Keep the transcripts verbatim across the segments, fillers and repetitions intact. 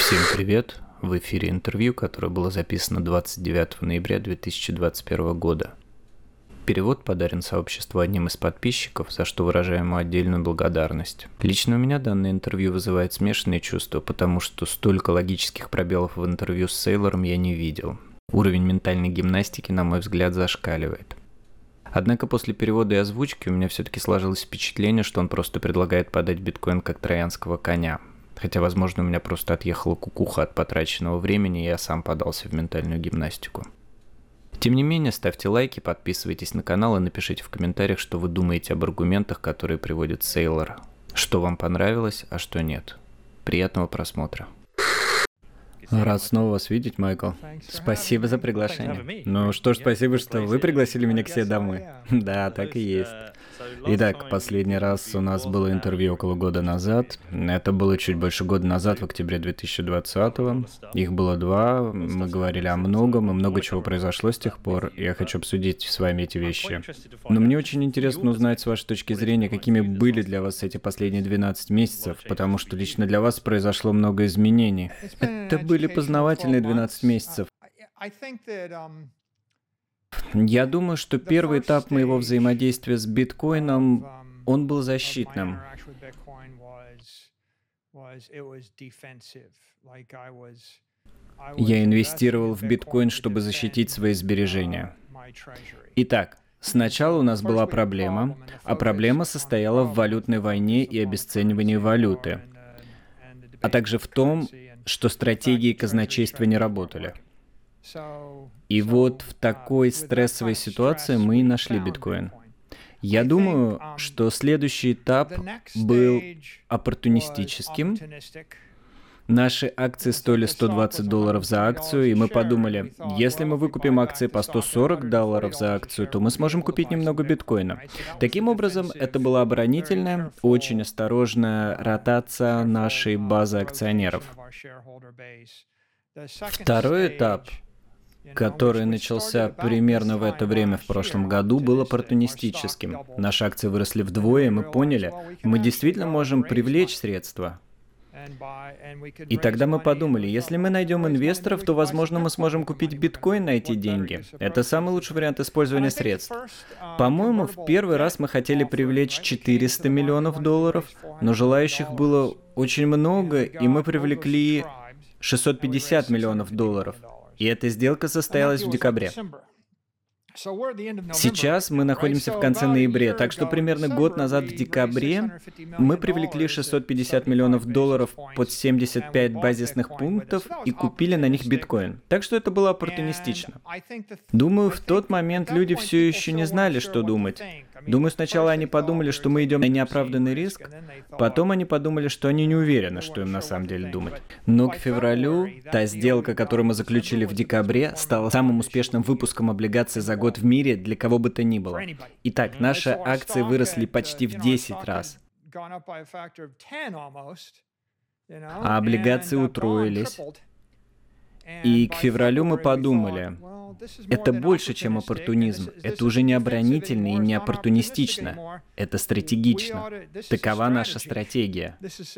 Всем привет! В эфире интервью, которое было записано двадцать девятого ноября две тысячи двадцать первого года. Перевод подарен сообществу одним из подписчиков, за что выражаем ему отдельную благодарность. Лично у меня данное интервью вызывает смешанные чувства, потому что столько логических пробелов в интервью с Сейлором я не видел. Уровень ментальной гимнастики, на мой взгляд, зашкаливает. Однако после перевода и озвучки у меня все-таки сложилось впечатление, что он просто предлагает подать биткоин как троянского коня. Хотя, возможно, у меня просто отъехала кукуха от потраченного времени, и я сам подался в ментальную гимнастику. Тем не менее, ставьте лайки, подписывайтесь на канал и напишите в комментариях, что вы думаете об аргументах, которые приводит Сейлор. Что вам понравилось, а что нет. Приятного просмотра. Рад снова вас видеть, Майкл. Спасибо за приглашение. Ну что ж, спасибо, что вы пригласили меня к себе домой. Да, так и есть. Итак, последний раз у нас было интервью около года назад. Это было чуть больше года назад, в октябре две тысячи двадцатого. Их было два, мы говорили о многом, и много чего произошло с тех пор. Я хочу обсудить с вами эти вещи. Но мне очень интересно узнать с вашей точки зрения, какими были для вас эти последние двенадцать месяцев, потому что лично для вас произошло много изменений. Это были познавательные двенадцать месяцев. Я думаю, что первый этап моего взаимодействия с биткоином, он был защитным. Я инвестировал в биткоин, чтобы защитить свои сбережения. Итак, сначала у нас была проблема, а проблема состояла в валютной войне и обесценивании валюты, а также в том, что стратегии казначейства не работали. И вот в такой стрессовой ситуации мы и нашли биткоин. Я думаю, что следующий этап был оппортунистическим. Наши акции стоили сто двадцать долларов за акцию, и мы подумали, если мы выкупим акции по сто сорок долларов за акцию, то мы сможем купить немного биткоина. Таким образом, это была оборонительная, очень осторожная ротация нашей базы акционеров. Второй этап, который начался примерно в это время в прошлом году, был оппортунистическим. Наши акции выросли вдвое, и мы поняли, мы действительно можем привлечь средства. И тогда мы подумали, если мы найдем инвесторов, то, возможно, мы сможем купить биткоин на эти деньги. Это самый лучший вариант использования средств. По-моему, в первый раз мы хотели привлечь четыреста миллионов долларов, но желающих было очень много, и мы привлекли шестьсот пятьдесят миллионов долларов. И эта сделка состоялась в декабре. Сейчас мы находимся в конце ноября, так что примерно год назад в декабре мы привлекли шестьсот пятьдесят миллионов долларов под семьдесят пять базисных пунктов и купили на них биткоин. Так что это было оппортунистично. Думаю, в тот момент люди все еще не знали, что думать. Думаю, сначала они подумали, что мы идем на неоправданный риск, потом они подумали, что они не уверены, что им на самом деле думать. Но к февралю та сделка, которую мы заключили в декабре, стала самым успешным выпуском облигаций за год в мире для кого бы то ни было. Итак, наши акции выросли почти в десять раз, а облигации утроились. И к февралю мы подумали, это больше, чем оппортунизм. Это уже не оборонительно и не оппортунистично. Это стратегично. Такова наша стратегия.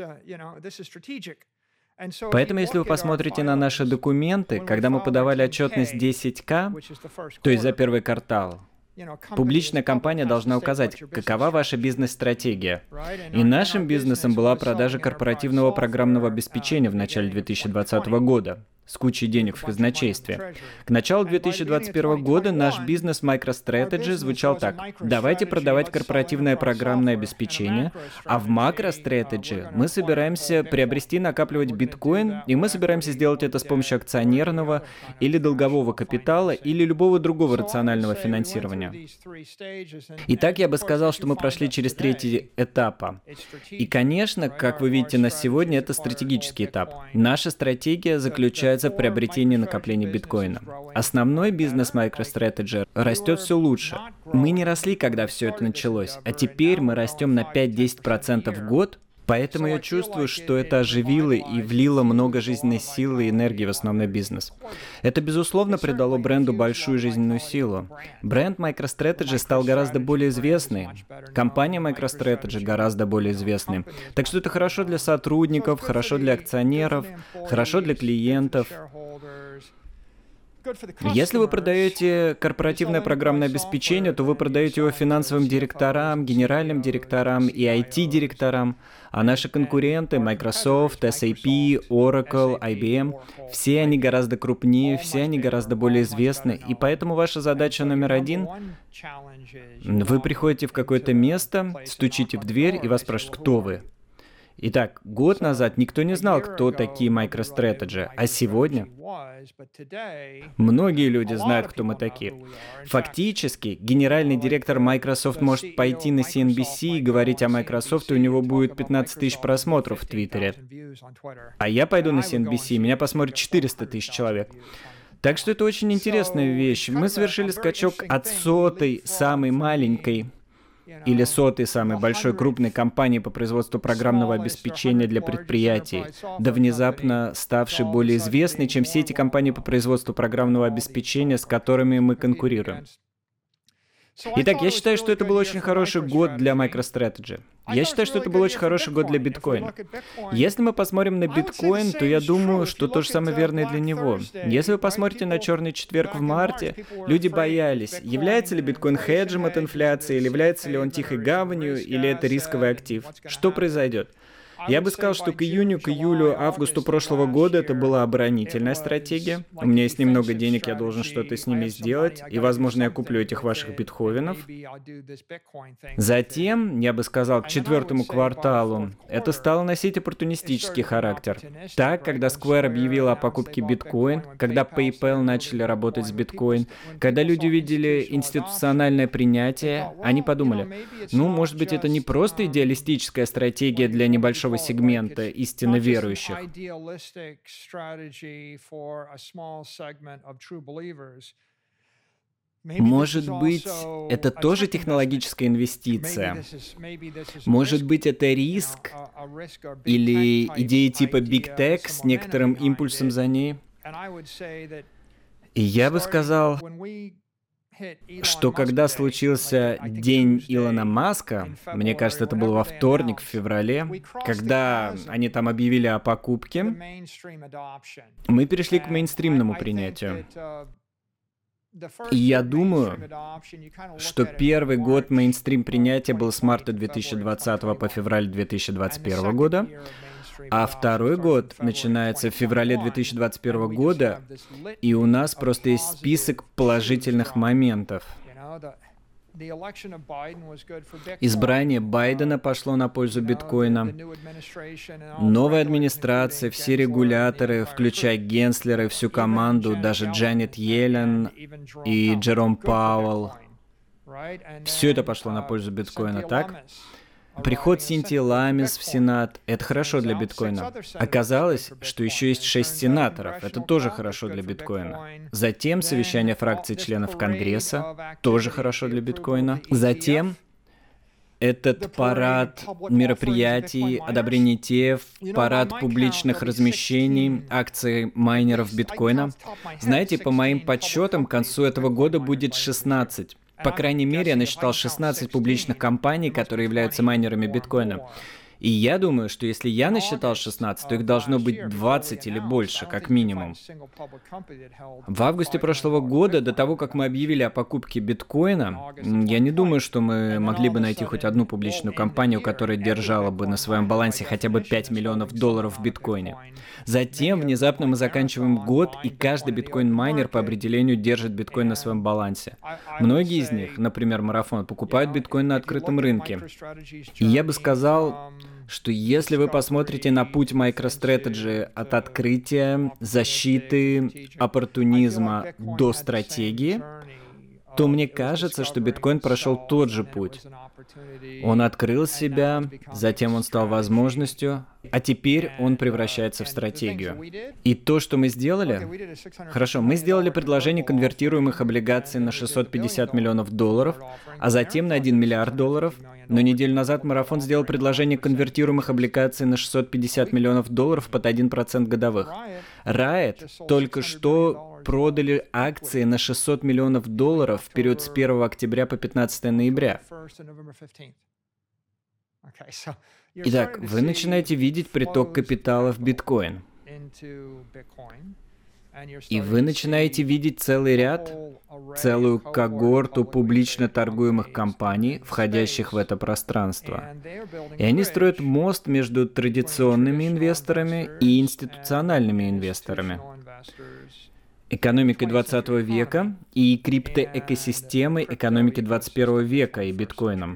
Поэтому, если вы посмотрите на наши документы, когда мы подавали отчетность десять ка, то есть за первый квартал, публичная компания должна указать, какова ваша бизнес-стратегия. И нашим бизнесом была продажа корпоративного программного обеспечения в начале две тысячи двадцатого года. С кучей денег в казначействе. К началу две тысячи двадцать первого года наш бизнес MicroStrategy звучал так. Давайте продавать корпоративное программное обеспечение, а в MacroStrategy мы собираемся приобрести и накапливать биткоин, и мы собираемся сделать это с помощью акционерного или долгового капитала или любого другого рационального финансирования. Итак, я бы сказал, что мы прошли через третий этап. И, конечно, как вы видите на сегодня, это стратегический этап. Наша стратегия заключается в приобретении и накоплении биткоина. Основной бизнес MicroStrategy растет все лучше. Мы не росли, когда все это началось, а теперь мы растем на пять-десять процентов в год, Поэтому я чувствую, что это оживило и влило много жизненной силы и энергии в основной бизнес. Это, безусловно, придало бренду большую жизненную силу. Бренд MicroStrategy стал гораздо более известный. Компания MicroStrategy гораздо более известной. Так что это хорошо для сотрудников, хорошо для акционеров, хорошо для клиентов. Если вы продаете корпоративное программное обеспечение, то вы продаете его финансовым директорам, генеральным директорам и ай ти-директорам, а наши конкуренты Microsoft, эс эй пи, Oracle, ай би эм, все они гораздо крупнее, все они гораздо более известны, и поэтому ваша задача номер один — вы приходите в какое-то место, стучите в дверь, и вас спрашивают, кто вы. Итак, год назад никто не знал, кто такие MicroStrategy, а сегодня многие люди знают, кто мы такие. Фактически, генеральный директор Microsoft может пойти на си эн би си и говорить о Microsoft, и у него будет пятнадцать тысяч просмотров в Твиттере. А я пойду на си эн би си, и меня посмотрит четыреста тысяч человек. Так что это очень интересная вещь. Мы совершили скачок от сотой, самой маленькой, или сотой самой большой крупной компании по производству программного обеспечения для предприятий, до внезапно ставшей более известной, чем все эти компании по производству программного обеспечения, с которыми мы конкурируем. Итак, я считаю, что это был очень хороший год для MicroStrategy. Я считаю, что это был очень хороший год для биткоина. Если мы посмотрим на биткоин, то я думаю, что то же самое верно и для него. Если вы посмотрите на черный четверг в марте, люди боялись, является ли биткоин хеджем от инфляции, или является ли он тихой гаванью, или это рисковый актив. Что произойдет? Я бы сказал, что к июню, к июлю, августу прошлого года это была оборонительная стратегия. У меня есть немного денег, я должен что-то с ними сделать, и, возможно, я куплю этих ваших битховенов. Затем, я бы сказал, к четвертому кварталу это стало носить оппортунистический характер. Так, когда Square объявила о покупке биткоин, когда PayPal начали работать с биткоин, когда люди увидели институциональное принятие, они подумали, ну, может быть, это не просто идеалистическая стратегия для небольшого сегмента истинно верующих. Может быть, это тоже технологическая инвестиция. Может быть, это риск или идея типа Big Tech с некоторым импульсом за ней. И я бы сказал, что когда случился день Илона Маска, мне кажется, это был во вторник, в феврале, когда они там объявили о покупке, мы перешли к мейнстримному принятию. И я думаю, что первый год мейнстрим принятия был с марта две тысячи двадцатого по февраль две тысячи двадцать первого года, а второй год начинается в феврале две тысячи двадцать первого года, и у нас просто есть список положительных моментов. Избрание Байдена пошло на пользу биткоина. Новая администрация, все регуляторы, включая Генслера и всю команду, даже Джанет Йеллен и Джером Пауэлл, все это пошло на пользу биткоина, так? Приход Синтии Ламис в Сенат — это хорошо для биткоина. Оказалось, что еще есть шесть сенаторов. Это тоже хорошо для биткоина. Затем совещание фракций членов Конгресса — тоже хорошо для биткоина. Затем этот парад мероприятий, одобрение и ти эф, парад публичных размещений акций майнеров биткоина. Знаете, по моим подсчетам, к концу этого года будет шестнадцать. По крайней мере, я насчитал шестнадцать публичных компаний, которые являются майнерами биткоина. И я думаю, что если я насчитал шестнадцать, то их должно быть двадцать или больше, как минимум. В августе прошлого года, до того, как мы объявили о покупке биткоина, я не думаю, что мы могли бы найти хоть одну публичную компанию, которая держала бы на своем балансе хотя бы пять миллионов долларов в биткоине. Затем, внезапно мы заканчиваем год, и каждый биткоин-майнер по определению держит биткоин на своем балансе. Многие из них, например, Марафон, покупают биткоин на открытом рынке. И я бы сказал, что если вы посмотрите на путь MicroStrategy от открытия, защиты, оппортунизма до стратегии, то мне кажется, что биткоин прошел тот же путь. Он открыл себя, затем он стал возможностью, а теперь он превращается в стратегию. И то, что мы сделали... Хорошо, мы сделали предложение конвертируемых облигаций на шестьсот пятьдесят миллионов долларов, а затем на один миллиард долларов. Но неделю назад Марафон сделал предложение конвертируемых облигаций на шестьсот пятьдесят миллионов долларов под один процент годовых. Riot только что продали акции на шестьсот миллионов долларов в период с первого октября по пятнадцатое ноября. Итак, вы начинаете видеть приток капитала в биткоин. И вы начинаете видеть целый ряд, целую когорту публично торгуемых компаний, входящих в это пространство. И они строят мост между традиционными инвесторами и институциональными инвесторами, экономикой двадцатого века и криптоэкосистемой экономики двадцать первого века и биткоином.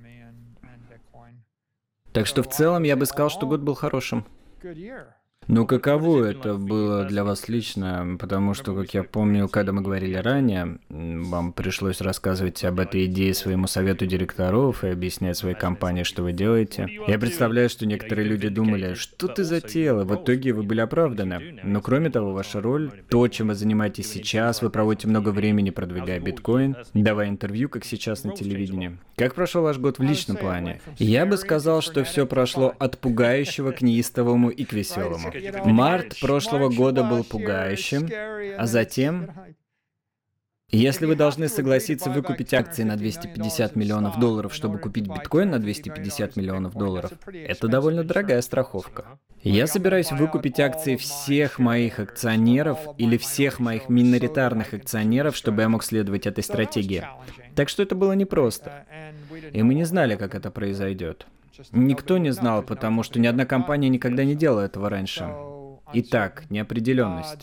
Так что в целом я бы сказал, что год был хорошим. Ну, каково это было для вас лично? Потому что, как я помню, когда мы говорили ранее, вам пришлось рассказывать об этой идее своему совету директоров и объяснять своей компании, что вы делаете. Я представляю, что некоторые люди думали, что ты затеял, и в итоге вы были оправданы. Но кроме того, ваша роль, то, чем вы занимаетесь сейчас, вы проводите много времени, продвигая биткоин, давая интервью, как сейчас на телевидении. Как прошел ваш год в личном плане? Я бы сказал, что все прошло от пугающего к неистовому и к веселому. Март прошлого года был пугающим, а затем, если вы должны согласиться выкупить акции на двести пятьдесят миллионов долларов, чтобы купить биткоин на двести пятьдесят миллионов долларов, это довольно дорогая страховка. Я собираюсь выкупить акции всех моих акционеров или всех моих миноритарных акционеров, чтобы я мог следовать этой стратегии. Так что это было непросто. И мы не знали, как это произойдет. Никто не знал, потому что ни одна компания никогда не делала этого раньше. Итак, неопределенность.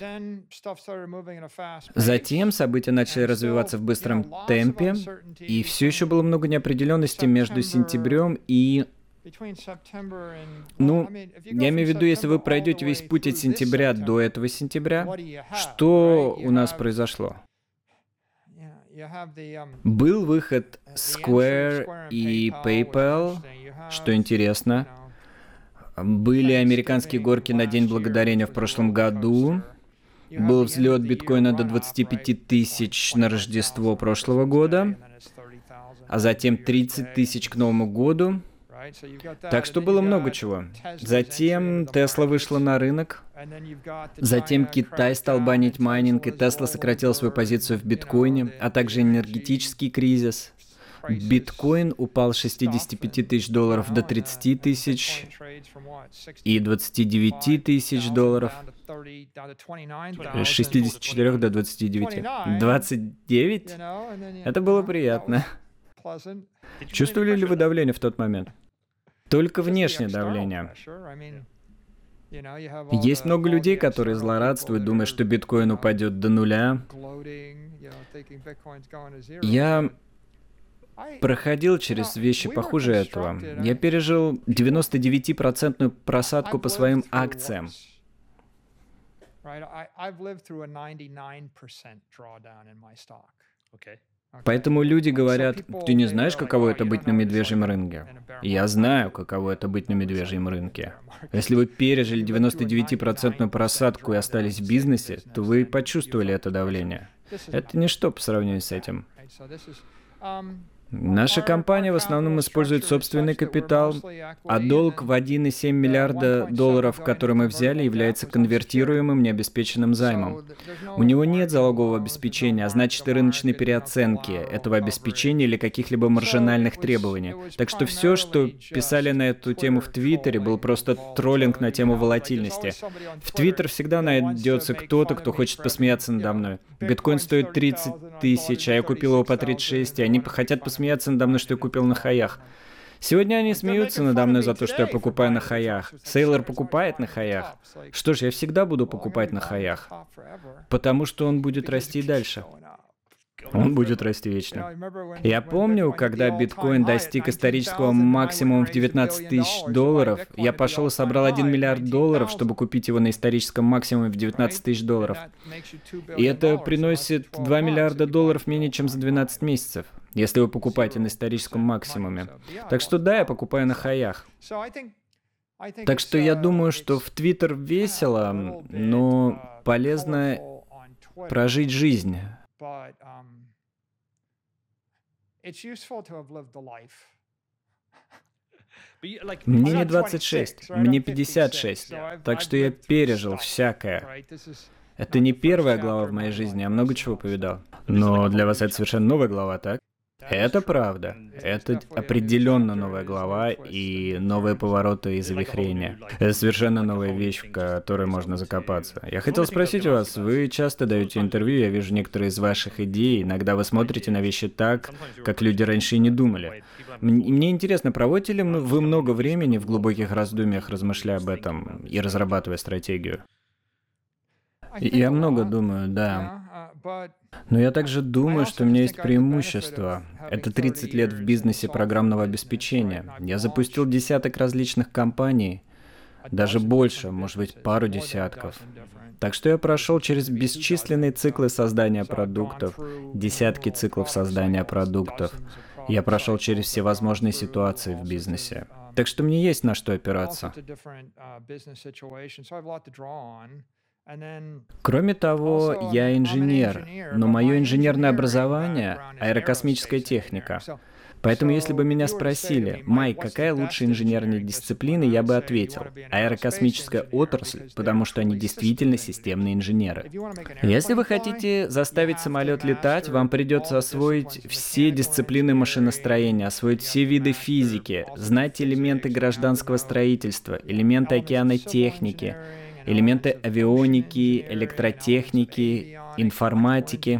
Затем события начали развиваться в быстром темпе, и все еще было много неопределенности между сентябрем и... Ну, я имею в виду, если вы пройдете весь путь от сентября до этого сентября, что у нас произошло? Был выход Square и PayPal, что интересно. Были американские горки на День Благодарения в прошлом году. Был взлет биткоина до двадцати пяти тысяч на Рождество прошлого года, а затем тридцать тысяч к Новому году. Так что было много чего. Затем Tesla вышла на рынок. Затем Китай стал банить майнинг, и Tesla сократила свою позицию в биткоине, а также энергетический кризис. Биткоин упал с шестидесяти пяти тысяч долларов до тридцати тысяч и двадцати девяти тысяч долларов. С шестидесяти четырёх до двадцати девяти. двадцать девять? Это было приятно. Чувствовали ли вы давление в тот момент? Только внешнее давление. Есть много людей, которые злорадствуют, думая, что биткоин упадет до нуля. Я проходил через вещи похуже этого. Я пережил девяносто девять процентную просадку по своим акциям. Поэтому люди говорят, ты не знаешь, каково это быть на медвежьем рынке? Я знаю, каково это быть на медвежьем рынке. Если вы пережили девяносто девять процентную просадку и остались в бизнесе, то вы почувствовали это давление. Это ничто по сравнению с этим. Наша компания в основном использует собственный капитал, а долг в один целых семь десятых миллиарда долларов, который мы взяли, является конвертируемым необеспеченным займом. У него нет залогового обеспечения, а значит и рыночной переоценки этого обеспечения или каких-либо маржинальных требований. Так что все, что писали на эту тему в Твиттере, был просто троллинг на тему волатильности. В Твиттер всегда найдется кто-то, кто хочет посмеяться надо мной. Биткоин стоит тридцать тысяч, а я купил его по тридцать шесть, и они хотят посмеяться смеяться надо мной, что я купил на хаях. Сегодня они смеются надо мной за то, что я покупаю на хаях. Сейлор покупает на хаях. Что ж, я всегда буду покупать на хаях, потому что он будет расти дальше. Он будет расти вечно. Я помню, когда биткоин достиг исторического максимума в девятнадцать тысяч долларов, я пошел и собрал один миллиард долларов, чтобы купить его на историческом максимуме в девятнадцать тысяч долларов. И это приносит два миллиарда долларов менее чем за двенадцать месяцев, если вы покупаете на историческом максимуме. Так что да, я покупаю на хаях. Так что я думаю, что в Твиттер весело, но полезно прожить жизнь. Мне не двадцать шесть, мне пятьдесят шесть, так что я пережил всякое. Это не первая глава в моей жизни, я много чего повидал. Но для вас это совершенно новая глава, так? Это правда. Это определенно новая глава и новые повороты и завихрения. Это совершенно новая вещь, в которой можно закопаться. Я хотел спросить у вас, вы часто даете интервью, я вижу некоторые из ваших идей, иногда вы смотрите на вещи так, как люди раньше и не думали. Мне интересно, проводите ли вы много времени в глубоких раздумьях, размышляя об этом и разрабатывая стратегию? Я много думаю, да. Но я также думаю, что у меня есть преимущество. Это тридцать лет в бизнесе программного обеспечения. Я запустил десяток различных компаний, даже больше, может быть, пару десятков. Так что я прошел через бесчисленные циклы создания продуктов, десятки циклов создания продуктов. Я прошел через всевозможные ситуации в бизнесе. Так что мне есть на что опираться. Кроме того, я инженер, но мое инженерное образование — аэрокосмическая техника. Поэтому если бы меня спросили, Майк, какая лучшая инженерная дисциплина, я бы ответил, аэрокосмическая отрасль, потому что они действительно системные инженеры. Если вы хотите заставить самолет летать, вам придется освоить все дисциплины машиностроения, освоить все виды физики, знать элементы гражданского строительства, элементы океанной техники, элементы авионики, электротехники, информатики.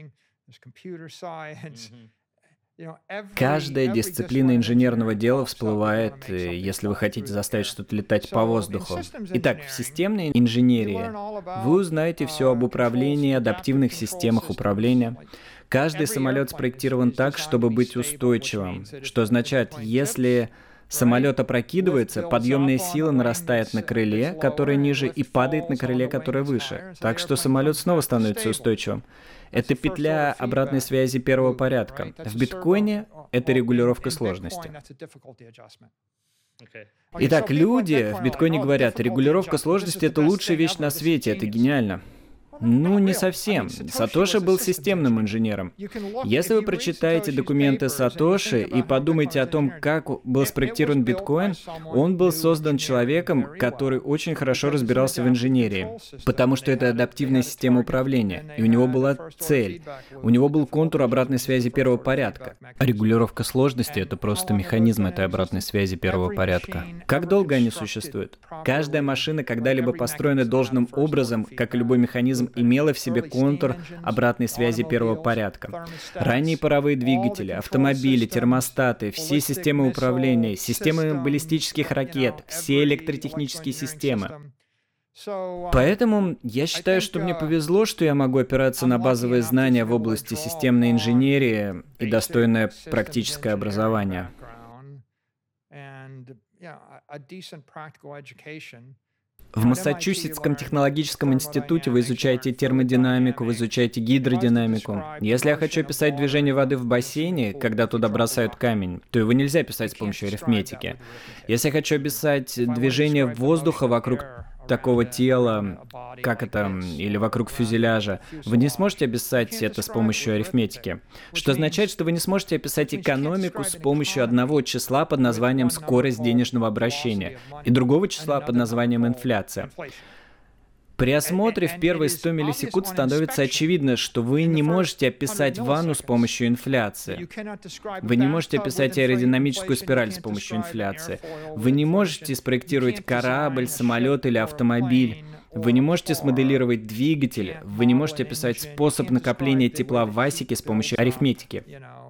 Каждая дисциплина инженерного дела всплывает, если вы хотите заставить что-то летать по воздуху. Итак, в системной инженерии вы узнаете все об управлении, адаптивных системах управления. Каждый самолет спроектирован так, чтобы быть устойчивым, что означает, если самолет опрокидывается, подъемная сила нарастает на крыле, которое ниже, и падает на крыле, которое выше. Так что самолет снова становится устойчивым. Это петля обратной связи первого порядка. В биткоине это регулировка сложности. Итак, люди в биткоине говорят, регулировка сложности — это лучшая вещь на свете, это гениально. Ну, не совсем. Сатоши был системным инженером. Если вы прочитаете документы Сатоши и подумаете о том, как был спроектирован биткоин, он был создан человеком, который очень хорошо разбирался в инженерии, потому что это адаптивная система управления, и у него была цель. У него был контур обратной связи первого порядка. А регулировка сложности — это просто механизм этой обратной связи первого порядка. Как долго они существуют? Каждая машина, когда-либо построена должным образом, как и любой механизм, имела в себе контур обратной связи первого порядка. Ранние паровые двигатели, автомобили, термостаты, все системы управления, системы баллистических ракет, все электротехнические системы. Поэтому я считаю, что мне повезло, что я могу опираться на базовые знания в области системной инженерии и достойное практическое образование. В Массачусетском технологическом институте вы изучаете термодинамику, вы изучаете гидродинамику. Если я хочу описать движение воды в бассейне, когда туда бросают камень, то его нельзя писать с помощью арифметики. Если я хочу описать движение воздуха вокруг такого тела, как это, или вокруг фюзеляжа, вы не сможете описать это с помощью арифметики. Что означает, что вы не сможете описать экономику с помощью одного числа под названием скорость денежного обращения и другого числа под названием инфляция. При осмотре в первые сто миллисекунд становится очевидно, что вы не можете описать ванну с помощью инфляции. Вы не можете описать аэродинамическую спираль с помощью инфляции. Вы не можете спроектировать корабль, самолет или автомобиль. Вы не можете смоделировать двигатель. Вы не можете описать способ накопления тепла в асике с помощью арифметики.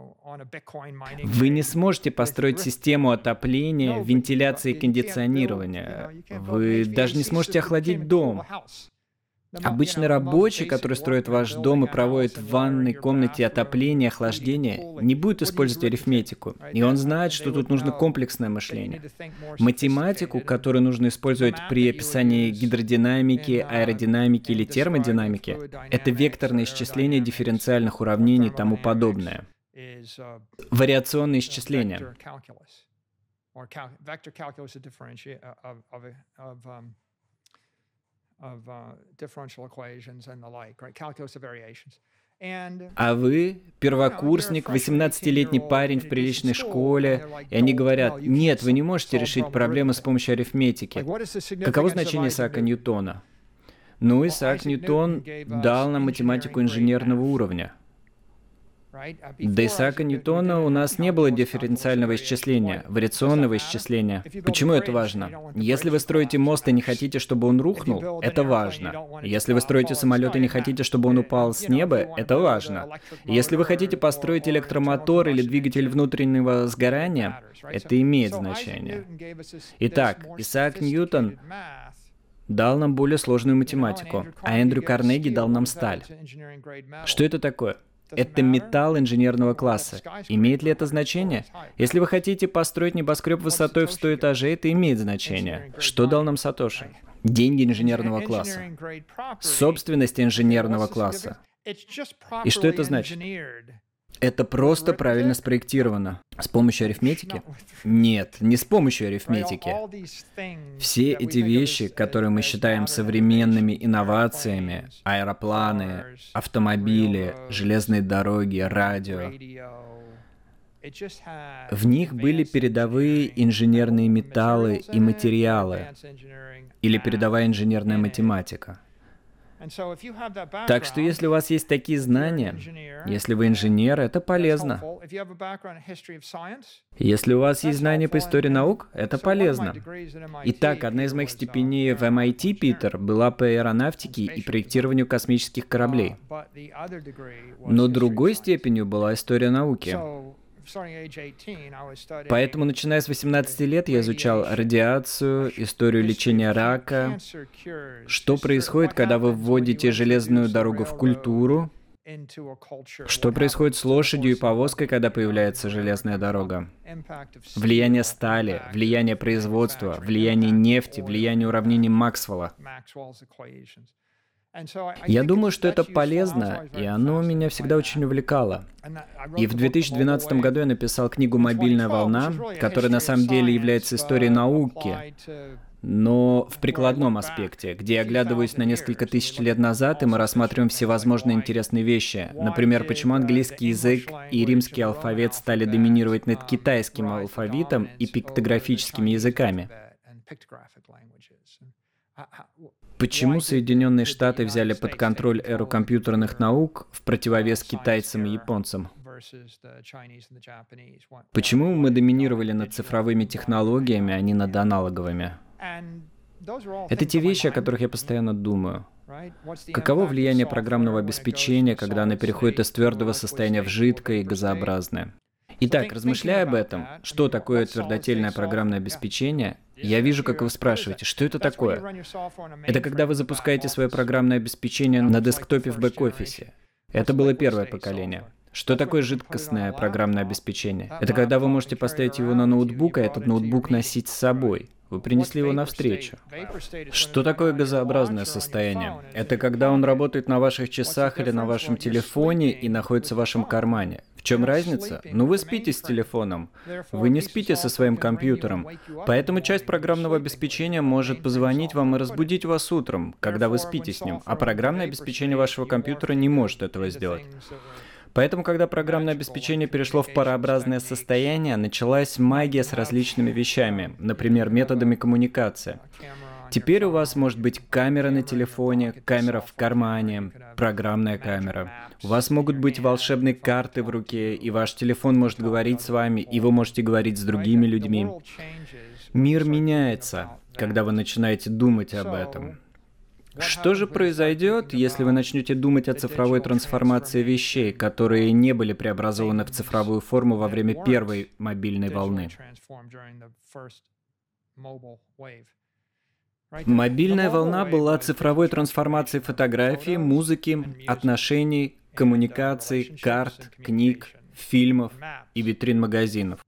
Вы не сможете построить систему отопления, вентиляции и кондиционирования. Вы даже не сможете охладить дом. Обычный рабочий, который строит ваш дом и проводит в ванной комнате отопление, охлаждение, не будет использовать арифметику. И он знает, что тут нужно комплексное мышление. Математику, которую нужно использовать при описании гидродинамики, аэродинамики или термодинамики, это векторное исчисление дифференциальных уравнений и тому подобное. Вариационные исчисления. А вы первокурсник, восемнадцатилетний парень в приличной школе, и они говорят: нет, вы не можете решить проблемы с помощью арифметики. Каково значение Исаака Ньютона? Ну, Исаак Ньютон дал нам математику инженерного уровня. До Исаака Ньютона у нас не было дифференциального исчисления, вариационного исчисления. Почему это важно? Если вы строите мост и не хотите, чтобы он рухнул, это важно. Если вы строите самолет и не хотите, чтобы он упал с неба, это важно. Если вы хотите построить электромотор или двигатель внутреннего сгорания, это имеет значение. Итак, Исаак Ньютон дал нам более сложную математику, а Эндрю Карнеги дал нам сталь. Что это такое? Это металл инженерного класса. Имеет ли это значение? Если вы хотите построить небоскреб высотой в сто этажей, это имеет значение. Что дал нам Сатоши? Деньги инженерного класса. Собственность инженерного класса. И что это значит? Это просто правильно спроектировано. С помощью арифметики? Нет, не с помощью арифметики. Все эти вещи, которые мы считаем современными инновациями, аэропланы, автомобили, железные дороги, радио, в них были передовые инженерные металлы и материалы, или передовая инженерная математика. Так что если у вас есть такие знания, если вы инженер, это полезно. Если у вас есть знания по истории наук, это полезно. Итак, одна из моих степеней в эм ай ти, Питер, была по аэронавтике и проектированию космических кораблей. Но другой степенью была история науки. Поэтому, начиная с восемнадцати лет, я изучал радиацию, историю лечения рака, что происходит, когда вы вводите железную дорогу в культуру, что происходит с лошадью и повозкой, когда появляется железная дорога, влияние стали, влияние производства, влияние нефти, влияние уравнений Максвелла. Я думаю, что это полезно, и оно меня всегда очень увлекало. И в две тысячи двенадцатом году я написал книгу «Мобильная волна», которая на самом деле является историей науки, но в прикладном аспекте, где я оглядываюсь на несколько тысяч лет назад, и мы рассматриваем всевозможные интересные вещи. Например, почему английский язык и римский алфавит стали доминировать над китайским алфавитом и пиктографическими языками. Почему Соединенные Штаты взяли под контроль эру компьютерных наук в противовес китайцам и японцам? Почему мы доминировали над цифровыми технологиями, а не над аналоговыми? Это те вещи, о которых я постоянно думаю. Каково влияние программного обеспечения, когда оно переходит из твердого состояния в жидкое и газообразное? Итак, размышляя об этом, что такое твердотельное программное обеспечение, я вижу, как вы спрашиваете, что это такое? Это когда вы запускаете свое программное обеспечение на десктопе в бэк-офисе. Это было первое поколение. Что такое жидкостное программное обеспечение? Это когда вы можете поставить его на ноутбук, а этот ноутбук носить с собой. Вы принесли его навстречу. Что такое газообразное состояние? Это когда он работает на ваших часах или на вашем телефоне и находится в вашем кармане. В чем разница? Ну, вы спите с телефоном. Вы не спите со своим компьютером. Поэтому часть программного обеспечения может позвонить вам и разбудить вас утром, когда вы спите с ним, а программное обеспечение вашего компьютера не может этого сделать. Поэтому, когда программное обеспечение перешло в парообразное состояние, началась магия с различными вещами, например, методами коммуникации. Теперь у вас может быть камера на телефоне, камера в кармане, программная камера. У вас могут быть волшебные карты в руке, и ваш телефон может говорить с вами, и вы можете говорить с другими людьми. Мир меняется, когда вы начинаете думать об этом. Что же произойдет, если вы начнете думать о цифровой трансформации вещей, которые не были преобразованы в цифровую форму во время первой мобильной волны? Мобильная волна была цифровой трансформацией фотографии, музыки, отношений, коммуникаций, карт, книг, фильмов и витрин магазинов.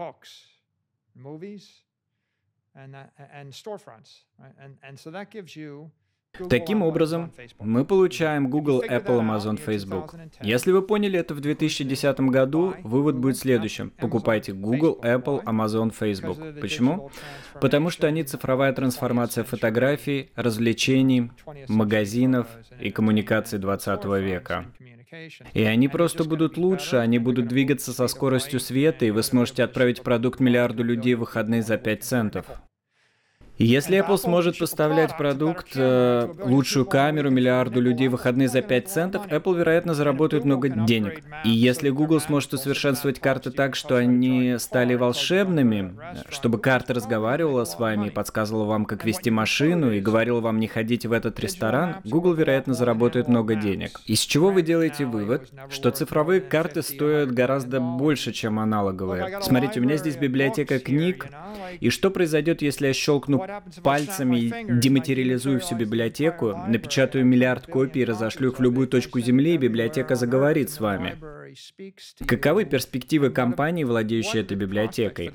Таким образом, мы получаем Google, Apple, Amazon, Facebook. Если вы поняли это в две тысячи десятом году, вывод будет следующим. Покупайте Google, Apple, Amazon, Facebook. Почему? Потому что они цифровая трансформация фотографий, развлечений, магазинов и коммуникаций двадцатого века. И они просто будут лучше, они будут двигаться со скоростью света, и вы сможете отправить продукт миллиарду людей в выходные за пять центов. И если Apple сможет поставлять продукт, э, лучшую камеру миллиарду людей в выходные за пять центов, Apple, вероятно, заработает много денег. И если Google сможет усовершенствовать карты так, что они стали волшебными, чтобы карта разговаривала с вами и подсказывала вам, как вести машину, и говорила вам, не ходите в этот ресторан, Google, вероятно, заработает много денег. Из чего вы делаете вывод, что цифровые карты стоят гораздо больше, чем аналоговые. Смотрите, у меня здесь библиотека книг, и что произойдет, если я щелкну пальцами и дематериализую всю библиотеку, напечатаю миллиард копий и разошлю их в любую точку Земли, и библиотека заговорит с вами? Каковы перспективы компании, владеющей этой библиотекой?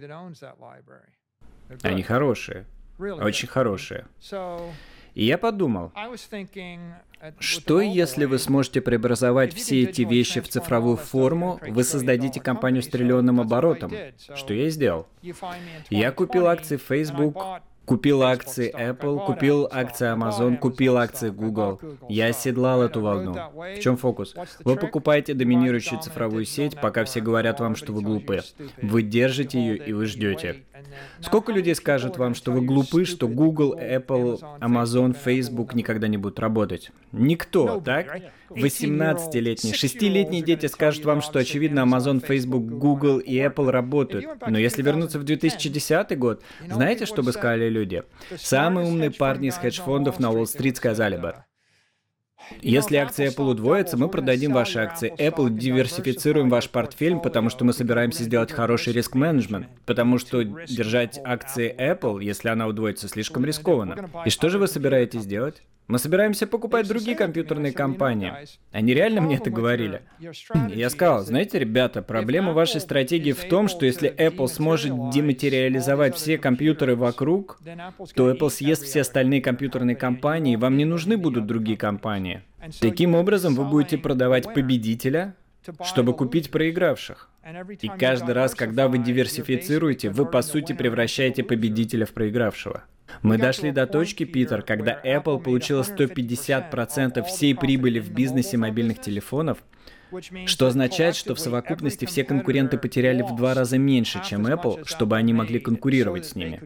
Они хорошие. Очень хорошие. И я подумал, что если вы сможете преобразовать все эти вещи в цифровую форму, вы создадите компанию с триллионным оборотом, что я и сделал. Я купил акции Facebook, купил акции Apple, купил акции Amazon, купил акции Google. Я оседлал эту волну. В чем фокус? Вы покупаете доминирующую цифровую сеть, пока все говорят вам, что вы глупы. Вы держите ее и вы ждете. Сколько людей скажет вам, что вы глупы, что Google, Apple, Amazon, Facebook никогда не будут работать? Никто, так? восемнадцатилетние, шестилетние дети скажут вам, что, очевидно, Amazon, Facebook, Google и Apple работают. Но если вернуться в две тысячи десятый год, знаете, что бы сказали люди? Самые умные парни из хедж-фондов на Уолл-стрит сказали бы: если акции Apple удвоятся, мы продадим ваши акции Apple, диверсифицируем ваш портфель, потому что мы собираемся сделать хороший риск-менеджмент. Потому что держать акции Apple, если она удвоится, слишком рискованно. И что же вы собираетесь делать? Мы собираемся покупать другие компьютерные компании. Они реально мне это говорили. Я сказал, знаете, ребята, проблема вашей стратегии в том, что если Apple сможет дематериализовать все компьютеры вокруг, то Apple съест все остальные компьютерные компании, и вам не нужны будут другие компании. Таким образом, вы будете продавать победителя, чтобы купить проигравших. И каждый раз, когда вы диверсифицируете, вы, по сути, превращаете победителя в проигравшего. Мы дошли до точки, Питер, когда Apple получила сто пятьдесят процентов всей прибыли в бизнесе мобильных телефонов, что означает, что в совокупности все конкуренты потеряли в два раза меньше, чем Apple, чтобы они могли конкурировать с ними.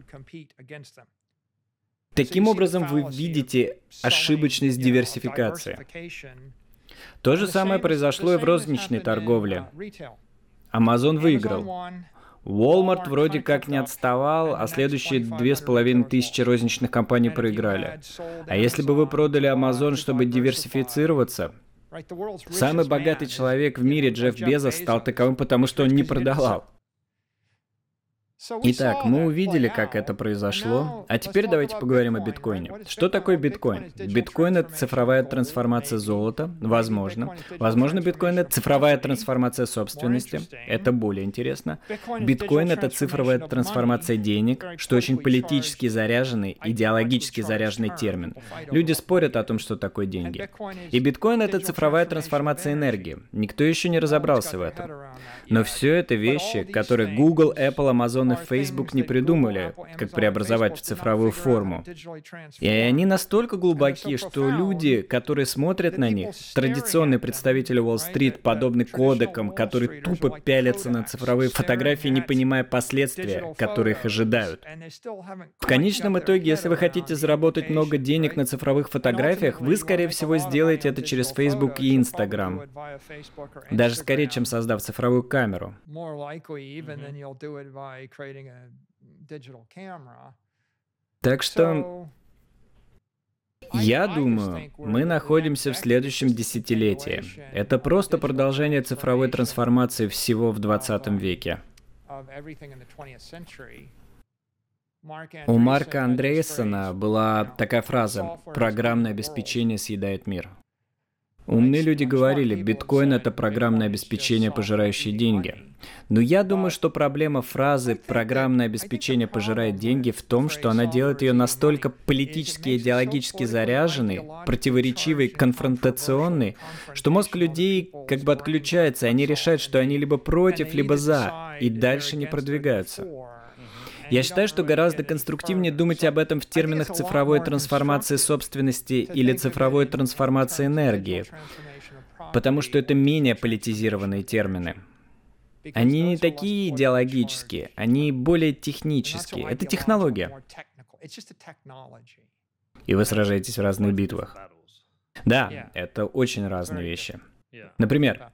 Таким образом, вы видите ошибочность диверсификации. То же самое произошло и в розничной торговле. Amazon выиграл. Walmart вроде как не отставал, а следующие две с половиной тысячи розничных компаний проиграли. А если бы вы продали Amazon, чтобы диверсифицироваться, самый богатый человек в мире, Джефф Безос, стал таковым, потому что он не продавал. Итак, мы увидели, как это произошло, а теперь давайте поговорим о биткоине. Что такое биткоин? Биткоин — это цифровая трансформация золота, возможно. Возможно, биткоин — это цифровая трансформация собственности, это более интересно. Биткоин — это цифровая трансформация денег, что очень политически заряженный, идеологически заряженный термин. Люди спорят о том, что такое деньги. И биткоин — это цифровая трансформация энергии. Никто еще не разобрался в этом. Но все это вещи, которые Google, Apple, Amazon и Facebook не придумали, как преобразовать в цифровую форму. И они настолько глубоки, что люди, которые смотрят на них, традиционные представители Уолл-стрит, подобны кодекам, которые тупо пялятся на цифровые фотографии, не понимая последствия, которые их ожидают. В конечном итоге, если вы хотите заработать много денег на цифровых фотографиях, вы, скорее всего, сделаете это через Facebook и Instagram. Даже скорее, чем создав цифровую камеру. Так что, я думаю, мы находимся в следующем десятилетии. Это просто продолжение цифровой трансформации всего в двадцатом веке. У Марка Андреессена была такая фраза «программное обеспечение съедает мир». Умные люди говорили, биткоин — это программное обеспечение, пожирающее деньги. Но я думаю, что проблема фразы «программное обеспечение пожирает деньги» в том, что она делает ее настолько политически и идеологически заряженной, противоречивой, конфронтационной, что мозг людей как бы отключается, и они решают, что они либо против, либо за, и дальше не продвигаются. Я считаю, что гораздо конструктивнее думать об этом в терминах цифровой трансформации собственности или цифровой трансформации энергии, потому что это менее политизированные термины. Они не такие идеологические, они более технические. Это технология. И вы сражаетесь в разных битвах. Да, это очень разные вещи. Например,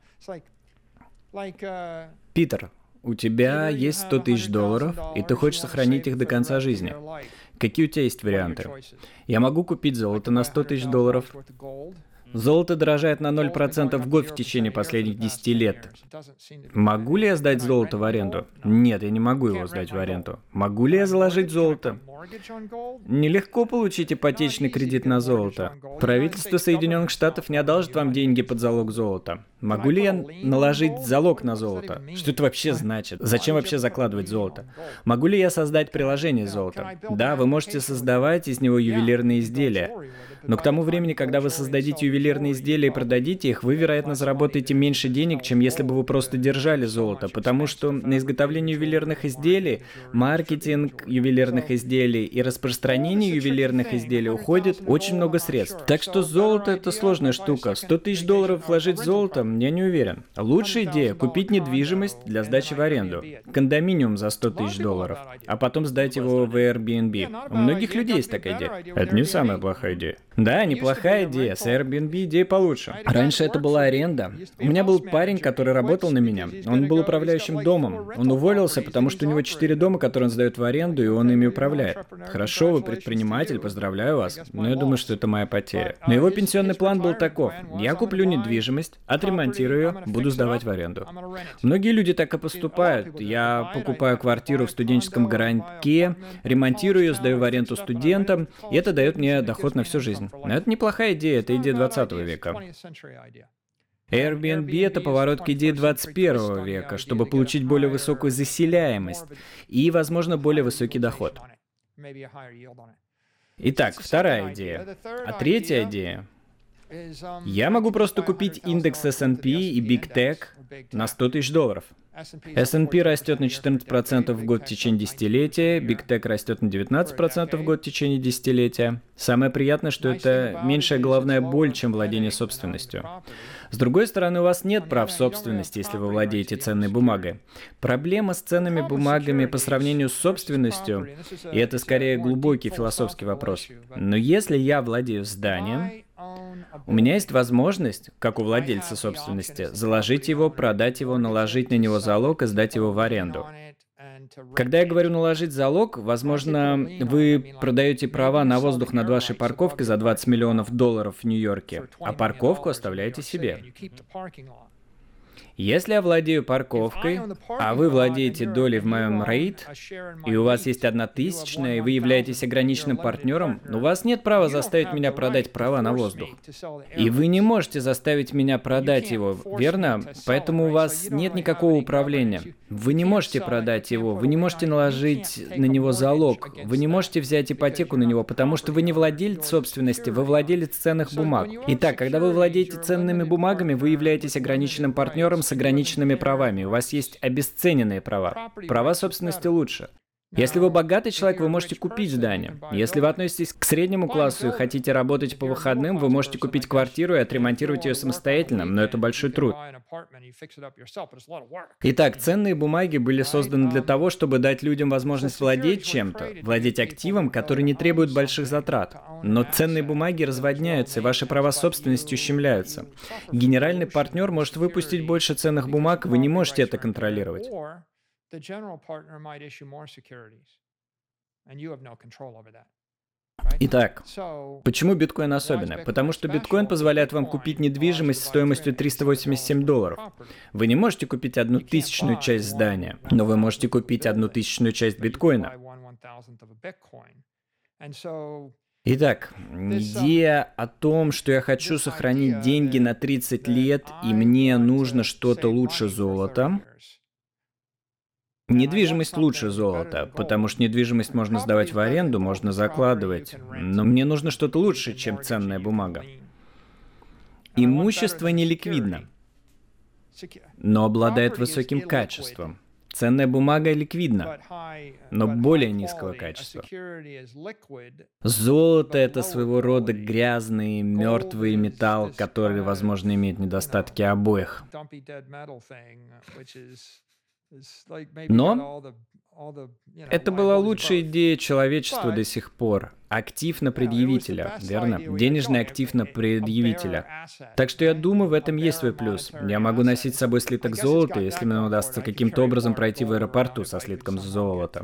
Питер, у тебя есть сто тысяч долларов, и ты хочешь сохранить их до конца жизни. Какие у тебя есть варианты? Я могу купить золото на сто тысяч долларов. Золото дорожает на ноль процентов в год в течение последних десяти лет. Могу ли я сдать золото в аренду? Нет, я не могу его сдать в аренду. Могу ли я заложить золото? Нелегко получить ипотечный кредит на золото. Правительство Соединенных Штатов не одолжит вам деньги под залог золота. Могу ли я наложить залог на золото? Что это вообще значит? Зачем вообще закладывать золото? Могу ли я создать приложение золота? Да, вы можете создавать из него ювелирные изделия. Но к тому времени, когда вы создадите ювелирные изделия и продадите их, вы, вероятно, заработаете меньше денег, чем если бы вы просто держали золото, потому что на изготовление ювелирных изделий, маркетинг ювелирных изделий и распространение ювелирных изделий уходит очень много средств. Так что золото — это сложная штука. сто тысяч долларов вложить в золото? Я не уверен. Лучшая идея — купить недвижимость для сдачи в аренду. Кондоминиум за сто тысяч долларов, а потом сдать его в Airbnb. У многих людей есть такая идея. Это не самая плохая идея. Да, неплохая идея. С Airbnb идея получше. Раньше это была аренда. У меня был парень, который работал на меня. Он был управляющим домом. Он уволился, потому что у него четыре дома, которые он сдает в аренду, и он ими управляет. Хорошо, вы предприниматель, поздравляю вас. Но я думаю, что это моя потеря. Но его пенсионный план был таков. Я куплю недвижимость, отремонтирую ее, буду сдавать в аренду. Многие люди так и поступают. Я покупаю квартиру в студенческом городке, ремонтирую ее, сдаю в аренду студентам, и это дает мне доход на всю жизнь. Но это неплохая идея, это идея двадцатого века. Airbnb — это поворот к идее двадцать первого века, чтобы получить более высокую заселяемость и, возможно, более высокий доход. Итак, вторая идея. А третья идея. Я могу просто купить индекс эс энд пи и Big Tech на сто тысяч долларов. эс энд пи растет на четырнадцать процентов в год в течение десятилетия, Big Tech растет на девятнадцать процентов в год в течение десятилетия. Самое приятное, что это меньшая головная боль, чем владение собственностью. С другой стороны, у вас нет прав собственности, если вы владеете ценной бумагой. Проблема с ценными бумагами по сравнению с собственностью, и это скорее глубокий философский вопрос. Но если я владею зданием, у меня есть возможность, как у владельца собственности, заложить его, продать его, наложить на него залог и сдать его в аренду. Когда я говорю наложить залог, возможно, вы продаете права на воздух над вашей парковкой за двадцать миллионов долларов в Нью-Йорке, а парковку оставляете себе. Если я владею парковкой, а вы владеете долей в моем рейд, и у вас есть одна тысячная, и вы являетесь ограниченным партнером, у вас нет права заставить меня продать права на воздух. И вы не можете заставить меня продать его, верно? Поэтому у вас нет никакого управления. Вы не можете продать его, вы не можете наложить на него залог, вы не можете взять ипотеку на него, потому что вы не владелец собственности, вы владелец ценных бумаг. Итак, когда вы владеете ценными бумагами, вы являетесь ограниченным партнером с ограниченными правами. У вас есть обесцененные права. Права собственности лучше. Если вы богатый человек, вы можете купить здание. Если вы относитесь к среднему классу и хотите работать по выходным, вы можете купить квартиру и отремонтировать ее самостоятельно, но это большой труд. Итак, ценные бумаги были созданы для того, чтобы дать людям возможность владеть чем-то, владеть активом, который не требует больших затрат. Но ценные бумаги разводняются, и ваши права собственности ущемляются. Генеральный партнер может выпустить больше ценных бумаг, вы не можете это контролировать. The general partner might issue more securities, and you have no control over that. Итак, почему биткоин особенный? Потому что биткоин позволяет вам купить недвижимость стоимостью триста восемьдесят семь долларов. Вы не можете купить одну тысячную часть здания, но вы можете купить одну тысячную часть биткоина. Итак, идея о том, что я хочу сохранить деньги на тридцать лет, и мне нужно что-то лучше золота. Недвижимость лучше золота, потому что недвижимость можно сдавать в аренду, можно закладывать. Но мне нужно что-то лучше, чем ценная бумага. Имущество не ликвидно, но обладает высоким качеством. Ценная бумага ликвидна, но более низкого качества. Золото — это своего рода грязный, мертвый металл, который, возможно, имеет недостатки обоих. Но это была лучшая идея человечества до сих пор. Актив на предъявителя, верно? Денежный актив на предъявителя. Так что я думаю, в этом есть свой плюс. Я могу носить с собой слиток золота, если мне удастся каким-то образом пройти в аэропорту со слитком золота.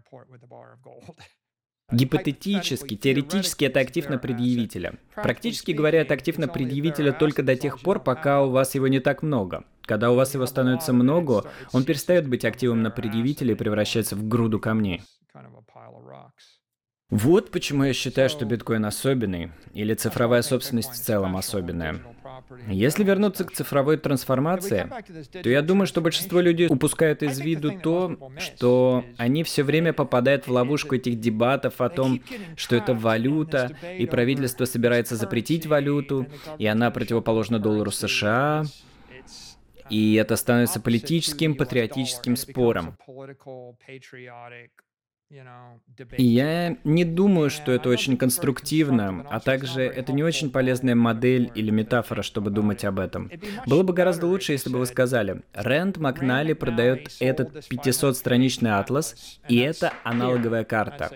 Гипотетически, теоретически это актив на предъявителя. Практически говоря, это актив на предъявителя только до тех пор, пока у вас его не так много. Когда у вас его становится много, он перестает быть активом на предъявителя и превращается в груду камней. Вот почему я считаю, что биткоин особенный, или цифровая собственность в целом особенная. Если вернуться к цифровой трансформации, то я думаю, что большинство людей упускают из виду то, что они все время попадают в ловушку этих дебатов о том, что это валюта, и правительство собирается запретить валюту, и она противоположна доллару США, и это становится политическим, патриотическим спором. И я не думаю, что это очень конструктивно, а также это не очень полезная модель или метафора, чтобы думать об этом. Было бы гораздо лучше, если бы вы сказали: Рэнд Макнали продает этот пятисотстраничный атлас, и это аналоговая карта.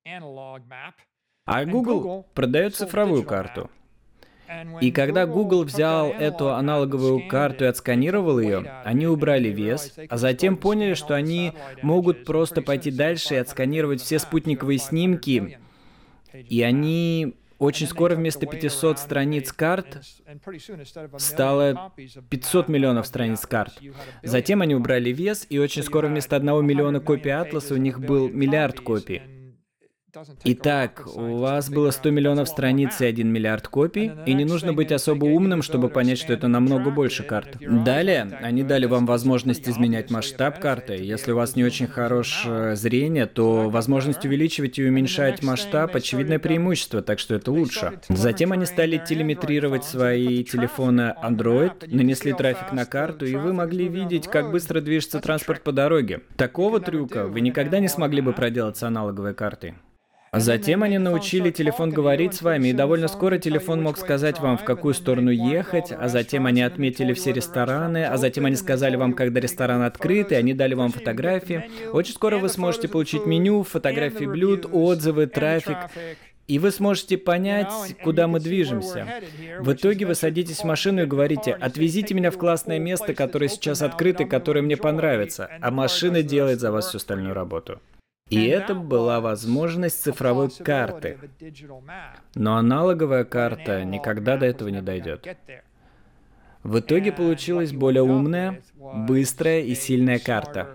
А Google продает цифровую карту. И когда Google взял эту аналоговую карту и отсканировал ее, они убрали вес, а затем поняли, что они могут просто пойти дальше и отсканировать все спутниковые снимки, и они очень скоро вместо пятисот страниц карт стало пятьсот миллионов страниц карт. Затем они убрали вес, и очень скоро вместо одного миллиона копий атласа у них был миллиард копий. Итак, у вас было сто миллионов страниц и один миллиард копий, и не нужно быть особо умным, чтобы понять, что это намного больше карт. Далее, они дали вам возможность изменять масштаб карты. Если у вас не очень хорошее зрение, то возможность увеличивать и уменьшать масштаб — очевидное преимущество, так что это лучше. Затем они стали телеметрировать свои телефоны Android, нанесли трафик на карту, и вы могли видеть, как быстро движется транспорт по дороге. Такого трюка вы никогда не смогли бы проделать с аналоговой картой. Затем они научили телефон говорить с вами, и довольно скоро телефон мог сказать вам, в какую сторону ехать, а затем они отметили все рестораны, а затем они сказали вам, когда ресторан открыт, и они дали вам фотографии. Очень скоро вы сможете получить меню, фотографии блюд, отзывы, трафик. И вы сможете понять, куда мы движемся. В итоге вы садитесь в машину и говорите: «Отвезите меня в классное место, которое сейчас открыто, которое мне понравится», а машина делает за вас всю остальную работу. И это была возможность цифровой карты. Но аналоговая карта никогда до этого не дойдет. В итоге получилась более умная, быстрая и сильная карта.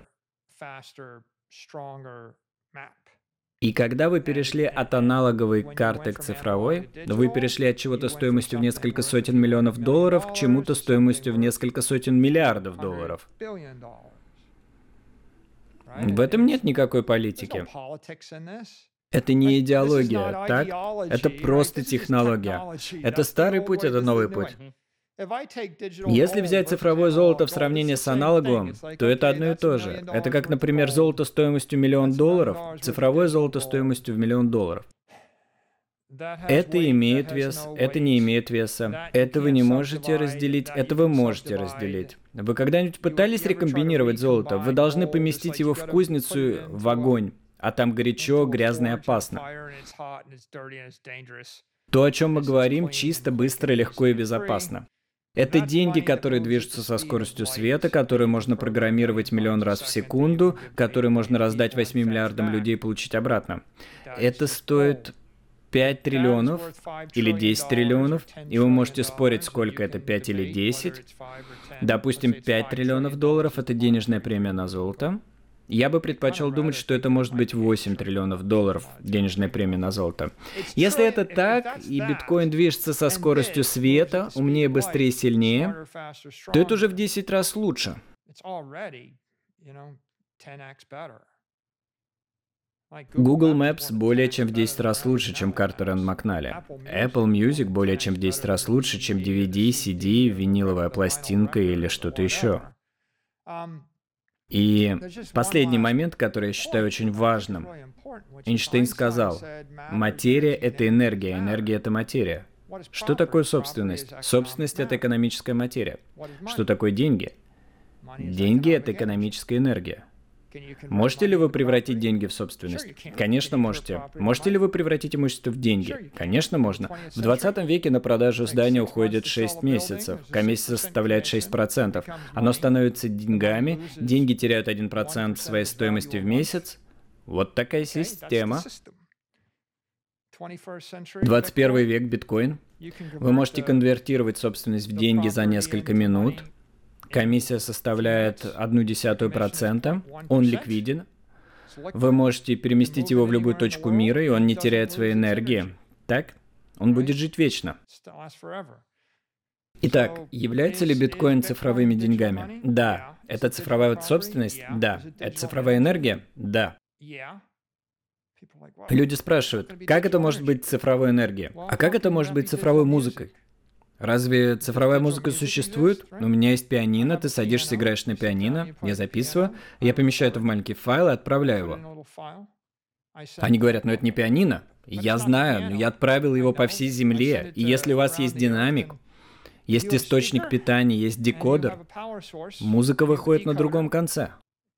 И когда вы перешли от аналоговой карты к цифровой, вы перешли от чего-то стоимостью в несколько сотен миллионов долларов к чему-то стоимостью в несколько сотен миллиардов долларов. В этом нет никакой политики. Это не идеология, так? Это просто технология. Это старый путь, это новый путь. Если взять цифровое золото в сравнении с аналоговым, то это одно и то же. Это как, например, золото стоимостью миллион долларов, цифровое золото стоимостью в миллион долларов. Это имеет вес, это не имеет веса. Это вы не можете разделить, это вы можете разделить. Вы когда-нибудь пытались рекомбинировать золото? Вы должны поместить его в кузницу, в огонь, а там горячо, грязно и опасно. То, о чем мы говорим, чисто, быстро, легко и безопасно. Это деньги, которые движутся со скоростью света, которые можно программировать миллион раз в секунду, которые можно раздать восьми миллиардам людей и получить обратно. Это стоит пять триллионов или десять триллионов, и вы можете спорить, сколько это, пять или десять. Допустим, пять триллионов долларов — это денежная премия на золото. Я бы предпочел думать, что это может быть восемь триллионов долларов, денежная премия на золото. Если это так, и биткоин движется со скоростью света, умнее, быстрее, сильнее, то это уже в десять раз лучше. Google Maps более чем в десять раз лучше, чем Картер энд Макналли. Apple Music более чем в десять раз лучше, чем ди ви ди, си ди, виниловая пластинка или что-то еще. И последний момент, который я считаю очень важным. Эйнштейн сказал, материя — это энергия, энергия — это материя. Что такое собственность? Собственность — это экономическая материя. Что такое деньги? Деньги — это экономическая энергия. Можете ли вы превратить деньги в собственность? Конечно, можете. Можете ли вы превратить имущество в деньги? Конечно, можно. В двадцатом веке на продажу здания уходит шесть месяцев. Комиссия составляет шесть процентов. Оно становится деньгами, деньги теряют один процент своей стоимости в месяц. Вот такая система. двадцать первый век, биткоин. Вы можете конвертировать собственность в деньги за несколько минут. Комиссия составляет одну десятую процента, он ликвиден. Вы можете переместить его в любую точку мира, и он не теряет своей энергии. Так? Он будет жить вечно. Итак, является ли биткоин цифровыми деньгами? Да. Это цифровая собственность? Да. Это цифровая энергия? Да. Люди спрашивают, как это может быть цифровой энергией? А как это может быть цифровой музыкой? Разве цифровая музыка существует? У меня есть пианино, ты садишься, играешь на пианино, я записываю, я помещаю это в маленький файл и отправляю его. Они говорят, ну это не пианино. Я знаю, но я отправил его по всей земле, и если у вас есть динамик, есть источник питания, есть декодер, музыка выходит на другом конце.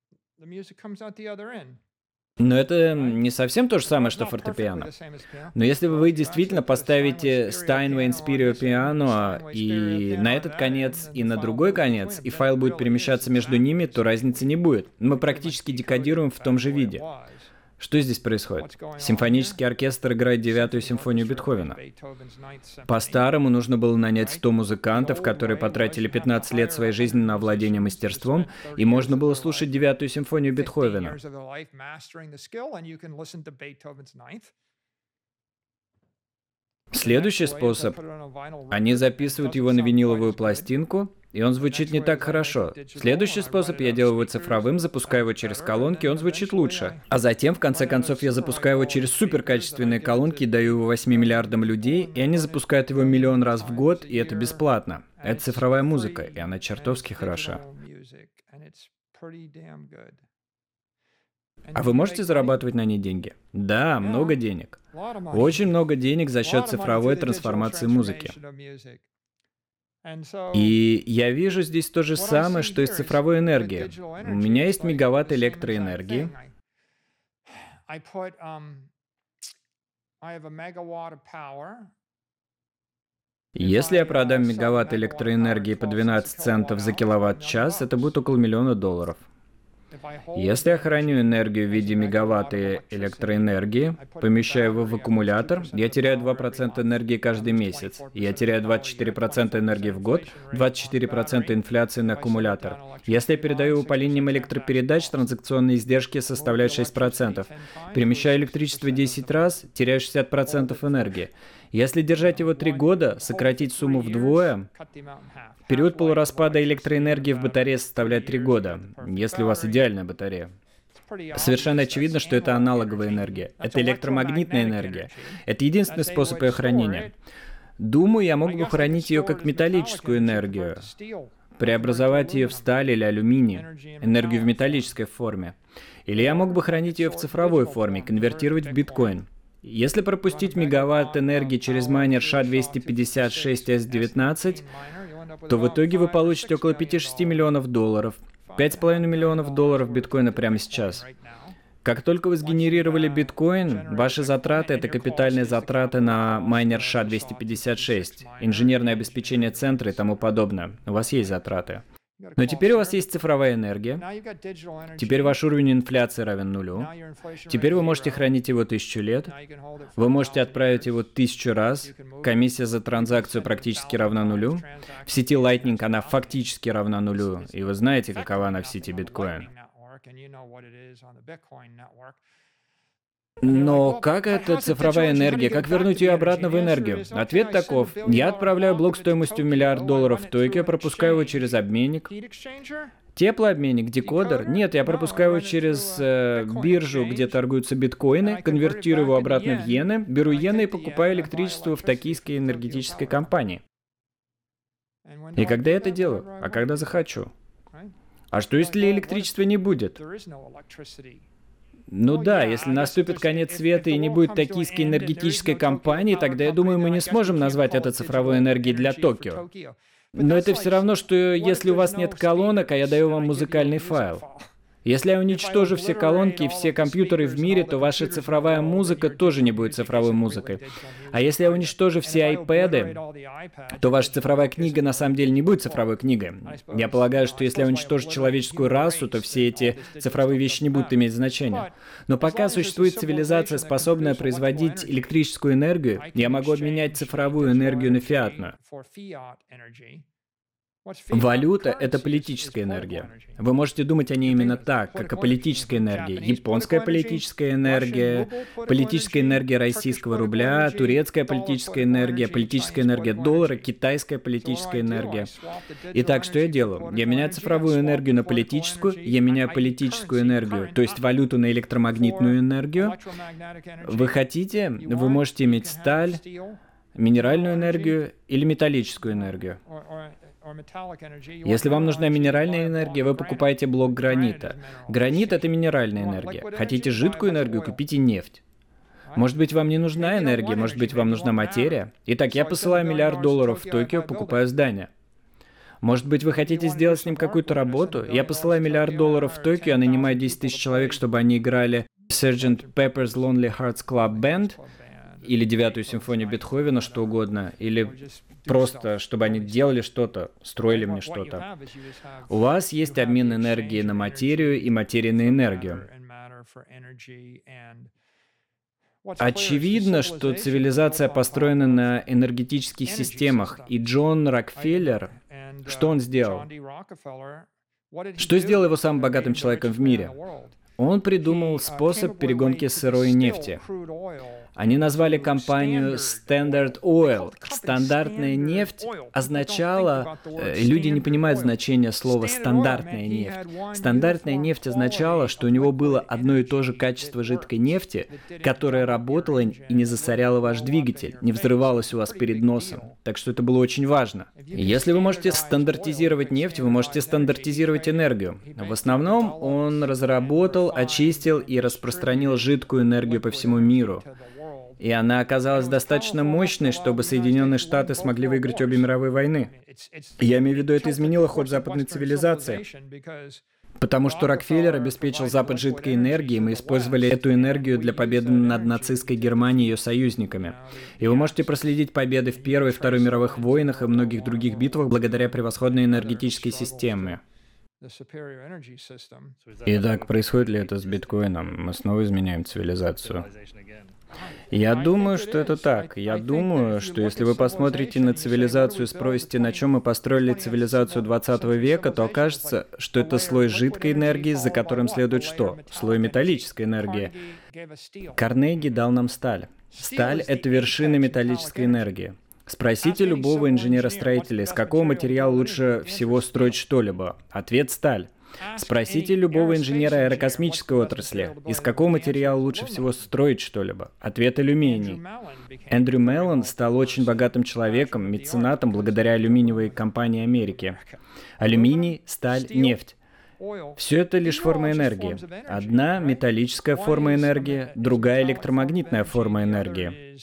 Но это не совсем то же самое, что фортепиано. Но если вы действительно поставите Steinway Inspirio Piano и на этот конец, и на другой конец, и файл будет перемещаться между ними, то разницы не будет. Мы практически декодируем в том же виде. Что здесь происходит? Симфонический оркестр играет девятую симфонию Бетховена. По-старому нужно было нанять сто музыкантов, которые потратили пятнадцать лет своей жизни на овладение мастерством, и можно было слушать девятую симфонию Бетховена. Следующий способ. Они записывают его на виниловую пластинку, и он звучит не так хорошо. Следующий способ. Я делаю его цифровым, запускаю его через колонки, и он звучит лучше. А затем, в конце концов, я запускаю его через суперкачественные колонки и даю его восьми миллиардам людей, и они запускают его миллион раз в год, и это бесплатно. Это цифровая музыка, и она чертовски хороша. А вы можете зарабатывать на ней деньги? Да, много денег. Очень много денег за счет цифровой трансформации музыки. И я вижу здесь то же самое, что и с цифровой энергией. У меня есть мегаватт электроэнергии. Если я продам мегаватт электроэнергии по двенадцать центов за киловатт-час, это будет около миллиона долларов. Если я храню энергию в виде мегаватта электроэнергии, помещаю его в аккумулятор, я теряю два процента энергии каждый месяц. Я теряю двадцать четыре процента энергии в год, двадцать четыре процента инфляции на аккумулятор. Если я передаю его по линиям электропередач, транзакционные издержки составляют шесть процентов. Перемещаю электричество десять раз, теряю шестьдесят процентов энергии. Если держать его три года, сократить сумму вдвое, период полураспада электроэнергии в батарее составляет три года, если у вас идеальная батарея. Совершенно очевидно, что это аналоговая энергия. Это электромагнитная энергия. Это единственный способ ее хранения. Думаю, я мог бы хранить ее как металлическую энергию, преобразовать ее в сталь или алюминий, энергию в металлической форме. Или я мог бы хранить ее в цифровой форме, конвертировать в биткоин. Если пропустить мегаватт энергии через майнер ша двести пятьдесят шесть эс девятнадцать, то в итоге вы получите около пяти-шести миллионов долларов. пять с половиной миллионов долларов биткоина прямо сейчас. Как только вы сгенерировали биткоин, ваши затраты — это капитальные затраты на майнер ша двести пятьдесят шесть, инженерное обеспечение центра и тому подобное. У вас есть затраты. Но теперь у вас есть цифровая энергия. Теперь ваш уровень инфляции равен нулю. Теперь вы можете хранить его тысячу лет. Вы можете отправить его тысячу раз. Комиссия за транзакцию практически равна нулю. В сети Lightning она фактически равна нулю. И вы знаете, какова она в сети биткоин. Но как это цифровая энергия? Как вернуть ее обратно в энергию? Ответ таков. Я отправляю блок стоимостью в миллиард долларов в Токио, пропускаю его через обменник. Теплообменник, декодер? Нет, я пропускаю его через э, биржу, где торгуются биткоины, конвертирую его обратно в иены, беру иены и покупаю электричество в токийской энергетической компании. И когда я это делаю? А когда захочу? А что, если электричества не будет? Ну да, если наступит конец света и не будет токийской энергетической компании, тогда, я думаю, мы не сможем назвать это цифровой энергией для Токио. Но это все равно, что если у вас нет колонок, а я даю вам музыкальный файл. Если я уничтожу все колонки и все компьютеры в мире, то ваша цифровая музыка тоже не будет цифровой музыкой. А если я уничтожу все айпэды, то ваша цифровая книга на самом деле не будет цифровой книгой. Я полагаю, что если я уничтожу человеческую расу, то все эти цифровые вещи не будут иметь значения. Но пока существует цивилизация, способная производить электрическую энергию, я могу обменять цифровую энергию на фиатную. Валюта — это политическая энергия. Вы можете думать о ней именно так, как о политической энергии. Японская политическая энергия, политическая энергия российского рубля, турецкая политическая энергия, политическая энергия доллара, китайская политическая энергия. Итак, что я делаю? Я меняю цифровую энергию на политическую, я меняю политическую энергию, то есть валюту на электромагнитную энергию. Вы хотите, вы можете иметь сталь, минеральную энергию или металлическую энергию. Если вам нужна минеральная энергия, вы покупаете блок гранита. Гранит — это минеральная энергия. Хотите жидкую энергию, купите нефть. Может быть, вам не нужна энергия, может быть, вам нужна материя. Итак, я посылаю миллиард долларов в Токио, покупаю здание. Может быть, вы хотите сделать с ним какую-то работу? Я посылаю миллиард долларов в Токио, а нанимаю десять тысяч человек, чтобы они играли сержант Pepper's Lonely Hearts Club Band, или девятую симфонию Бетховена, что угодно, или просто, чтобы они делали что-то, строили мне что-то. У вас есть обмен энергии на материю и материи на энергию. Очевидно, что цивилизация построена на энергетических системах, и Джон Рокфеллер, что он сделал? Что сделал его самым богатым человеком в мире? Он придумал способ перегонки сырой нефти. Они назвали компанию Standard Oil. Стандартная нефть означала... Э, люди не понимают значения слова «стандартная нефть». Стандартная нефть означала, что у него было одно и то же качество жидкой нефти, которое работало и не засоряло ваш двигатель, не взрывалось у вас перед носом. Так что это было очень важно. Если вы можете стандартизировать нефть, вы можете стандартизировать энергию. В основном он разработал, очистил и распространил жидкую энергию по всему миру. И она оказалась достаточно мощной, чтобы Соединенные Штаты смогли выиграть обе мировые войны. Я имею в виду, это изменило ход западной цивилизации. Потому что Рокфеллер обеспечил Запад жидкой энергией, мы использовали эту энергию для победы над нацистской Германией и ее союзниками. И вы можете проследить победы в Первой и Второй мировых войнах и многих других битвах благодаря превосходной энергетической системе. Итак, происходит ли это с биткоином? Мы снова изменяем цивилизацию. Я думаю, что это так. Я думаю, что если вы посмотрите на цивилизацию и спросите, на чем мы построили цивилизацию двадцатого века, то окажется, что это слой жидкой энергии, за которым следует что? Слой металлической энергии. Карнеги дал нам сталь. Сталь — это вершина металлической энергии. Спросите любого инженера-строителя, из какого материала лучше всего строить что-либо. Ответ — сталь. Спросите любого инженера аэрокосмической отрасли, из какого материала лучше всего строить что-либо. Ответ — алюминий. Эндрю Меллон стал очень богатым человеком, меценатом благодаря алюминиевой компании Америки. Алюминий, сталь, нефть. Все это лишь форма энергии. Одна — металлическая форма энергии, другая — электромагнитная форма энергии.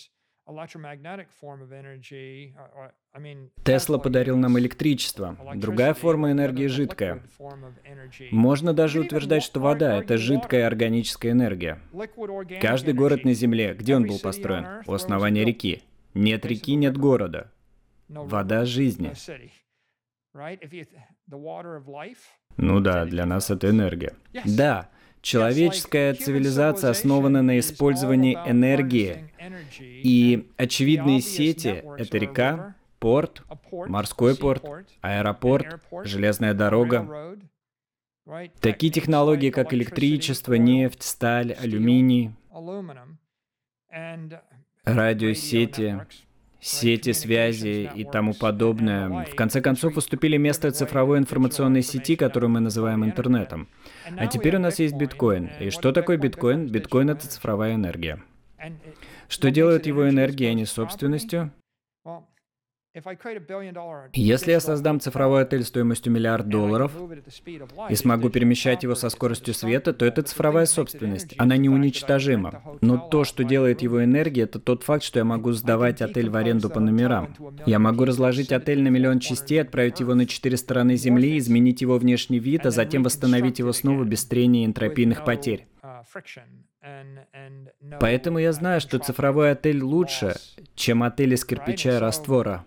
Тесла подарил нам электричество. Другая форма энергии — жидкая. Можно даже утверждать, что вода — это жидкая органическая энергия. Каждый город на Земле, где он был построен? У основания реки. Нет реки — нет города. Вода жизни. Ну да, для нас это энергия. Да. Человеческая цивилизация основана на использовании энергии, и очевидные сети — это река, порт, морской порт, аэропорт, железная дорога. Такие технологии, как электричество, нефть, сталь, алюминий, радиосети, сети связи и тому подобное, в конце концов уступили место цифровой информационной сети, которую мы называем интернетом. А теперь у нас есть биткоин. И что такое биткоин? Биткоин — это цифровая энергия. Что делает его энергией, а не собственностью? Если я создам цифровой отель стоимостью миллиард долларов и смогу перемещать его со скоростью света, то это цифровая собственность. Она неуничтожима. Но то, что делает его энергией, это тот факт, что я могу сдавать отель в аренду по номерам. Я могу разложить отель на миллион частей, отправить его на четыре стороны Земли, изменить его внешний вид, а затем восстановить его снова без трения и энтропийных потерь. Поэтому я знаю, что цифровой отель лучше, чем отель из кирпича и раствора.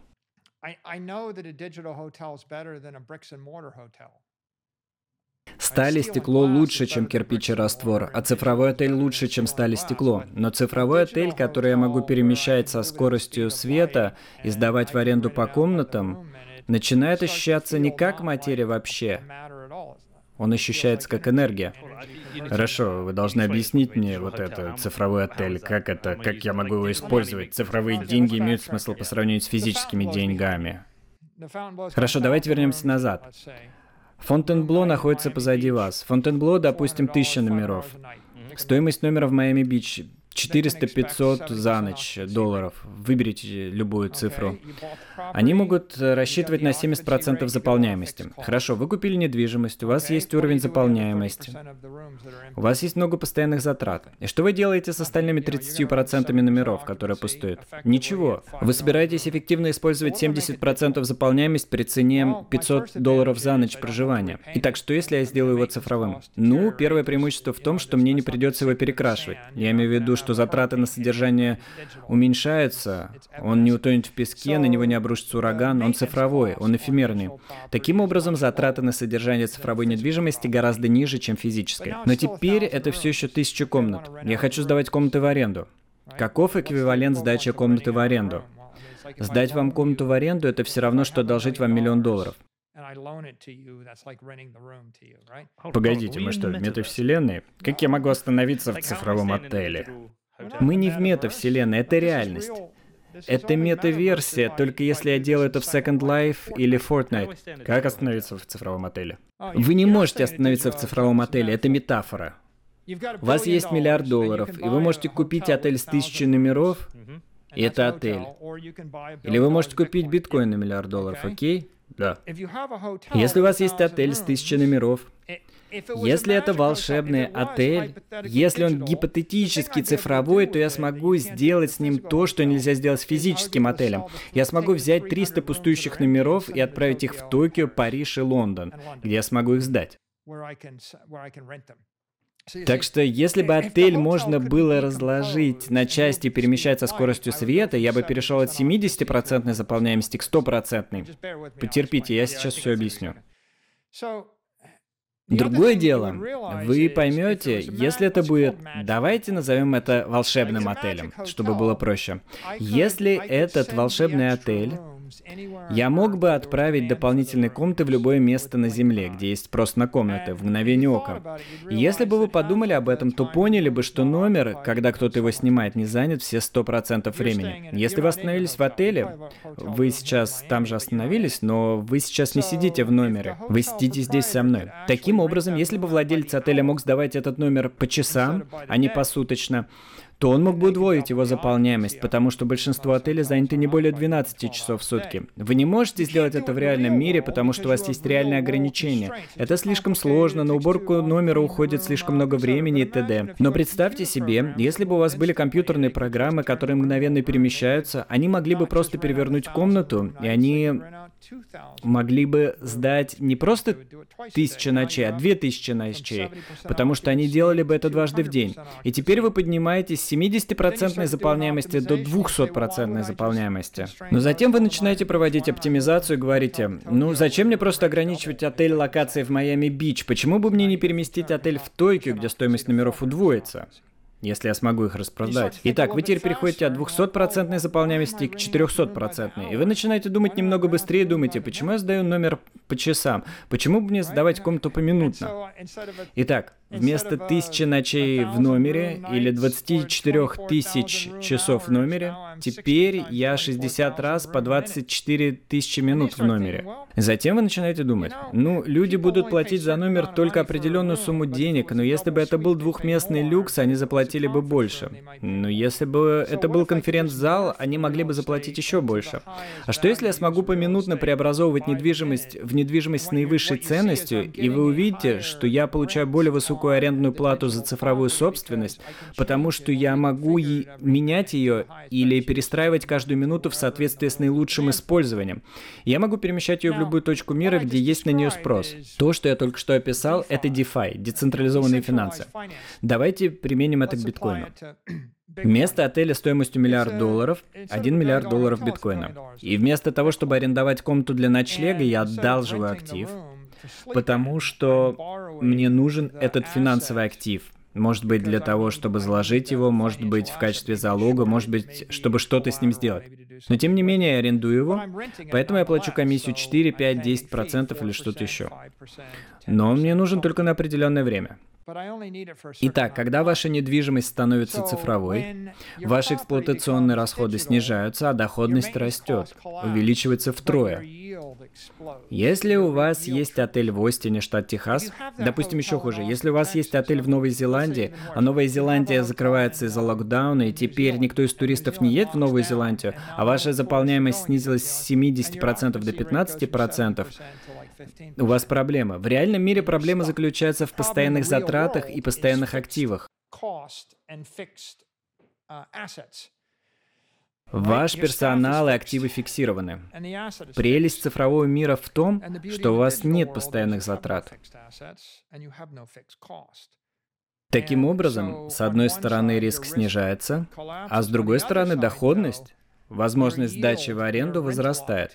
Сталь и стекло лучше, чем кирпич и раствор, а цифровой отель лучше, чем сталь и стекло. Но цифровой отель, который я могу перемещать со скоростью света и сдавать в аренду по комнатам, начинает ощущаться не как материя вообще. Он ощущается как энергия. Хорошо, вы должны объяснить мне вот это, цифровой отель, как это, как я могу его использовать. Цифровые деньги имеют смысл по сравнению с физическими деньгами. Хорошо, давайте вернемся назад. Фонтенбло находится позади вас. Фонтенбло, допустим, тысяча номеров. Стоимость номера в Майами-Бич четыреста-пятьсот за ночь долларов. Выберите любую цифру. Они могут рассчитывать на семьдесят процентов заполняемости. Хорошо, вы купили недвижимость, у вас есть уровень заполняемости. У вас есть много постоянных затрат. И что вы делаете с остальными тридцатью процентами номеров, которые пустуют? Ничего. Вы собираетесь эффективно использовать семьдесят процентов заполняемости при цене пятьсот долларов за ночь проживания. Итак, что если я сделаю его цифровым? Ну, первое преимущество в том, что мне не придется его перекрашивать. Я имею в виду, что затраты на содержание уменьшаются, он не утонет в песке, на него не обрушится ураган, он цифровой, он эфемерный. Таким образом, затраты на содержание цифровой недвижимости гораздо ниже, чем физической. Но теперь это все еще тысяча комнат. Я хочу сдавать комнаты в аренду. Каков эквивалент сдачи комнаты в аренду? Сдать вам комнату в аренду — это все равно, что одолжить вам миллион долларов. Погодите, мы что, в метавселенной? Как я могу остановиться в цифровом отеле? Мы не в метавселенной, это реальность. Это мета-версия, только если я делаю это в Second Life или Fortnite. Как остановиться в цифровом отеле? Вы не можете остановиться в цифровом отеле, это метафора. У вас есть миллиард долларов, и вы можете купить отель с тысячей номеров, и это отель. Или вы можете купить биткоин на миллиард долларов, окей? Да. Если у вас есть отель с тысячей номеров, если это волшебный отель, если он гипотетически цифровой, то я смогу сделать с ним то, что нельзя сделать с физическим отелем. Я смогу взять триста пустующих номеров и отправить их в Токио, Париж и Лондон, где я смогу их сдать. Так что, если бы отель можно было разложить на части и перемещать со скоростью света, я бы перешел от семидесятипроцентной заполняемости к стопроцентной. Потерпите, я сейчас все объясню. Другое дело, вы поймете, если это будет, давайте назовем это волшебным отелем, чтобы было проще. Если этот волшебный отель, я мог бы отправить дополнительные комнаты в любое место на Земле, где есть спрос на комнаты, в мгновение ока. И если бы вы подумали об этом, то поняли бы, что номер, когда кто-то его снимает, не занят все сто процентов времени. Если вы остановились в отеле, вы сейчас там же остановились, но вы сейчас не сидите в номере, вы сидите здесь со мной. Таким образом, если бы владелец отеля мог сдавать этот номер по часам, а не посуточно, то он мог бы удвоить его заполняемость, потому что большинство отелей заняты не более двенадцати часов в сутки. Вы не можете сделать это в реальном мире, потому что у вас есть реальные ограничения. Это слишком сложно, на уборку номера уходит слишком много времени и т.д. Но представьте себе, если бы у вас были компьютерные программы, которые мгновенно перемещаются, они могли бы просто перевернуть комнату, и они могли бы сдать не просто тысячу ночей, а две тысячи ночей, потому что они делали бы это дважды в день. И теперь вы поднимаетесь с семидесятипроцентной заполняемости до двухсотпроцентной заполняемости. Но затем вы начинаете проводить оптимизацию и говорите, ну зачем мне просто ограничивать отель локацией в Майами-Бич? Почему бы мне не переместить отель в Токио, где стоимость номеров удвоится? если я смогу их распродать. Итак, вы теперь переходите от двухсотпроцентной заполняемости к четырехсотпроцентной, и вы начинаете думать немного быстрее, думаете, почему я сдаю номер по часам, почему бы мне сдавать комнату поминутно? Итак, вместо тысячи ночей в номере или двадцати четырёх тысяч часов в номере, теперь я шестьдесят раз по двадцать четыре тысячи минут в номере. Затем вы начинаете думать, ну, люди будут платить за номер только определенную сумму денег, но если бы это был двухместный люкс, они заплатили бы больше. Но если бы это был конференц-зал, они могли бы заплатить еще больше. А что если я смогу поминутно преобразовывать недвижимость в недвижимость с наивысшей ценностью, и вы увидите, что я получаю более высокую арендную плату за цифровую собственность, потому что я могу и менять ее или перестраивать каждую минуту в соответствии с наилучшим использованием. Я могу перемещать ее в любую точку мира, где есть на нее спрос. То, что я только что описал, это DeFi, децентрализованные финансы. Давайте применим это к биткоину. Вместо отеля стоимостью миллиард долларов, один миллиард долларов биткоина. И вместо того, чтобы арендовать комнату для ночлега, я одалживаю актив, потому что мне нужен этот финансовый актив. Может быть, для того, чтобы заложить его, может быть, в качестве залога, может быть, чтобы что-то с ним сделать. Но тем не менее, я арендую его, поэтому я плачу комиссию четыре, пять, десять процентов или что-то еще. Но он мне нужен только на определенное время. Итак, когда ваша недвижимость становится цифровой, ваши эксплуатационные расходы снижаются, а доходность растет, увеличивается втрое. Если у вас есть отель в Остине, штат Техас, допустим, еще хуже, если у вас есть отель в Новой Зеландии, а Новая Зеландия закрывается из-за локдауна, и теперь никто из туристов не едет в Новую Зеландию, а ваша заполняемость снизилась с семидесяти процентов до пятнадцати процентов, у вас проблема. В реальном мире проблема заключается в постоянных затратах и постоянных активах. Ваш персонал и активы фиксированы. Прелесть цифрового мира в том, что у вас нет постоянных затрат. Таким образом, с одной стороны риск снижается, а с другой стороны доходность, возможность сдачи в аренду возрастает.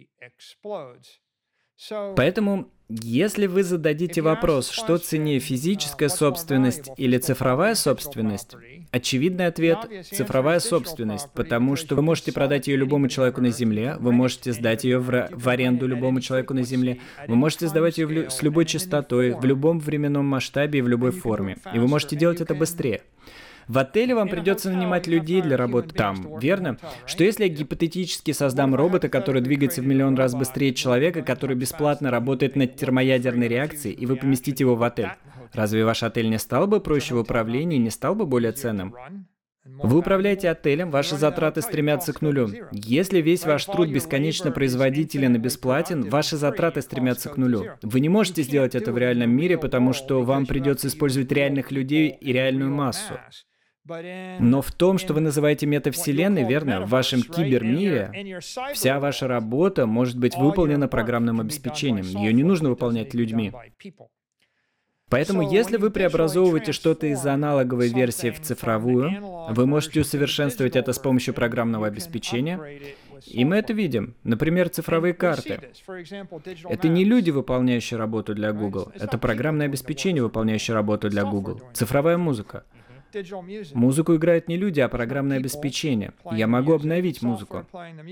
Поэтому, если вы зададите вопрос, что ценнее, физическая собственность или цифровая собственность, очевидный ответ – цифровая собственность, потому что вы можете продать ее любому человеку на Земле, вы можете сдать ее в, в аренду любому человеку на Земле, вы можете сдавать ее в лю- с любой частотой, в любом временном масштабе и в любой форме, и вы можете делать это быстрее. В отеле вам придется нанимать людей для работы там, верно? Что если я гипотетически создам робота, который двигается в миллион раз быстрее человека, который бесплатно работает над термоядерной реакцией, и вы поместите его в отель? Разве ваш отель не стал бы проще в управлении, не стал бы более ценным? Вы управляете отелем, ваши затраты стремятся к нулю. Если весь ваш труд бесконечно производителен и бесплатен, ваши затраты стремятся к нулю. Вы не можете сделать это в реальном мире, потому что вам придется использовать реальных людей и реальную массу. Но в том, что вы называете метавселенной, верно, в вашем кибермире, вся ваша работа может быть выполнена программным обеспечением. Ее не нужно выполнять людьми. Поэтому, если вы преобразовываете что-то из аналоговой версии в цифровую, вы можете усовершенствовать это с помощью программного обеспечения. И мы это видим. Например, цифровые карты. Это не люди, выполняющие работу для Google. Это программное обеспечение, выполняющее работу для Google. Цифровая музыка. Музыку играют не люди, а программное обеспечение. Я могу обновить музыку.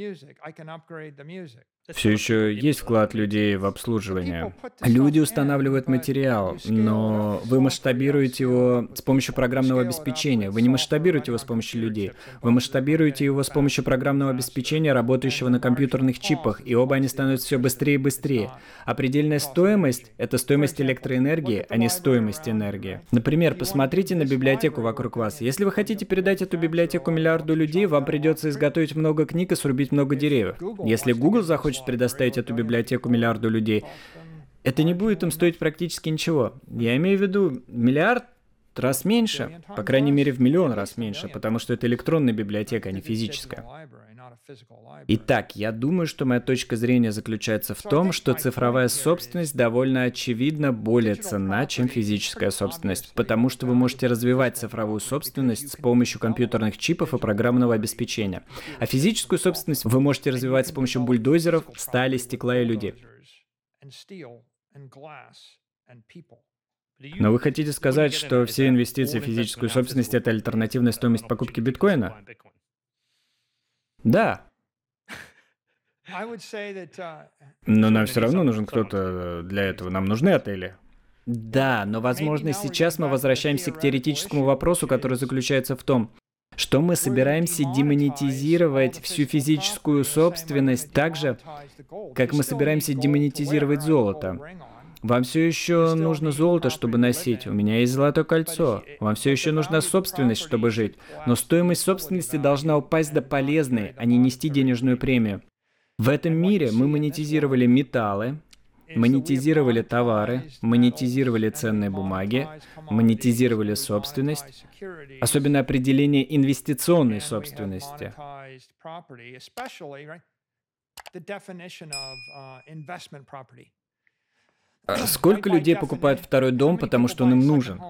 Все еще есть вклад людей в обслуживание. Люди устанавливают материал, но вы масштабируете его с помощью программного обеспечения. Вы не масштабируете его с помощью людей. Вы масштабируете его с помощью программного обеспечения, работающего на компьютерных чипах, и оба они становятся все быстрее и быстрее. А предельная стоимость — это стоимость электроэнергии, а не стоимость энергии. Например, посмотрите на библиотеку вокруг вас. Если вы хотите передать эту библиотеку миллиарду людей, вам придется изготовить много книг и срубить много деревьев. Если Google захочет предоставить эту библиотеку миллиарду людей, это не будет им стоить практически ничего. Я имею в виду миллиард раз меньше, по крайней мере в миллион раз меньше, потому что это электронная библиотека, а не физическая. Итак, я думаю, что моя точка зрения заключается в том, что цифровая собственность довольно очевидно более ценна, чем физическая собственность, потому что вы можете развивать цифровую собственность с помощью компьютерных чипов и программного обеспечения. А физическую собственность вы можете развивать с помощью бульдозеров, стали, стекла и людей. Но вы хотите сказать, что все инвестиции в физическую собственность — это альтернативная стоимость покупки биткоина? Да. Но нам все равно нужен кто-то для этого. Нам нужны отели. Да, но, возможно, сейчас мы возвращаемся к теоретическому вопросу, который заключается в том, что мы собираемся демонетизировать всю физическую собственность так же, как мы собираемся демонетизировать золото. Вам все еще нужно золото, чтобы носить. У меня есть золотое кольцо. Вам все еще нужна собственность, чтобы жить. Но стоимость собственности должна упасть до полезной, а не нести денежную премию. В этом мире мы монетизировали металлы, монетизировали товары, монетизировали ценные бумаги, монетизировали собственность, особенно определение инвестиционной собственности. Сколько людей покупают второй дом, потому что он им нужен?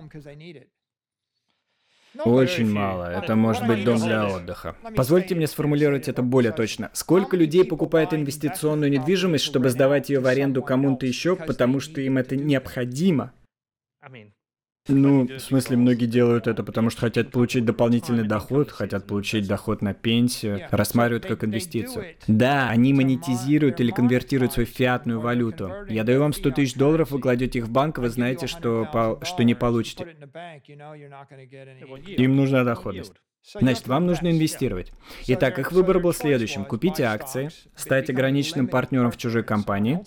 Очень мало. Это может быть дом для отдыха. Позвольте мне сформулировать это более точно. Сколько людей покупает инвестиционную недвижимость, чтобы сдавать ее в аренду кому-то еще, потому что им это необходимо? Ну, в смысле, многие делают это, потому что хотят получить дополнительный доход, хотят получить доход на пенсию, рассматривают как инвестицию. Да, они монетизируют или конвертируют свою фиатную валюту. Я даю вам сто тысяч долларов, вы кладете их в банк, вы знаете, что, по, что не получите. Им нужна доходность. Значит, вам нужно инвестировать. Итак, их выбор был следующим. Купить акции, стать ограниченным партнером в чужой компании,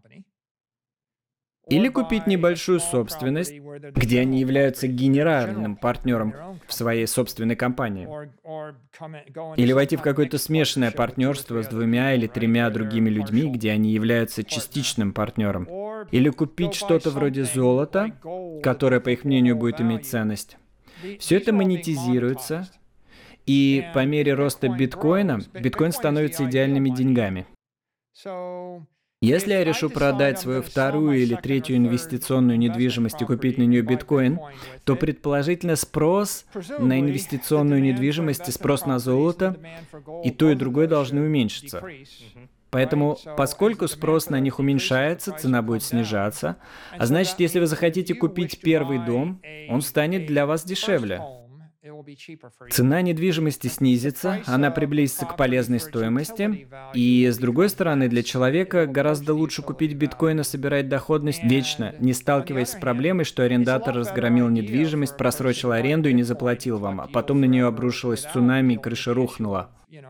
или купить небольшую собственность, где они являются генеральным партнером в своей собственной компании. Или войти в какое-то смешанное партнерство с двумя или тремя другими людьми, где они являются частичным партнером. Или купить что-то вроде золота, которое, по их мнению, будет иметь ценность. Все это монетизируется, и по мере роста биткоина, биткоин становится идеальными деньгами. Если я решу продать свою вторую или третью инвестиционную недвижимость и купить на нее биткоин, то предположительно спрос на инвестиционную недвижимость и спрос на золото и то, и другое должны уменьшиться. Поэтому, поскольку спрос на них уменьшается, цена будет снижаться, а значит, если вы захотите купить первый дом, он станет для вас дешевле. Цена недвижимости снизится, она приблизится к полезной стоимости, и, с другой стороны, для человека гораздо лучше купить биткоин и собирать доходность вечно, не сталкиваясь с проблемой, что арендатор разгромил недвижимость, просрочил аренду и не заплатил вам, а потом на нее обрушилось цунами и крыша рухнула.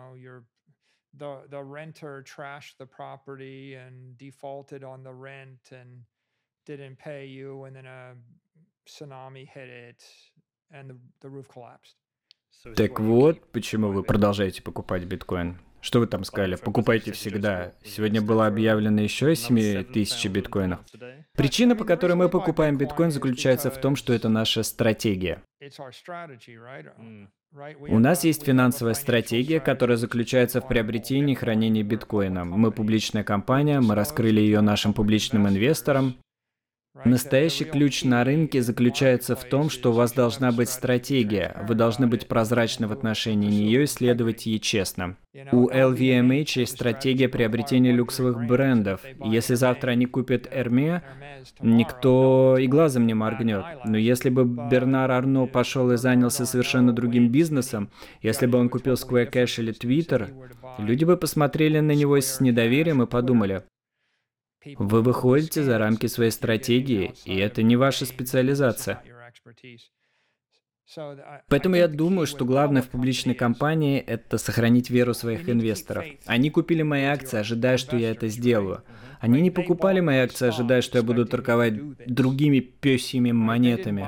Так вот, почему вы продолжаете покупать биткоин. Что вы там сказали? Покупайте всегда. Сегодня было объявлено еще семь тысяч биткоинов. Причина, по которой мы покупаем биткоин, заключается в том, что это наша стратегия. У нас есть финансовая стратегия, которая заключается в приобретении и хранении биткоина. Мы публичная компания, мы раскрыли ее нашим публичным инвесторам. Настоящий ключ на рынке заключается в том, что у вас должна быть стратегия, вы должны быть прозрачны в отношении нее и следовать ей честно. У эл ви эм эйч есть стратегия приобретения люксовых брендов. И если завтра они купят Hermès, никто и глазом не моргнет. Но если бы Бернар Арно пошел и занялся совершенно другим бизнесом, если бы он купил Square Cash или Twitter, люди бы посмотрели на него с недоверием и подумали: вы выходите за рамки своей стратегии, и это не ваша специализация. Поэтому я думаю, что главное в публичной компании – это сохранить веру своих инвесторов. Они купили мои акции, ожидая, что я это сделаю. Они не покупали мои акции, ожидая, что я буду торговать другими пёсьими монетами.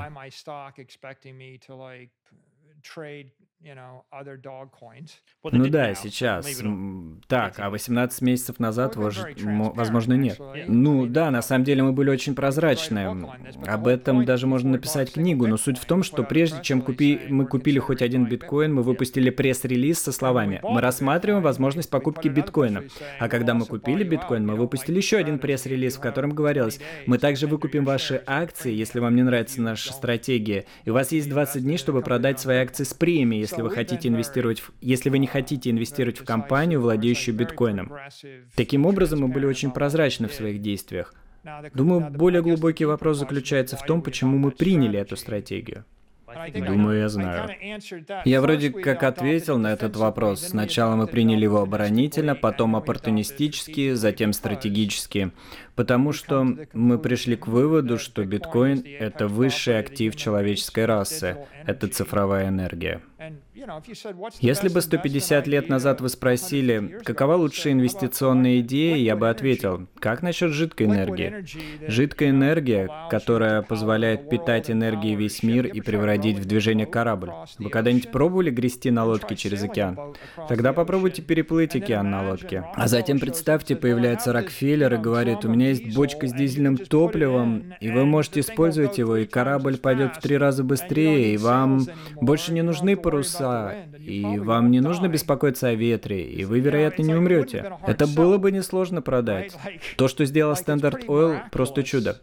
Ну да, сейчас. Так, а восемнадцать месяцев назад, возможно, нет. Ну да, на самом деле мы были очень прозрачны. Об этом даже можно написать книгу, но суть в том, что прежде чем купи... мы купили хоть один биткоин, мы выпустили пресс-релиз со словами: мы рассматриваем возможность покупки биткоина. А когда мы купили биткоин, мы выпустили еще один пресс-релиз, в котором говорилось: мы также выкупим ваши акции, если вам не нравится наша стратегия, и у вас есть двадцать дней, чтобы продать свои акции с премией, если вы хотите инвестировать в... если вы не хотите инвестировать в компанию, владеющую биткоином. Таким образом, мы были очень прозрачны в своих действиях. Думаю, более глубокий вопрос заключается в том, почему мы приняли эту стратегию. Думаю, я знаю. Я вроде как ответил на этот вопрос. Сначала мы приняли его оборонительно, потом оппортунистически, затем стратегически. Потому что мы пришли к выводу, что биткоин — это высший актив человеческой расы. Это цифровая энергия. Если бы сто пятьдесят лет назад вы спросили, какова лучшая инвестиционная идея, я бы ответил, как насчет жидкой энергии? Жидкая энергия, которая позволяет питать энергией весь мир и превратить в движение корабль. Вы когда-нибудь пробовали грести на лодке через океан? Тогда попробуйте переплыть океан на лодке. А затем представьте, появляется Рокфеллер и говорит, у меня есть бочка с дизельным топливом, и вы можете использовать его, и корабль пойдет в три раза быстрее, и вам больше не нужны паруса, и вам не нужно беспокоиться о ветре, и вы, вероятно, не умрете. Это было бы несложно продать. То, что сделал Standard Oil, просто чудо.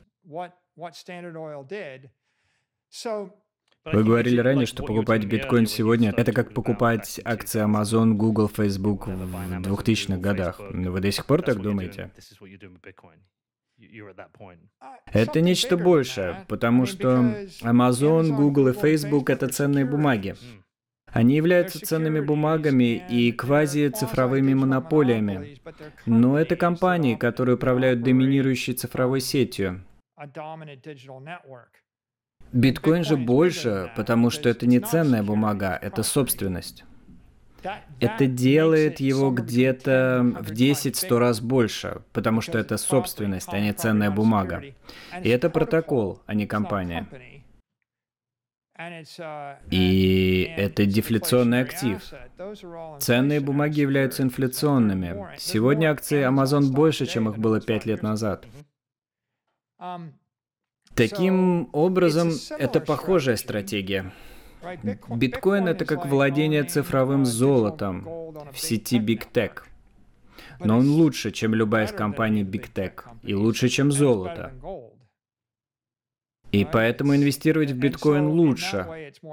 Вы говорили ранее, что покупать биткоин сегодня — это как покупать акции Amazon, Google, Facebook в двухтысячных годах. Вы до сих пор так думаете? Это нечто большее, потому что Amazon, Google и Facebook — это ценные бумаги. Они являются ценными бумагами и квази-цифровыми монополиями. Но это компании, которые управляют доминирующей цифровой сетью. Биткоин же больше, потому что это не ценная бумага, это собственность. Это делает его где-то в десять-сто раз больше, потому что это собственность, а не ценная бумага. И это протокол, а не компания. И это дефляционный актив. Ценные бумаги являются инфляционными. Сегодня акции Amazon больше, чем их было пять лет назад. Таким образом, это похожая стратегия. Биткоин — это как владение цифровым золотом в сети Big Tech. Но он лучше, чем любая из компаний Big Tech, и лучше, чем золото. И поэтому инвестировать в биткоин лучше.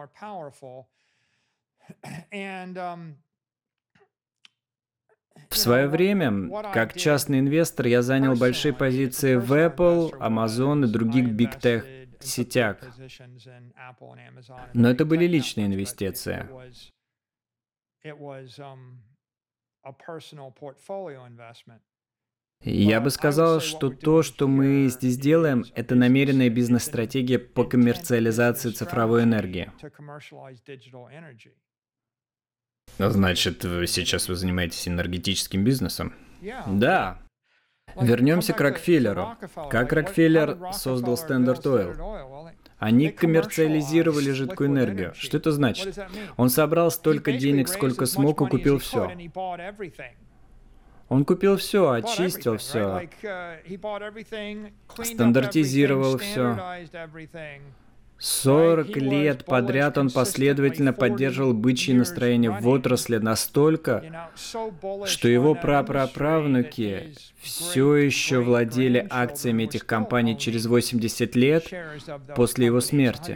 В свое время, как частный инвестор, я занял большие позиции в Apple, Amazon и других Big Tech сетях. Но это были личные инвестиции. Я бы сказал, что то, что мы здесь делаем, это намеренная бизнес-стратегия по коммерциализации цифровой энергии. Значит, сейчас вы занимаетесь энергетическим бизнесом? Да. Вернемся к Рокфеллеру. Как Рокфеллер создал Standard Oil? Они коммерциализировали жидкую энергию. Что это значит? Он собрал столько денег, сколько смог, и купил все. Он купил все, очистил все, стандартизировал все. сорок лет подряд он последовательно поддерживал бычье настроение в отрасли настолько, что его прапраправнуки все еще владели акциями этих компаний через восемьдесят лет после его смерти.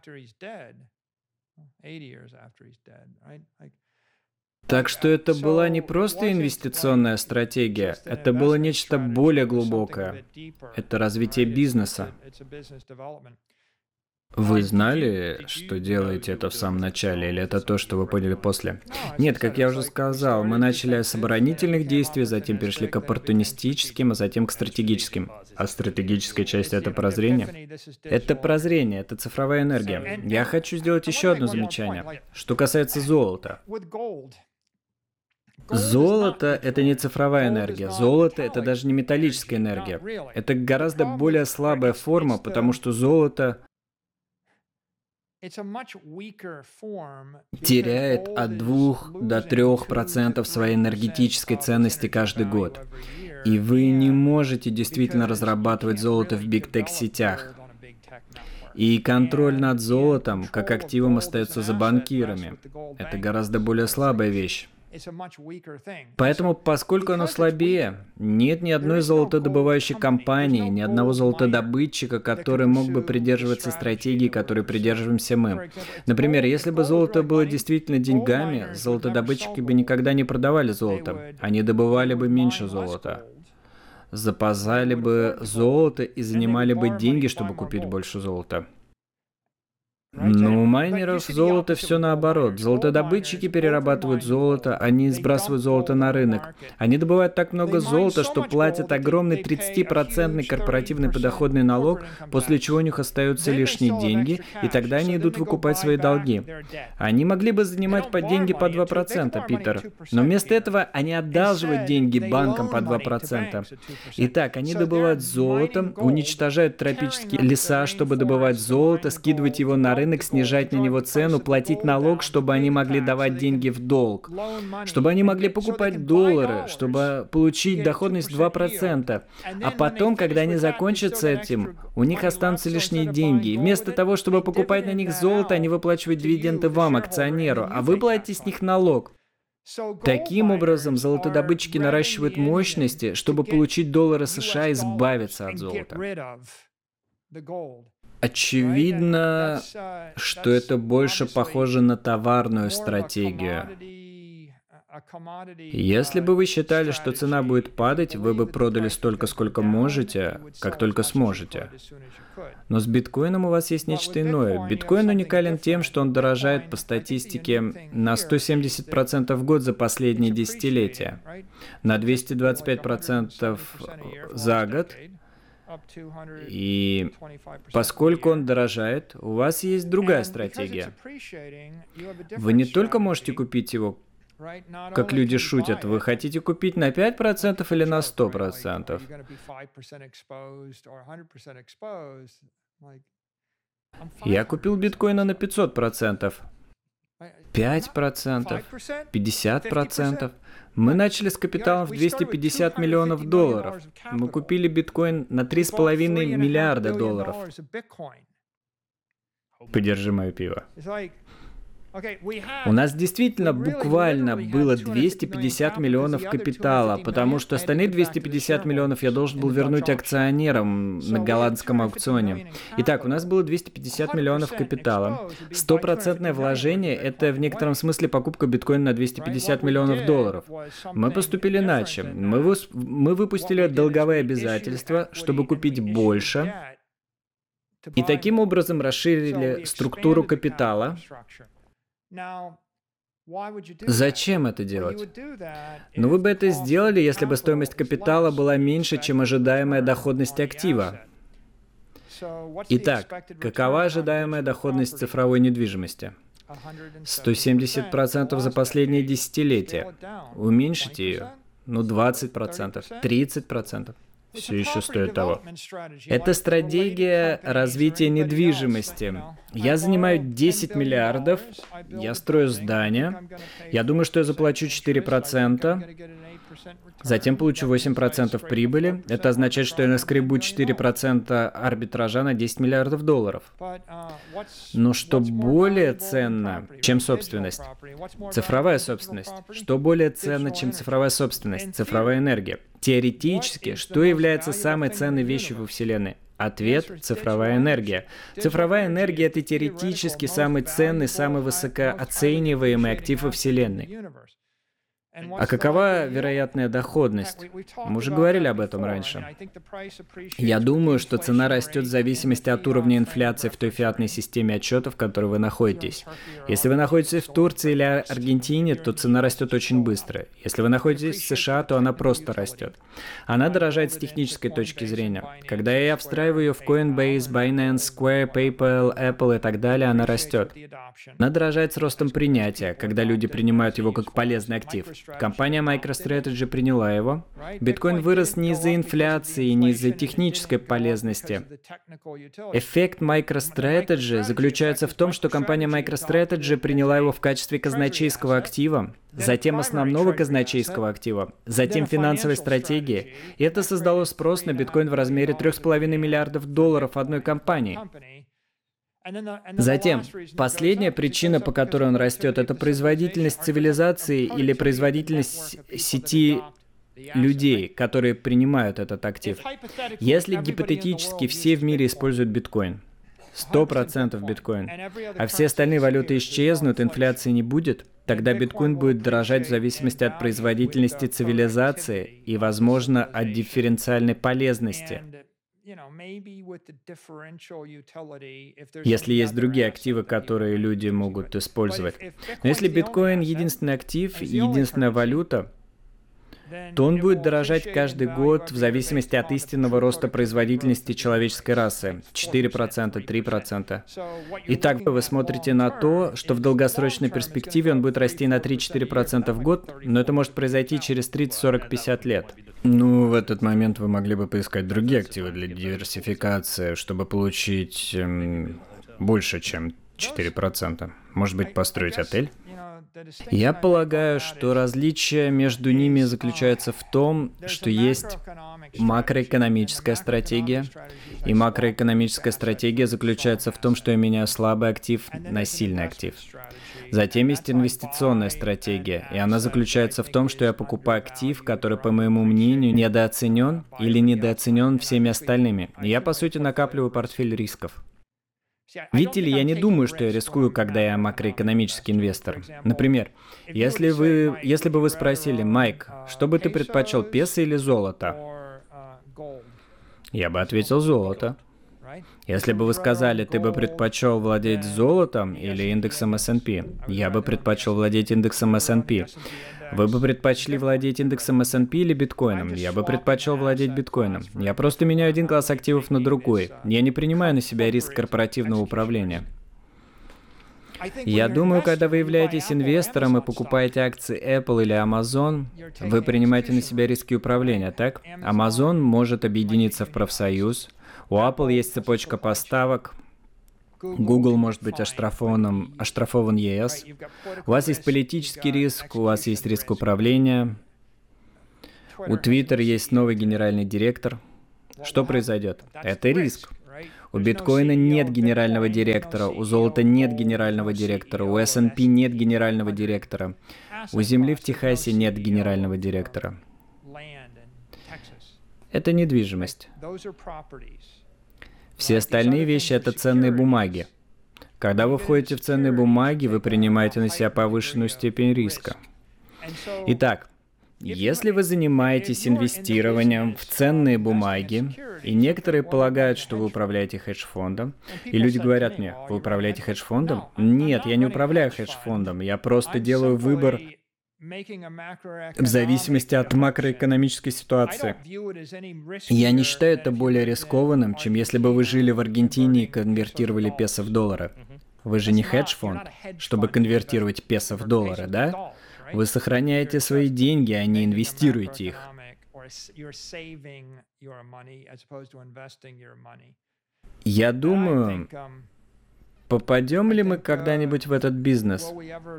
Так что это была не просто инвестиционная стратегия, это было нечто более глубокое. Это развитие бизнеса. Вы знали, что делаете это в самом начале, или это то, что вы поняли после? Нет, как я уже сказал, мы начали с оборонительных действий, затем перешли к оппортунистическим, а затем к стратегическим. А стратегическая часть — это прозрение? Это прозрение, это цифровая энергия. Я хочу сделать еще одно замечание, что касается золота. Золото — это не цифровая энергия. Золото — это даже не металлическая энергия. Это гораздо более слабая форма, потому что золото теряет от двух до трёх процентов своей энергетической ценности каждый год. И вы не можете действительно разрабатывать золото в Big Tech сетях. И контроль над золотом, как активом, остается за банкирами. Это гораздо более слабая вещь. Поэтому, поскольку оно слабее, нет ни одной золотодобывающей компании, ни одного золотодобытчика, который мог бы придерживаться стратегии, которой придерживаемся мы. Например, если бы золото было действительно деньгами, золотодобытчики бы никогда не продавали золото. Они добывали бы меньше золота. запасали бы золото и занимали бы деньги, чтобы купить больше золота. Но у майнеров золото все наоборот. Золотодобытчики перерабатывают золото, они сбрасывают золото на рынок. Они добывают так много золота, что платят огромный тридцатипроцентный корпоративный подоходный налог, после чего у них остаются лишние деньги, и тогда они идут выкупать свои долги. Они могли бы занимать по деньги по два процента, Питер, но вместо этого они одалживают деньги банкам по два процента. Итак, они добывают золото, уничтожают тропические леса, чтобы добывать золото, скидывать его на рынок, рынок, снижать на него цену, платить налог, чтобы они могли давать деньги в долг, чтобы они могли покупать доллары, чтобы получить доходность два процента. А потом, когда они закончат с этим, у них останутся лишние деньги. И вместо того, чтобы покупать на них золото, они выплачивают дивиденды вам, акционеру, а вы платите с них налог. Таким образом, золотодобытчики наращивают мощности, чтобы получить доллары США и избавиться от золота. Очевидно, что это больше похоже на товарную стратегию. Если бы вы считали, что цена будет падать, вы бы продали столько, сколько можете, как только сможете. Но с биткоином у вас есть нечто иное. Биткоин уникален тем, что он дорожает по статистике на сто семьдесят процентов в год за последние десятилетия, на двести двадцать пять процентов за год. И поскольку он дорожает, у вас есть другая стратегия. Вы не только можете купить его, как люди шутят, вы хотите купить на пять процентов или на сто процентов. Я купил биткоина на пятьсот процентов. пять процентов, пятьдесят процентов. Мы начали с капиталом в двести пятьдесят миллионов долларов. Мы купили биткоин на три с половиной миллиарда долларов. Подержи мое пиво. У нас действительно буквально было двести пятьдесят миллионов капитала, потому что остальные двести пятьдесят миллионов я должен был вернуть акционерам на голландском аукционе. Итак, у нас было двести пятьдесят миллионов капитала. Стопроцентное вложение — это в некотором смысле покупка биткоина на двести пятьдесят миллионов долларов. Мы поступили иначе. Мы, выс- мы выпустили долговые обязательства, чтобы купить больше, и таким образом расширили структуру капитала. Зачем это делать? Ну, вы бы это сделали, если бы стоимость капитала была меньше, чем ожидаемая доходность актива. Итак, какова ожидаемая доходность цифровой недвижимости? сто семьдесят процентов за последние десятилетия. Уменьшите ее. Ну, двадцать процентов, тридцать процентов. Все еще стоит того. Это стратегия развития недвижимости. Я занимаю десять миллиардов, я строю здание, я думаю, что я заплачу четыре процента, затем получу восемь процентов прибыли. Это означает, что я наскребу четыре процента арбитража на десять миллиардов долларов. Но что более ценно, чем собственность? Цифровая собственность. Что более ценно, чем цифровая собственность? Цифровая энергия. Теоретически, что является самой ценной вещью во Вселенной? Ответ – цифровая энергия. Цифровая энергия – это теоретически самый ценный, самый высокооцениваемый актив во Вселенной. А какова вероятная доходность? Мы уже говорили об этом раньше. Я думаю, что цена растет в зависимости от уровня инфляции в той фиатной системе отчетов, в которой вы находитесь. Если вы находитесь в Турции или Аргентине, то цена растет очень быстро. Если вы находитесь в США, то она просто растет. Она дорожает с технической точки зрения. Когда я встраиваю ее в Coinbase, Binance, Square, PayPal, Apple и так далее, она растет. Она дорожает с ростом принятия, когда люди принимают его как полезный актив. Компания MicroStrategy приняла его. Биткоин вырос не из-за инфляции, не из-за технической полезности. Эффект MicroStrategy заключается в том, что компания MicroStrategy приняла его в качестве казначейского актива, затем основного казначейского актива, затем финансовой стратегии. И это создало спрос на биткоин в размере три с половиной миллиардов долларов одной компании. Затем, последняя причина, по которой он растет, это производительность цивилизации или производительность сети людей, которые принимают этот актив. Если гипотетически все в мире используют биткоин, сто процентов биткоин, а все остальные валюты исчезнут, инфляции не будет, Тогда биткоин будет дорожать в зависимости от производительности цивилизации и, возможно, от дифференциальной полезности. Если есть другие активы, которые люди могут использовать. Но если биткоин единственный актив, единственная валюта, то он будет дорожать каждый год в зависимости от истинного роста производительности человеческой расы. четыре процента, три процента. Итак, вы смотрите на то, что в долгосрочной перспективе он будет расти на три-четыре процента в год, но это может произойти через тридцать, сорок, пятьдесят лет. Ну, в этот момент вы могли бы поискать другие активы для диверсификации, чтобы получить эм, больше, чем четыре процента. Может быть, построить отель? Я полагаю, что различие между ними заключается в том, что есть макроэкономическая стратегия, и макроэкономическая стратегия заключается в том, что я меняю слабый актив на сильный актив. Затем есть инвестиционная стратегия, и она заключается в том, что я покупаю актив, который, по моему мнению, недооценен или недооценен всеми остальными. И я, по сути, накапливаю портфель рисков. Видите ли, я не думаю, что я рискую, когда я макроэкономический инвестор. Например, если вы, если бы вы спросили, Майк, что бы ты предпочел, песо или золото? Я бы ответил золото. Если бы вы сказали, ты бы предпочел владеть золотом или индексом эс энд пи, я бы предпочел владеть индексом эс энд пи. Вы бы предпочли владеть индексом эс энд пи или биткоином? Я бы предпочел владеть биткоином. Я просто меняю один класс активов на другой. Я не принимаю на себя риск корпоративного управления. Я думаю, когда вы являетесь инвестором и покупаете акции Apple или Amazon, вы принимаете на себя риски управления, так? Amazon может объединиться в профсоюз, у Apple есть цепочка поставок, Google может быть оштрафован, оштрафован ЕС. У вас есть политический риск, у вас есть риск управления. У Twitter есть новый генеральный директор. Что произойдет? Это риск. У биткоина нет генерального директора, у золота нет генерального директора, у эс энд пи нет генерального директора, у земли в Техасе нет генерального директора. Это недвижимость. Все остальные вещи — это ценные бумаги. Когда вы входите в ценные бумаги, вы принимаете на себя повышенную степень риска. Итак, если вы занимаетесь инвестированием в ценные бумаги, и некоторые полагают, что вы управляете хедж-фондом, и люди говорят мне, вы управляете хедж-фондом? Нет, я не управляю хедж-фондом, я просто делаю выбор в зависимости от макроэкономической ситуации. Я не считаю это более рискованным, чем если бы вы жили в Аргентине и конвертировали песо в доллары. Вы же не хедж-фонд, чтобы конвертировать песо в доллары, да? Вы сохраняете свои деньги, а не инвестируете их. Я думаю, попадем ли мы когда-нибудь в этот бизнес?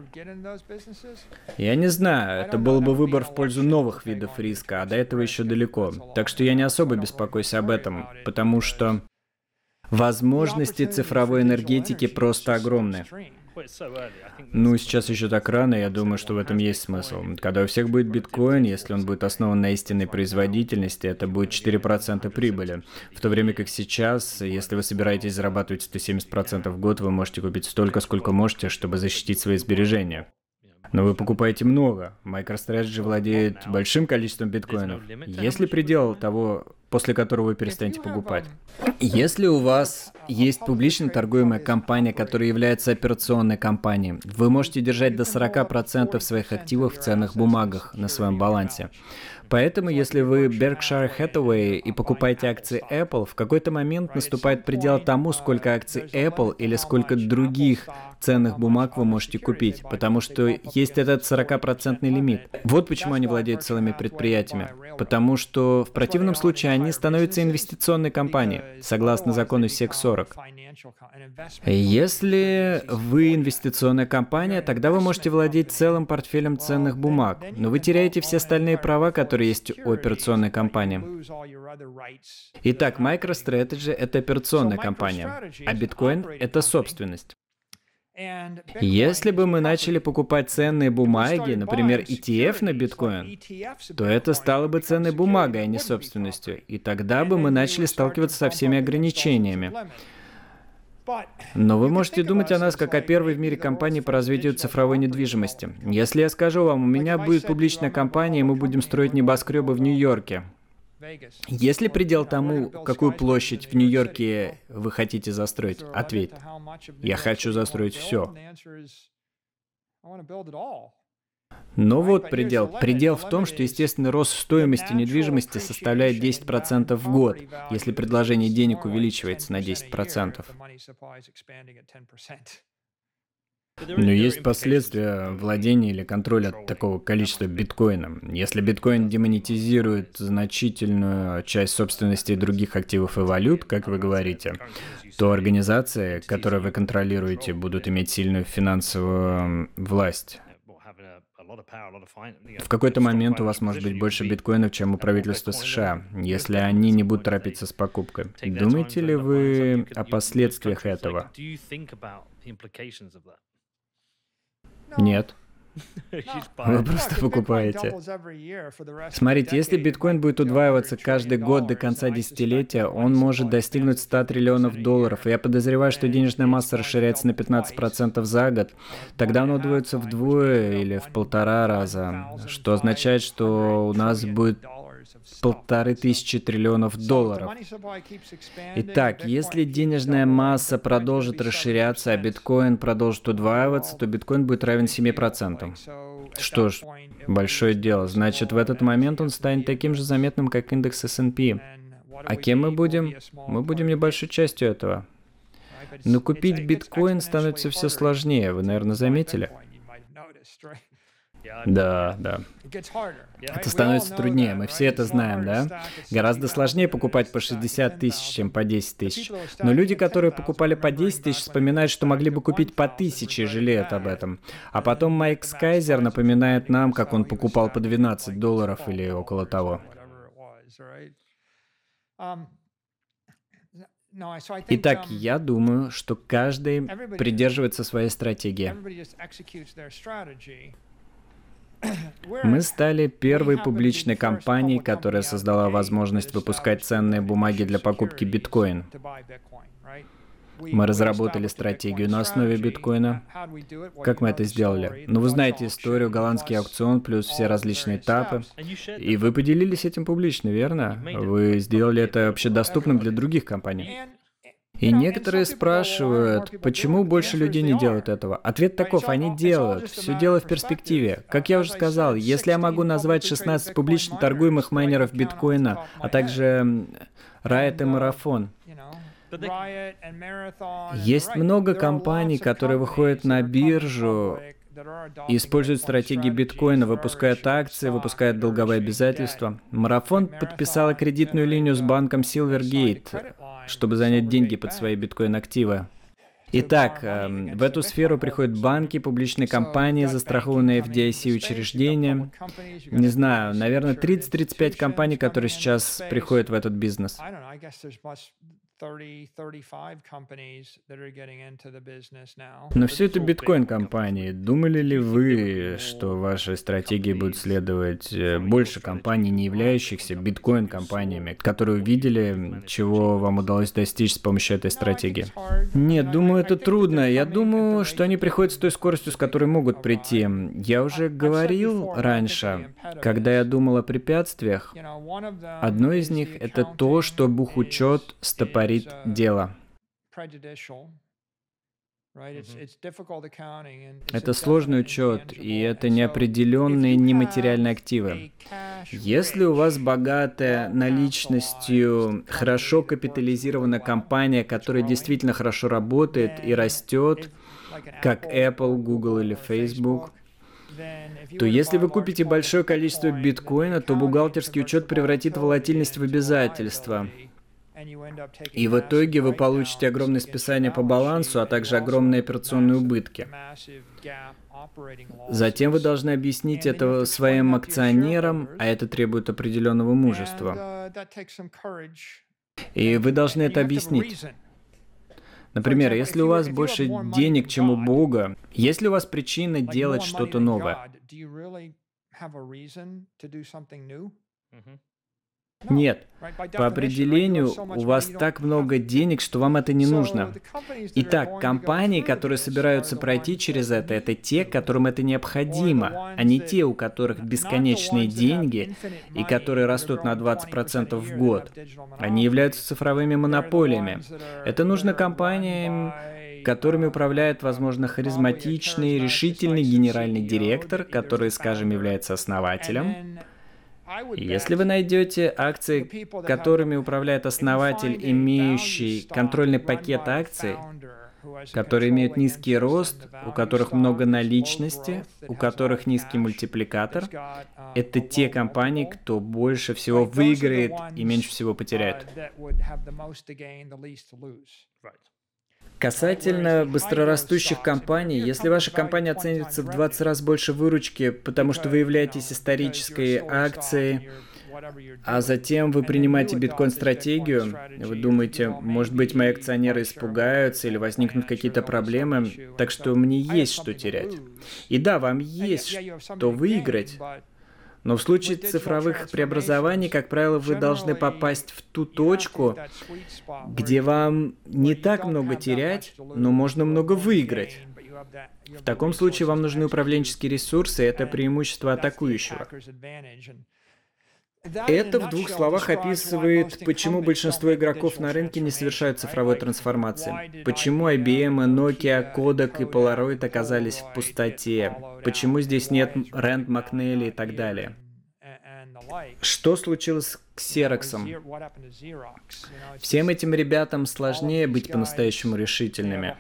Я не знаю, это был бы выбор в пользу новых видов риска, а до этого еще далеко. Так что я не особо беспокоюсь об этом, потому что возможности цифровой энергетики просто огромны. Ну, сейчас еще так рано, я думаю, что в этом есть смысл. Когда у всех будет биткоин, если он будет основан на истинной производительности, это будет четыре процента прибыли. В то время как сейчас, если вы собираетесь зарабатывать сто семьдесят процентов в год, вы можете купить столько, сколько можете, чтобы защитить свои сбережения. Но вы покупаете много. MicroStrategy владеет большим количеством биткоинов. Есть ли предел того, после которого вы перестанете покупать? Если у вас есть публично торгуемая компания, которая является операционной компанией, вы можете держать до сорок процентов своих активов в ценных бумагах на своем балансе. Поэтому, если вы Berkshire Hathaway и покупаете акции Apple, в какой-то момент наступает предел тому, сколько акций Apple или сколько других ценных бумаг вы можете купить, потому что есть этот сорокапроцентный лимит. Вот почему они владеют целыми предприятиями. Потому что в противном случае они становятся инвестиционной компанией, согласно закону сек сорок. Если вы инвестиционная компания, тогда вы можете владеть целым портфелем ценных бумаг, но вы теряете все остальные права, которые есть у операционной компании. Итак, MicroStrategy — это операционная компания, а биткоин — это собственность. Если бы мы начали покупать ценные бумаги, например, и ти эф на биткоин, то это стало бы ценной бумагой, а не собственностью, и тогда бы мы начали сталкиваться со всеми ограничениями. Но вы можете думать о нас как о первой в мире компании по развитию цифровой недвижимости. Если я скажу вам, у меня будет публичная компания, и мы будем строить небоскребы в Нью-Йорке. Есть ли предел тому, какую площадь в Нью-Йорке вы хотите застроить? Ответь. Я хочу застроить все. Но вот предел. Предел в том, что естественный рост стоимости недвижимости составляет десять процентов в год, если предложение денег увеличивается на десять процентов. Но есть последствия владения или контроля от такого количества биткоина. Если биткоин демонетизирует значительную часть собственности других активов и валют, как вы говорите, то организации, которые вы контролируете, будут иметь сильную финансовую власть. В какой-то момент у вас может быть больше биткоинов, чем у правительства США, если они не будут торопиться с покупкой. Думаете ли вы о последствиях этого? Нет. Вы просто покупаете. Смотрите, если биткоин будет удваиваться каждый год до конца десятилетия, он может достигнуть ста триллионов долларов. И я подозреваю, что денежная масса расширяется на пятнадцать процентов за год. Тогда он удвоится вдвое или в полтора раза, что означает, что у нас будет полторы тысячи триллионов долларов. Итак, если денежная масса продолжит расширяться, а биткоин продолжит удваиваться, то биткоин будет равен семи процентам. Что ж, большое дело. Значит, в этот момент он станет таким же заметным, как индекс эс энд пи. А кем мы будем? Мы будем небольшой частью этого. Но купить биткоин становится все сложнее, вы, наверное, заметили? Да, да. Это становится труднее, мы все это знаем, да? Гораздо сложнее покупать по шестьдесят тысяч, чем по десять тысяч. Но люди, которые покупали по десять тысяч, вспоминают, что могли бы купить по тысяче и жалеют об этом. А потом Майк Скайзер напоминает нам, как он покупал по двенадцать долларов или около того. Итак, я думаю, что каждый придерживается своей стратегии. Мы стали первой публичной компанией, которая создала возможность выпускать ценные бумаги для покупки биткоин. Мы разработали стратегию на основе биткоина. Как мы это сделали? Ну, вы знаете историю, голландский аукцион, плюс все различные этапы. И вы поделились этим публично, верно? Вы сделали это общедоступным для других компаний. И некоторые спрашивают, почему больше людей не делают этого. Ответ таков, они делают. Все дело в перспективе. Как я уже сказал, если я могу назвать шестнадцать публично торгуемых майнеров биткоина, а также Riot и Marathon. Есть много компаний, которые выходят на биржу и используют стратегии биткоина, выпускают акции, выпускают долговые обязательства. Марафон подписала кредитную линию с банком Silvergate, чтобы занять деньги под свои биткоин-активы. Итак, э, в эту сферу приходят банки, публичные компании, застрахованные эф ди ай си учреждения. Не знаю, наверное, тридцать-тридцать пять компаний, которые сейчас приходят в этот бизнес. Но все это биткоин-компании. Думали ли вы, что вашей стратегии будет следовать больше компаний, не являющихся биткоин-компаниями, которые увидели, чего вам удалось достичь с помощью этой стратегии? Нет, думаю, это трудно. Я думаю, что они приходят с той скоростью, с которой могут прийти. Я уже говорил раньше, когда я думал о препятствиях, одно из них — это то, что бухучет стопорит дело. Это сложный учет, и это неопределенные нематериальные активы. Если у вас богатая наличностью, хорошо капитализированная компания, которая действительно хорошо работает и растет, как Apple, Google или Facebook, то если вы купите большое количество биткоина, то бухгалтерский учет превратит волатильность в обязательство. И в итоге вы получите огромное списание по балансу, а также огромные операционные убытки. Затем вы должны объяснить это своим акционерам, а это требует определенного мужества. И вы должны это объяснить. Например, если у вас больше денег, чем у Бога, есть ли у вас причина делать что-то новое? Нет. По определению, у вас так много денег, что вам это не нужно. Итак, компании, которые собираются пройти через это, это те, которым это необходимо, а не те, у которых бесконечные деньги и которые растут на двадцать процентов в год. Они являются цифровыми монополиями. Это нужно компаниям, которыми управляет, возможно, харизматичный, решительный генеральный директор, который, скажем, является основателем. И если вы найдете акции, которыми управляет основатель, имеющий контрольный пакет акций, которые имеют низкий рост, у которых много наличности, у которых низкий мультипликатор, это те компании, кто больше всего выиграет и меньше всего потеряет. Касательно быстрорастущих компаний, если ваша компания оценится в двадцать раз больше выручки, потому что вы являетесь исторической акцией, а затем вы принимаете биткоин-стратегию, вы думаете, может быть, мои акционеры испугаются или возникнут какие-то проблемы, так что мне есть что терять. И да, вам есть что выиграть. Но в случае цифровых преобразований, как правило, вы должны попасть в ту точку, где вам не так много терять, но можно много выиграть. В таком случае вам нужны управленческие ресурсы, и это преимущество атакующего. Это в двух словах описывает, почему большинство игроков на рынке не совершают цифровой трансформации. Почему ай би эм, Nokia, Kodak и Polaroid оказались в пустоте. Почему здесь нет Рэнд Макнелли и так далее. Что случилось с Xerox'ом? Всем этим ребятам сложнее быть по-настоящему решительными.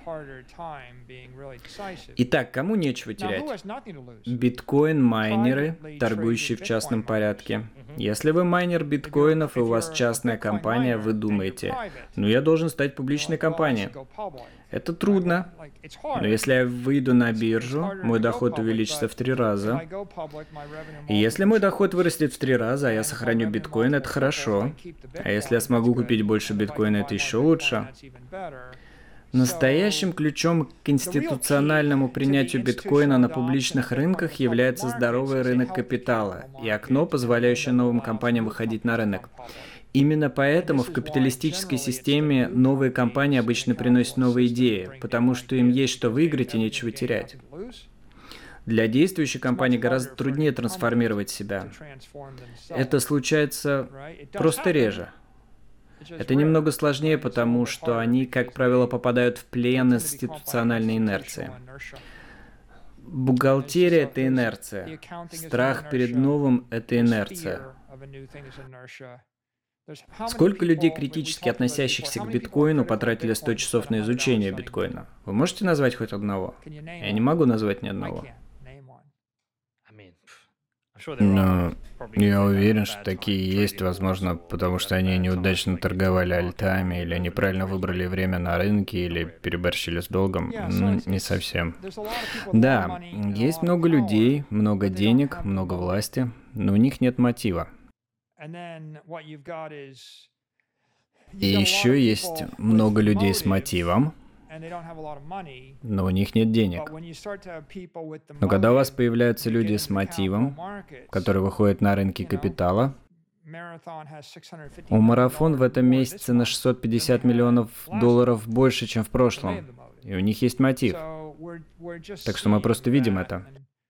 Итак, кому нечего терять? Биткоин-майнеры, торгующие в частном порядке. Если вы майнер биткоинов и у вас частная компания, вы думаете, ну я должен стать публичной компанией. Это трудно. Но если я выйду на биржу, мой доход увеличится в три раза. И если мой доход вырастет в три раза, а я сохраню биткоин, это хорошо. А если я смогу купить больше биткоина, это еще лучше. Настоящим ключом к институциональному принятию биткоина на публичных рынках является здоровый рынок капитала и окно, позволяющее новым компаниям выходить на рынок. Именно поэтому в капиталистической системе новые компании обычно приносят новые идеи, потому что им есть что выиграть и нечего терять. Для действующей компании гораздо труднее трансформировать себя. Это случается просто реже. Это немного сложнее, потому что они, как правило, попадают в плен институциональной инерции. Бухгалтерия – это инерция. Страх перед новым – это инерция. Сколько людей, критически относящихся к биткоину, потратили сто часов на изучение биткоина? Вы можете назвать хоть одного? Я не могу назвать ни одного. Но я уверен, что такие есть, возможно, потому что они неудачно торговали альтами, или неправильно выбрали время на рынке, или переборщили с долгом. Ну, не совсем. Да, есть много людей, много денег, много власти, но у них нет мотива. И еще есть много людей с мотивом, но у них нет денег. Но когда у вас появляются люди с мотивом, которые выходят на рынки капитала, у Марафон в этом месяце на шестьсот пятьдесят миллионов долларов больше, чем в прошлом, и у них есть мотив. Так что мы просто видим это.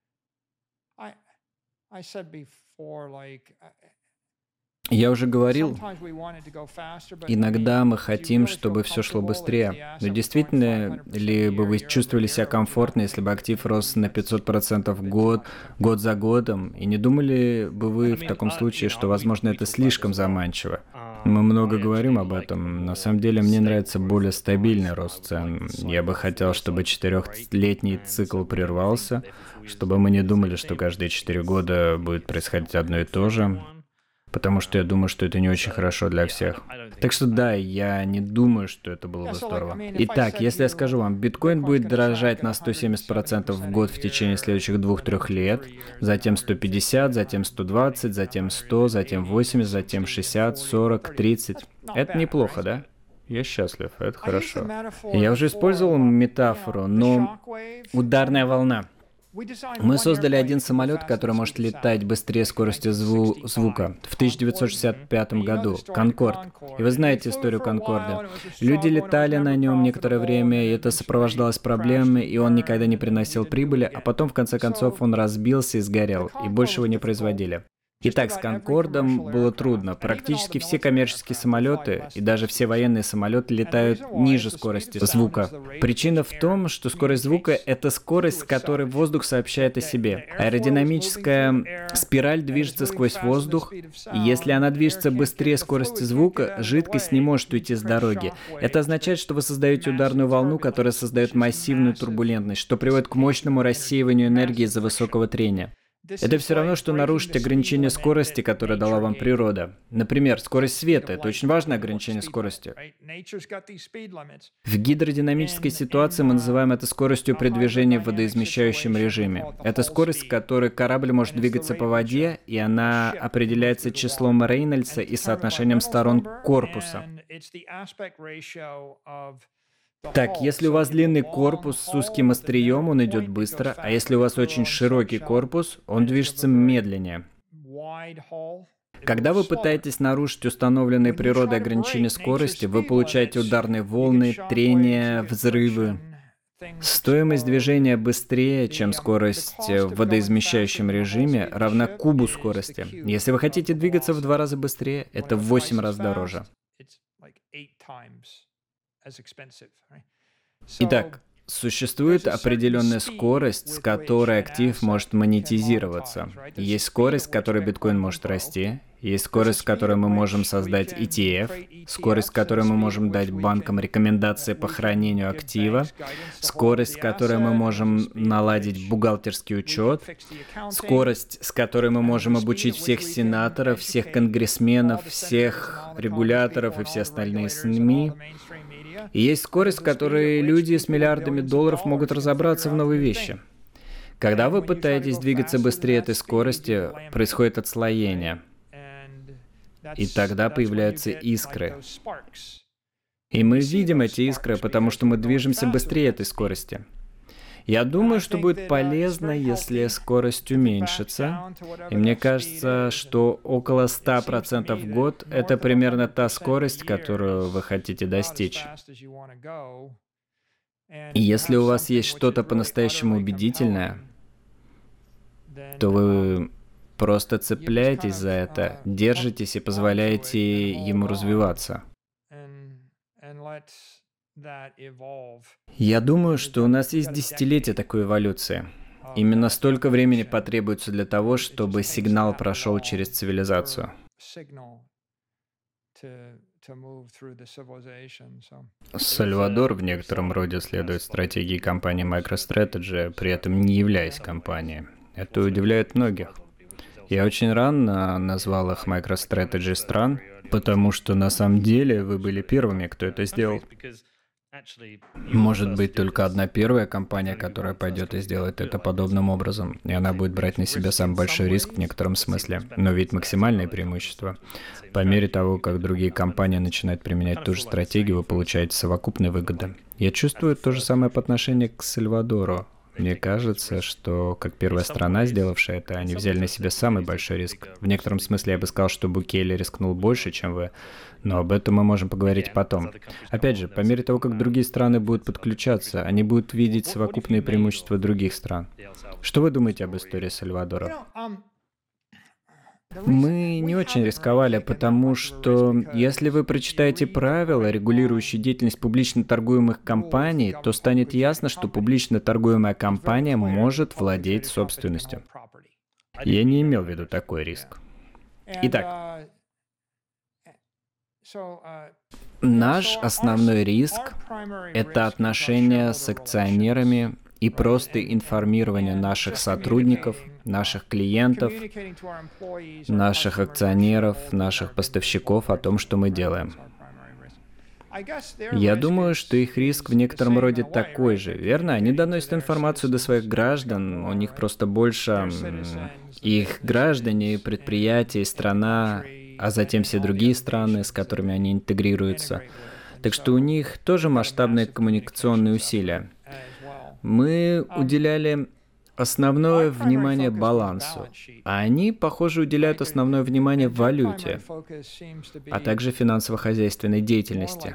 Я уже говорил, иногда мы хотим, чтобы все шло быстрее. Но действительно ли бы вы чувствовали себя комфортно, если бы актив рос на пятьсот процентов в год, год за годом? И не думали бы вы в таком случае, что, возможно, это слишком заманчиво? Мы много говорим об этом. На самом деле, мне нравится более стабильный рост цен. Я бы хотел, чтобы четырехлетний цикл прервался, чтобы мы не думали, что каждые четыре года будет происходить одно и то же. Потому что я думаю, что это не очень хорошо для всех. Так что да, я не думаю, что это было бы здорово. Итак, если я скажу вам, биткоин будет дорожать на сто семьдесят процентов в год в течение следующих двух-трех лет, затем сто пятьдесят, затем сто двадцать, затем сто, затем восемьдесят, затем шестьдесят, сорок, тридцать. Это неплохо, да? Я счастлив, это хорошо. Я уже использовал метафору, но ударная волна. Мы создали один самолет, который может летать быстрее скорости зву- звука в тысяча девятьсот шестьдесят пятом году, Конкорд. И вы знаете историю Конкорда. Люди летали на нем некоторое время, и это сопровождалось проблемами, и он никогда не приносил прибыли, а потом, в конце концов, он разбился и сгорел, и больше его не производили. Итак, с Конкордом было трудно. Практически все коммерческие самолеты и даже все военные самолеты летают ниже скорости звука. Причина в том, что скорость звука — это скорость, с которой воздух сообщает о себе. Аэродинамическая спираль движется сквозь воздух, и если она движется быстрее скорости звука, жидкость не может уйти с дороги. Это означает, что вы создаете ударную волну, которая создает массивную турбулентность, что приводит к мощному рассеиванию энергии из-за высокого трения. Это все равно, что нарушить ограничение скорости, которое дала вам природа. Например, скорость света — это очень важное ограничение скорости. В гидродинамической ситуации мы называем это скоростью при движении в водоизмещающем режиме. Это скорость, с которой корабль может двигаться по воде, и она определяется числом Рейнольдса и соотношением сторон корпуса. Так, если у вас длинный корпус с узким острием, он идет быстро, а если у вас очень широкий корпус, он движется медленнее. Когда вы пытаетесь нарушить установленные природой ограничения скорости, вы получаете ударные волны, трения, взрывы. Стоимость движения быстрее, чем скорость в водоизмещающем режиме, равна кубу скорости. Если вы хотите двигаться в два раза быстрее, это в восемь раз дороже. Итак, существует определенная скорость, с которой актив может монетизироваться. Есть скорость, с которой биткоин может расти. Есть скорость, с которой мы можем создать и ти эф, скорость, с которой мы можем дать банкам рекомендации по хранению актива, скорость, с которой мы можем наладить бухгалтерский учет, скорость, с которой мы можем обучить всех сенаторов, всех конгрессменов, всех регуляторов и все остальные СМИ. И есть скорость, с которой люди с миллиардами долларов могут разобраться в новой вещи. Когда вы пытаетесь двигаться быстрее этой скорости, происходит отслоение. И тогда появляются искры. И мы видим эти искры, потому что мы движемся быстрее этой скорости. Я думаю, что будет полезно, если скорость уменьшится. И мне кажется, что около ста процентов в год — это примерно та скорость, которую вы хотите достичь. И если у вас есть что-то по-настоящему убедительное, то вы просто цепляетесь за это, держитесь и позволяете ему развиваться. Я думаю, что у нас есть десятилетия такой эволюции. Именно столько времени потребуется для того, чтобы сигнал прошел через цивилизацию. Сальвадор в некотором роде следует стратегии компании MicroStrategy, при этом не являясь компанией. Это удивляет многих. Я очень рано назвал их MicroStrategy стран, потому что на самом деле вы были первыми, кто это сделал. Может быть, только одна первая компания, которая пойдет и сделает это подобным образом, и она будет брать на себя самый большой риск в некотором смысле, но ведь максимальные преимущества. По мере того, как другие компании начинают применять ту же стратегию, вы получаете совокупные выгоды. Я чувствую то же самое по отношению к Сальвадору. Мне кажется, что как первая страна, сделавшая это, они взяли на себя самый большой риск. В некотором смысле я бы сказал, что Букеле рискнул больше, чем вы, но об этом мы можем поговорить потом. Опять же, по мере того, как другие страны будут подключаться, они будут видеть совокупные преимущества других стран. Что вы думаете об истории Сальвадора? Мы не очень рисковали, потому что если вы прочитаете правила, регулирующие деятельность публично торгуемых компаний, то станет ясно, что публично торгуемая компания может владеть собственностью. Я не имел в виду такой риск. Итак, наш основной риск — это отношения с акционерами и просто информирование наших сотрудников, наших клиентов, наших акционеров, наших поставщиков о том, что мы делаем. Я думаю, что их риск в некотором роде такой же, верно? Они доносят информацию до своих граждан, у них просто больше их граждане, предприятия, страна, а затем все другие страны, с которыми они интегрируются. Так что у них тоже масштабные коммуникационные усилия. Мы уделяли основное внимание балансу, а они, похоже, уделяют основное внимание валюте, а также финансово-хозяйственной деятельности.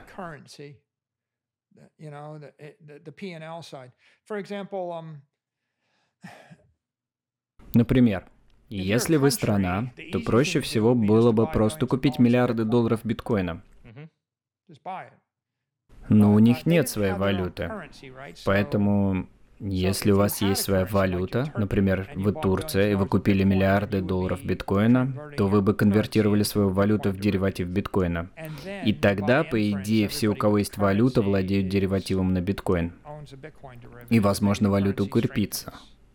Например, если вы страна, то проще всего было бы просто купить миллиарды долларов биткоина. Но у них нет своей валюты. Поэтому, если у вас есть своя валюта, например, вы Турция, и вы купили миллиарды долларов биткоина, то вы бы конвертировали свою валюту в дериватив биткоина. И тогда, по идее, все, у кого есть валюта, владеют деривативом на биткоин. И, возможно, валюта укрепится.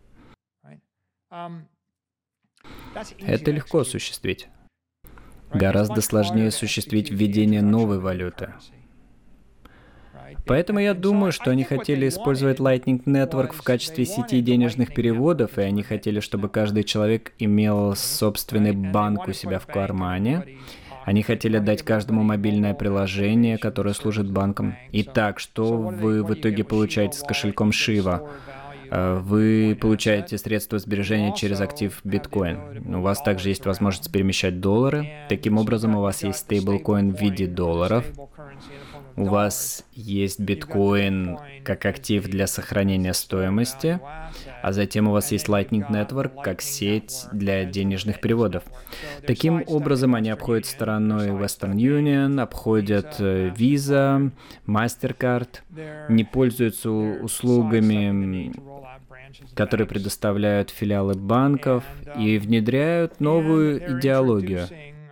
Это легко осуществить. Гораздо сложнее осуществить введение новой валюты. Поэтому я думаю, что они хотели использовать Lightning Network в качестве сети денежных переводов, и они хотели, чтобы каждый человек имел собственный банк у себя в кармане. Они хотели дать каждому мобильное приложение, которое служит банком. Итак, что вы в итоге получаете с кошельком Shiva? Вы получаете средства сбережения через актив биткоин. У вас также есть возможность перемещать доллары. Таким образом, у вас есть стейблкоин в виде долларов. У вас есть биткоин как актив для сохранения стоимости, а затем у вас есть Lightning Network как сеть для денежных переводов. Таким образом, они обходят стороной Western Union, обходят Visa, MasterCard, не пользуются услугами, которые предоставляют филиалы банков, и внедряют новую идеологию.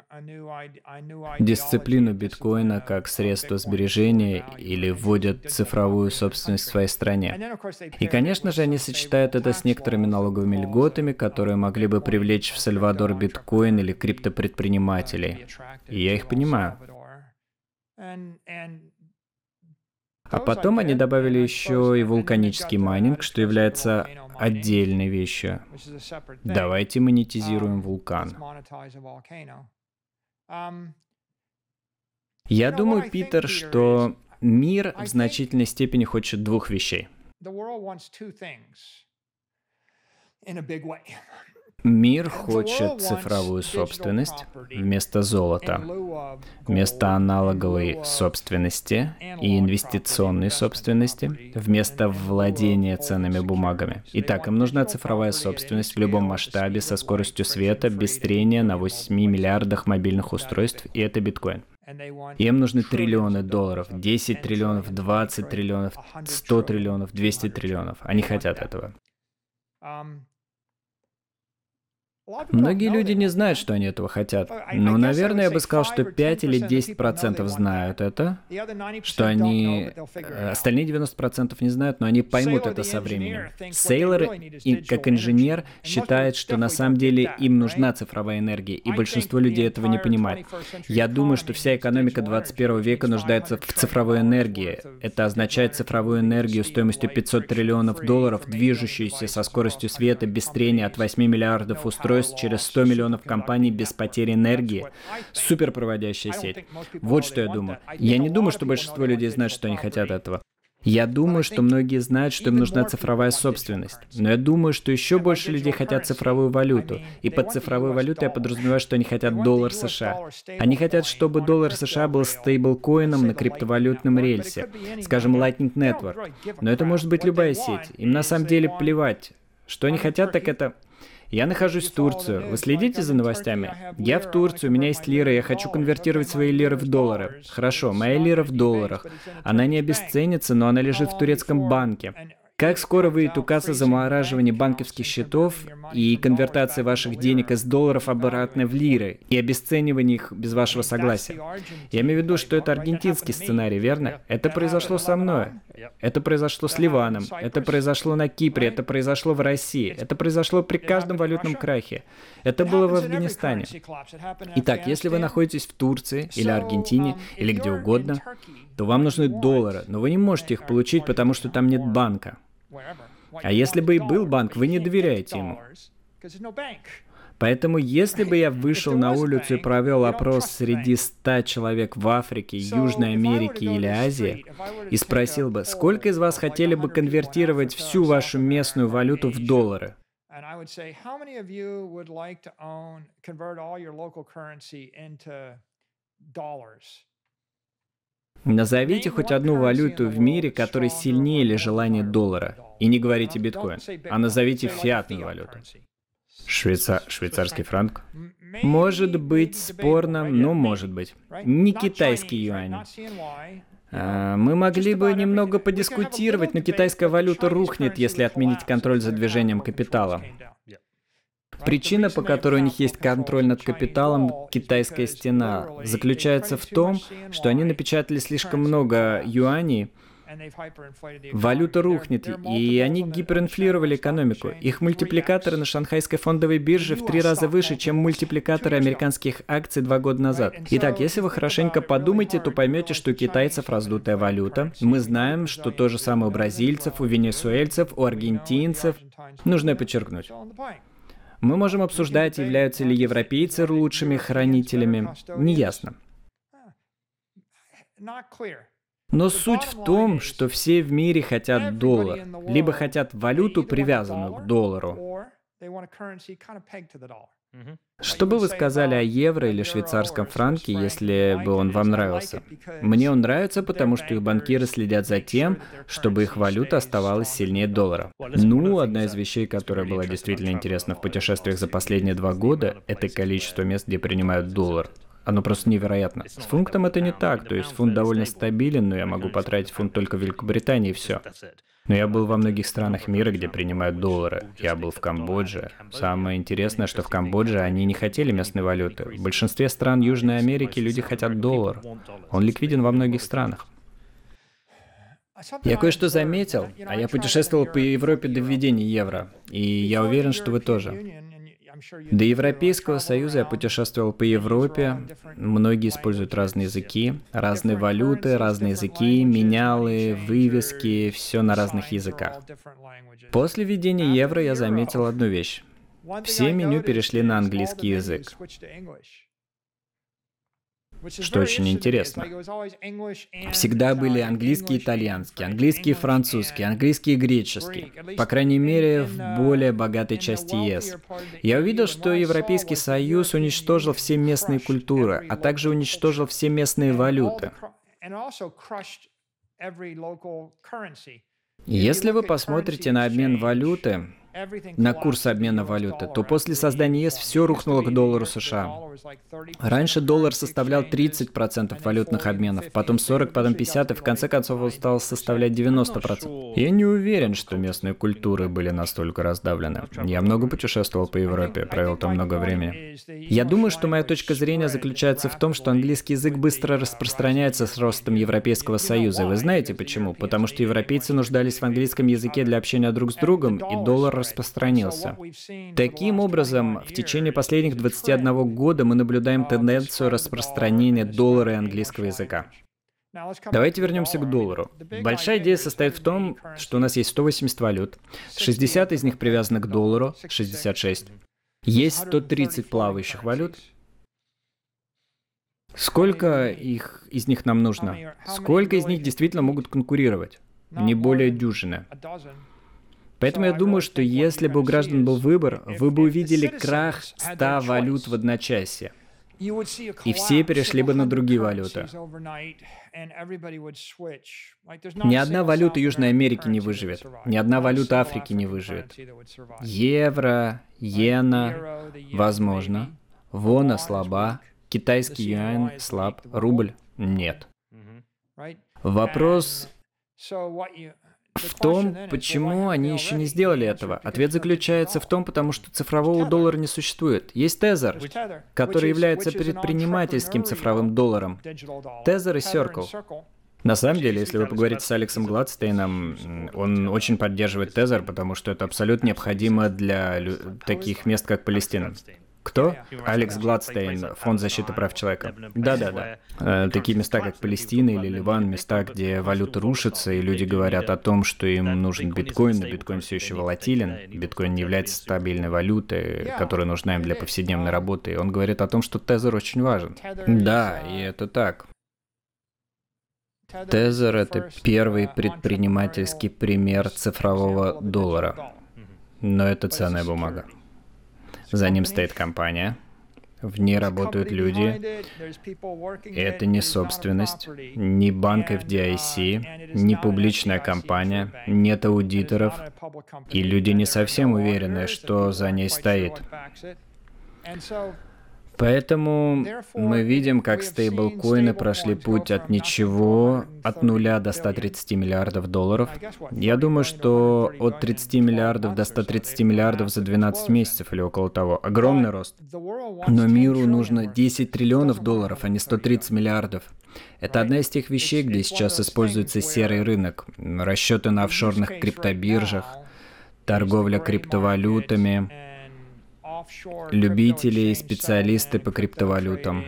Дисциплину биткоина как средство сбережения или вводят цифровую собственность в своей стране. И, конечно же, они сочетают это с некоторыми налоговыми льготами, которые могли бы привлечь в Сальвадор биткоин или криптопредпринимателей. И я их понимаю. А потом они добавили еще и вулканический майнинг, что является отдельной вещью. Давайте монетизируем вулкан. Я думаю, Питер, что мир в значительной степени хочет двух вещей. Мир хочет цифровую собственность вместо золота, вместо аналоговой собственности и инвестиционной собственности, вместо владения ценными бумагами. Итак, им нужна цифровая собственность в любом масштабе, со скоростью света, без трения на восьми миллиардах мобильных устройств, и это биткоин. Им нужны триллионы долларов, десять триллионов, двадцать триллионов, сто триллионов, двести триллионов. Они хотят этого. Многие люди не знают, что они этого хотят. Но, наверное, я бы сказал, что пять или десять процентов знают это, что они... Остальные девяносто процентов не знают, но они поймут это со временем. Сейлор, как инженер, считает, что на самом деле им нужна цифровая энергия, и большинство людей этого не понимает. Я думаю, что вся экономика двадцать первого века нуждается в цифровой энергии. Это означает цифровую энергию стоимостью пятьсот триллионов долларов, движущуюся со скоростью света без трения от восьми миллиардов устройств через сто миллионов компаний без потери энергии. Суперпроводящая сеть. Вот что я думаю. Я не думаю, что большинство людей знают, что они хотят этого. Я думаю, что многие знают, что им нужна цифровая собственность. Но я думаю, что еще больше людей хотят цифровую валюту. И под цифровой валютой я подразумеваю, что они хотят доллар США. Они хотят, чтобы доллар США был стейблкоином на криптовалютном рельсе. Скажем, Lightning Network. Но это может быть любая сеть. Им на самом деле плевать. Что они хотят, так это... Я нахожусь в Турции. Вы следите за новостями? Я в Турции, у меня есть лира, я хочу конвертировать свои лиры в доллары. Хорошо, моя лира в долларах. Она не обесценится, но она лежит в турецком банке. Как скоро выйдет указ о замораживании банковских счетов и конвертации ваших денег из долларов обратно в лиры и обесценивании их без вашего согласия? Я имею в виду, что это аргентинский сценарий, верно? Это произошло со мной. Это произошло с Ливаном. Это произошло на Кипре. Это произошло в России. Это произошло при каждом валютном крахе. Это было в Афганистане. Итак, если вы находитесь в Турции или Аргентине или где угодно, то вам нужны доллары, но вы не можете их получить, потому что там нет банка. А если бы и был банк, вы не доверяете ему. Поэтому, если бы я вышел на улицу и провел опрос среди ста человек в Африке, Южной Америке или Азии и спросил бы, сколько из вас хотели бы конвертировать всю вашу местную валюту в доллары? Назовите хоть одну валюту в мире, которая сильнее или желание доллара. И не говорите биткоин, а назовите фиатную валюту. Швейца... Швейцарский франк? Может быть спорно, но может быть. Не китайский юань. А, мы могли бы немного подискутировать, но китайская валюта рухнет, если отменить контроль за движением капитала. Причина, по которой у них есть контроль над капиталом, китайская стена, заключается в том, что они напечатали слишком много юаней, валюта рухнет, и они гиперинфлировали экономику. Их мультипликаторы на шанхайской фондовой бирже в три раза выше, чем мультипликаторы американских акций два года назад. Итак, если вы хорошенько подумаете, то поймете, что у китайцев раздутая валюта. Мы знаем, что то же самое у бразильцев, у венесуэльцев, у аргентинцев. Нужно подчеркнуть. Мы можем обсуждать, являются ли европейцы лучшими хранителями. Неясно. Но суть в том, что все в мире хотят доллар, либо хотят валюту, привязанную к доллару. Что бы вы сказали о евро или швейцарском франке, если бы он вам нравился? Мне он нравится, потому что их банкиры следят за тем, чтобы их валюта оставалась сильнее доллара. Ну, одна из вещей, которая была действительно интересна в путешествиях за последние два года, это количество мест, где принимают доллар. Оно просто невероятно. С фунтом это не так, то есть фунт довольно стабилен, но я могу потратить фунт только в Великобритании и все. Но я был во многих странах мира, где принимают доллары. Я был в Камбодже. Самое интересное, что в Камбодже они не хотели местной валюты. В большинстве стран Южной Америки люди хотят доллар. Он ликвиден во многих странах. Я кое-что заметил, а я путешествовал по Европе до введения евро, и я уверен, что вы тоже. До Европейского Союза я путешествовал по Европе. Многие используют разные языки, разные валюты, разные языки, менялы, вывески, все на разных языках. После введения евро я заметил одну вещь. Все меню перешли на английский язык. Что очень интересно. Всегда были английский и итальянский, английский и французский, английский и греческий. По крайней мере, в более богатой части ЕС. Я увидел, что Европейский Союз уничтожил все местные культуры, а также уничтожил все местные валюты. Если вы посмотрите на обмен валюты, на курс обмена валюты, то после создания ЕС все рухнуло к доллару США. Раньше доллар составлял тридцать процентов валютных обменов, потом сорок процентов, потом пятьдесят процентов, и в конце концов он стал составлять девяносто процентов. Я не уверен, что местные культуры были настолько раздавлены. Я много путешествовал по Европе, провел там много времени. Я думаю, что моя точка зрения заключается в том, что английский язык быстро распространяется с ростом Европейского Союза. И вы знаете почему? Потому что европейцы нуждались в английском языке для общения друг с другом, и доллар распространился. Таким образом, в течение последних двадцати одного года мы наблюдаем тенденцию распространения доллара и английского языка. Давайте вернемся к доллару. Большая идея состоит в том, что у нас есть сто восемьдесят валют, шестьдесят из них привязаны к доллару, шестьдесят шесть. Есть сто тридцать плавающих валют. Сколько их, из них нам нужно? Сколько из них действительно могут конкурировать? Не более дюжины. Поэтому я думаю, что если бы у граждан был выбор, вы бы увидели крах ста валют в одночасье. И все перешли бы на другие валюты. Ни одна валюта Южной Америки не выживет. Ни одна валюта Африки не выживет. Евро, иена, возможно. Вона слаба. Китайский юань слаб. Рубль нет. Вопрос в том, почему они еще не сделали этого. Ответ заключается в том, потому что цифрового доллара не существует. Есть Тезер, который является предпринимательским цифровым долларом. Тезер и Circle. На самом деле, если вы поговорите с Алексом Гладстейном, он очень поддерживает Тезер, потому что это абсолютно необходимо для лю- таких мест, как Палестина. Кто? Алекс Гладстейн, Фонд защиты прав человека. Да-да-да. Э, такие места, как Палестина или Ливан, места, где валюта рушится, и люди говорят о том, что им нужен биткоин, но биткоин все еще волатилен. Биткоин не является стабильной валютой, которая нужна им для повседневной работы. И он говорит о том, что тезер очень важен. Да, и это так. Тезер — это первый предпринимательский пример цифрового доллара. Но это ценная бумага. За ним стоит компания, в ней работают люди. Это не собственность, не банк эф ди ай си, не публичная компания, нет аудиторов, и люди не совсем уверены, что за ней стоит. Поэтому мы видим, как стейблкоины прошли путь от ничего, от нуля до ста тридцати миллиардов долларов. Я думаю, что от тридцати миллиардов до ста тридцати миллиардов за двенадцать месяцев или около того. Огромный рост. Но миру нужно десять триллионов долларов, а не сто тридцать миллиардов. Это одна из тех вещей, где сейчас используется серый рынок, расчеты на офшорных криптобиржах, торговля криптовалютами, любители и специалисты по криптовалютам.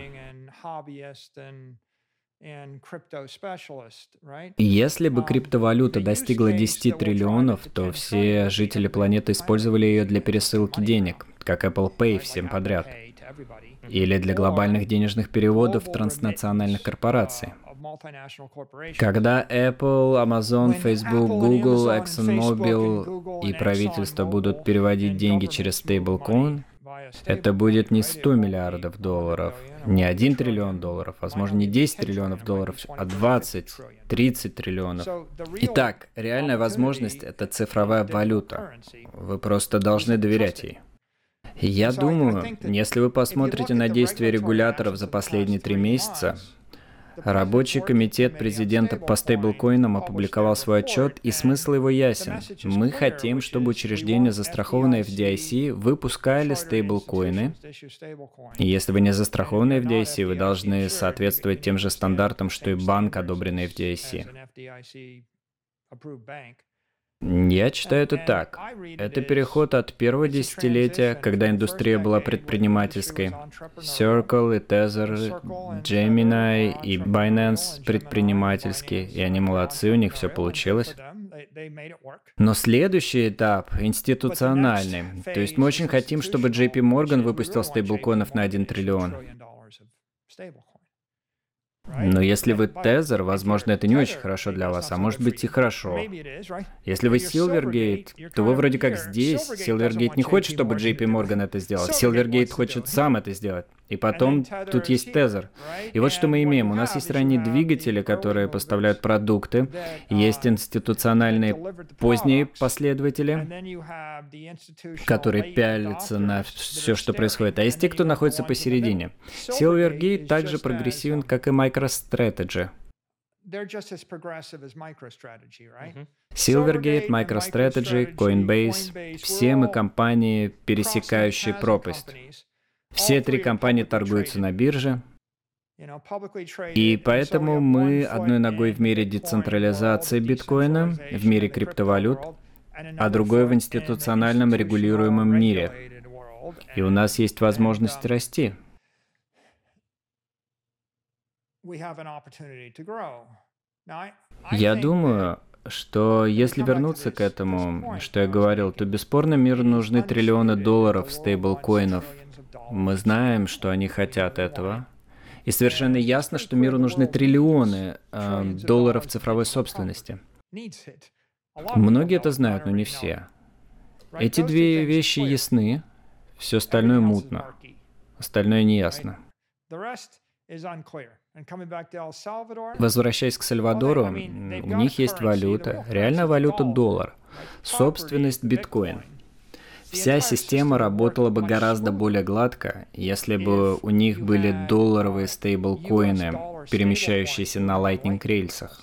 Если бы криптовалюта достигла десяти триллионов, то все жители планеты использовали ее для пересылки денег, как Apple Pay всем подряд, или для глобальных денежных переводов транснациональных корпораций. Когда Apple, Amazon, Facebook, Google, ExxonMobil и правительство будут переводить деньги через стейблкоин, это будет не сто миллиардов долларов, не один триллион долларов, возможно, не десять триллионов долларов, а двадцать, тридцать триллионов. Итак, реальная возможность — это цифровая валюта. Вы просто должны доверять ей. Я думаю, если вы посмотрите на действия регуляторов за последние три месяца, Рабочий комитет президента по стейблкоинам опубликовал свой отчет, и смысл его ясен. Мы хотим, чтобы учреждения, застрахованные эф ди ай си, выпускали стейблкоины. И если вы не застрахованы эф ди ай си, вы должны соответствовать тем же стандартам, что и банк, одобренный эф ди ай си. Я читаю это так. Это переход от первого десятилетия, когда индустрия была предпринимательской. Circle и Tether, Gemini и Binance предпринимательские, и они молодцы, у них все получилось. Но следующий этап институциональный. То есть мы очень хотим, чтобы джей пи Morgan выпустил стейблкоинов на один триллион. Но если вы Tether, возможно, это не очень хорошо для вас, а может быть и хорошо. Если вы Silvergate, то вы вроде как здесь. Silvergate не хочет, чтобы джей пи Morgan это сделал. Silvergate хочет сам это сделать. И потом тут есть Tether. И вот что мы имеем. У нас есть ранние двигатели, которые поставляют продукты. Есть институциональные поздние последователи, которые пялятся на все, что происходит. А есть те, кто находится посередине. Silvergate также прогрессивен, как и MicroStrategy. Silvergate, MicroStrategy, Coinbase — все мы компании, пересекающие пропасть. Все три компании торгуются на бирже, и поэтому мы одной ногой в мире децентрализации биткоина, в мире криптовалют, а другой в институциональном регулируемом мире. И у нас есть возможность расти. Я думаю, что если вернуться к этому, что я говорил, то бесспорно миру нужны триллионы долларов стейблкоинов. Мы знаем, что они хотят этого. И совершенно ясно, что миру нужны триллионы э, долларов цифровой собственности. Многие это знают, но не все. Эти две вещи ясны, все остальное мутно. Остальное неясно. Возвращаясь к Сальвадору, у них есть валюта, реальная валюта — доллар, собственность — биткоин. Вся система работала бы гораздо более гладко, если бы у них были долларовые стейблкоины, перемещающиеся на Lightning-рельсах.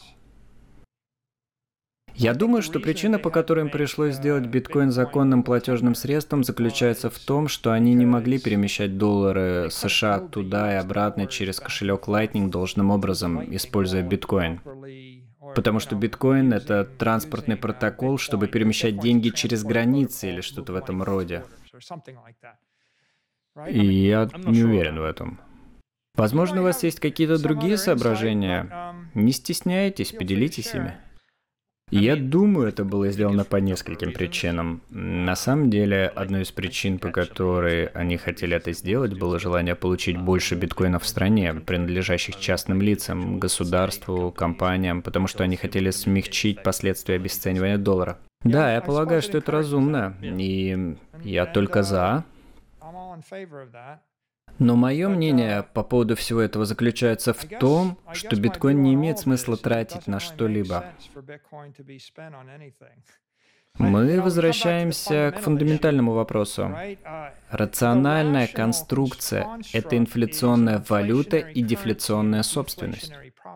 Я думаю, что причина, по которой им пришлось сделать биткоин законным платежным средством, заключается в том, что они не могли перемещать доллары США туда и обратно через кошелек Lightning должным образом, используя биткоин. Потому что биткоин — это транспортный протокол, чтобы перемещать деньги через границы или что-то в этом роде. И я не уверен в этом. Возможно, у вас есть какие-то другие соображения. Не стесняйтесь, поделитесь ими. Я думаю, это было сделано по нескольким причинам. На самом деле, одной из причин, по которой они хотели это сделать, было желание получить больше биткоинов в стране, принадлежащих частным лицам, государству, компаниям, потому что они хотели смягчить последствия обесценивания доллара. Да, я полагаю, что это разумно, и я только за. Но мое мнение по поводу всего этого заключается в том, что биткоин не имеет смысла тратить на что-либо. Мы возвращаемся к фундаментальному вопросу. Рациональная конструкция – это инфляционная валюта и дефляционная собственность.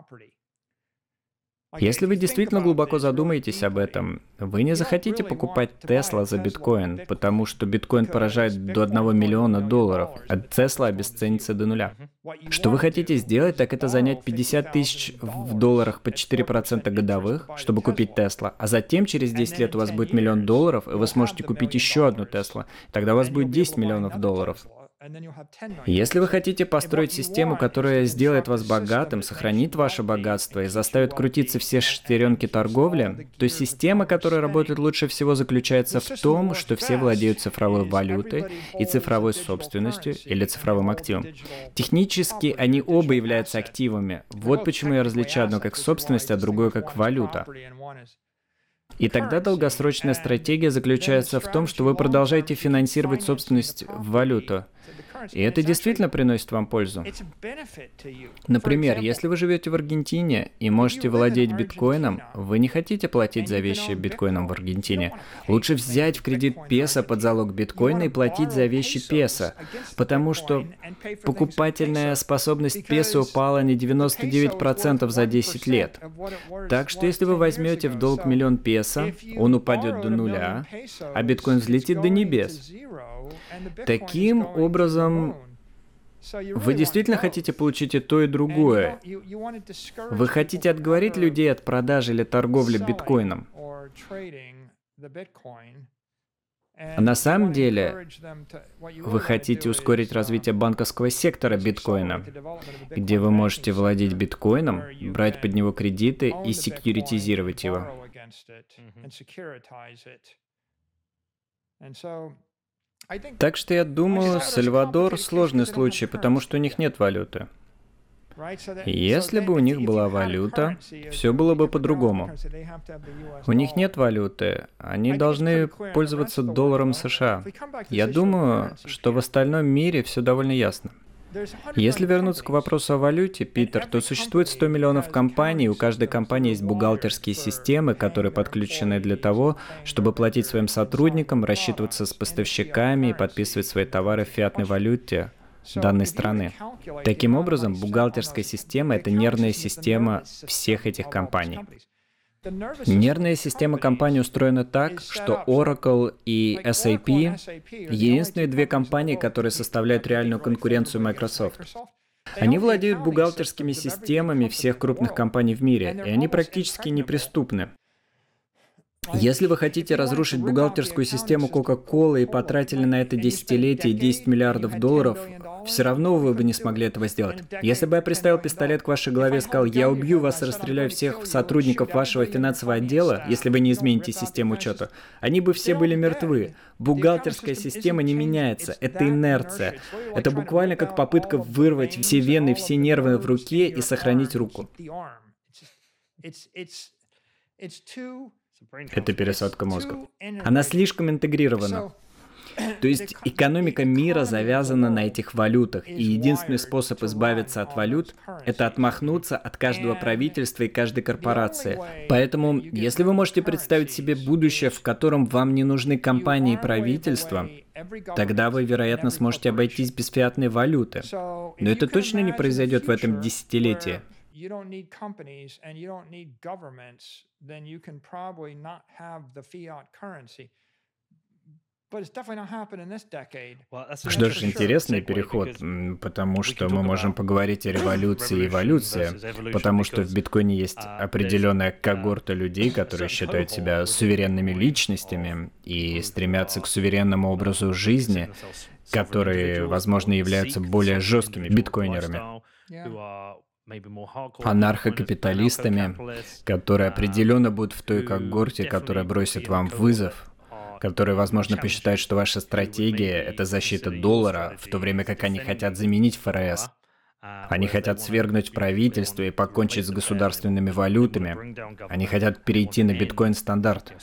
Если вы действительно глубоко задумаетесь об этом, вы не захотите покупать Tesla за биткоин, потому что биткоин поражает до одного миллиона долларов, а Tesla обесценится до нуля. Что вы хотите сделать, так это занять пятьдесят тысяч в долларах по четыре процента годовых, чтобы купить Tesla, а затем через десять лет у вас будет миллион долларов, и вы сможете купить еще одну Tesla. Тогда у вас будет десять миллионов долларов. Если вы хотите построить систему, которая сделает вас богатым, сохранит ваше богатство и заставит крутиться все шестеренки торговли, то система, которая работает лучше всего, заключается в том, что все владеют цифровой валютой и цифровой собственностью или цифровым активом. Технически они оба являются активами. Вот почему я различаю одно как собственность, а другое как валюта. И тогда долгосрочная стратегия заключается в том, что вы продолжаете финансировать собственность в валюту. И это действительно приносит вам пользу. Например, если вы живете в Аргентине и можете владеть биткоином, вы не хотите платить за вещи биткоином в Аргентине. Лучше взять в кредит песо под залог биткоина и платить за вещи песо, потому что покупательная способность песо упала на девяносто девять процентов за десять лет. Так что если вы возьмете в долг миллион песо, он упадет до нуля, а биткоин взлетит до небес. Таким образом, вы действительно хотите получить и то, и другое. Вы хотите отговорить людей от продажи или торговли биткоином. А на самом деле, вы хотите ускорить развитие банковского сектора биткоина, где вы можете владеть биткоином, брать под него кредиты и секьюритизировать его. Так что я думаю, Сальвадор — сложный случай, потому что у них нет валюты. Если бы у них была валюта, все было бы по-другому. У них нет валюты, они должны пользоваться долларом США. Я думаю, что в остальном мире все довольно ясно. Если вернуться к вопросу о валюте, Питер, то существует сто миллионов компаний, у каждой компании есть бухгалтерские системы, которые подключены для того, чтобы платить своим сотрудникам, рассчитываться с поставщиками и подписывать свои товары в фиатной валюте данной страны. Таким образом, бухгалтерская система — это нервная система всех этих компаний. Нервная система компании устроена так, что Oracle и эс эй пи — единственные две компании, которые составляют реальную конкуренцию Microsoft. Они владеют бухгалтерскими системами всех крупных компаний в мире, и они практически неприступны. Если вы хотите разрушить бухгалтерскую систему Coca-Cola и потратили на это десятилетие десять миллиардов долларов, все равно вы бы не смогли этого сделать. Если бы я приставил пистолет к вашей голове и сказал: «Я убью вас и расстреляю всех сотрудников вашего финансового отдела, если вы не измените систему учета», они бы все были мертвы. Бухгалтерская система не меняется, это инерция. Это буквально как попытка вырвать все вены, все нервы в руке и сохранить руку. Это пересадка мозга. Она слишком интегрирована. То есть экономика мира завязана на этих валютах, и единственный способ избавиться от валют — это отмахнуться от каждого правительства и каждой корпорации. Поэтому, если вы можете представить себе будущее, в котором вам не нужны компании и правительства, тогда вы, вероятно, сможете обойтись без фиатной валюты. Но это точно не произойдет в этом десятилетии. You don't need companies and you don't need governments, then you can probably not have the fiat currency. Что ж, интересный переход, потому что мы можем поговорить о революции и эволюции, потому что в биткоине есть определенная когорта людей, которые считают себя суверенными личностями и стремятся к суверенному образу жизни, которые, возможно, являются более жесткими биткоинерами, анархокапиталистами, которые определенно будут в той когорте, которая бросит вам вызов, которые, возможно, посчитают, что ваша стратегия — это защита доллара, в то время как они хотят заменить эф эр эс. Они хотят свергнуть правительство и покончить с государственными валютами. Они хотят перейти на биткоин-стандарт.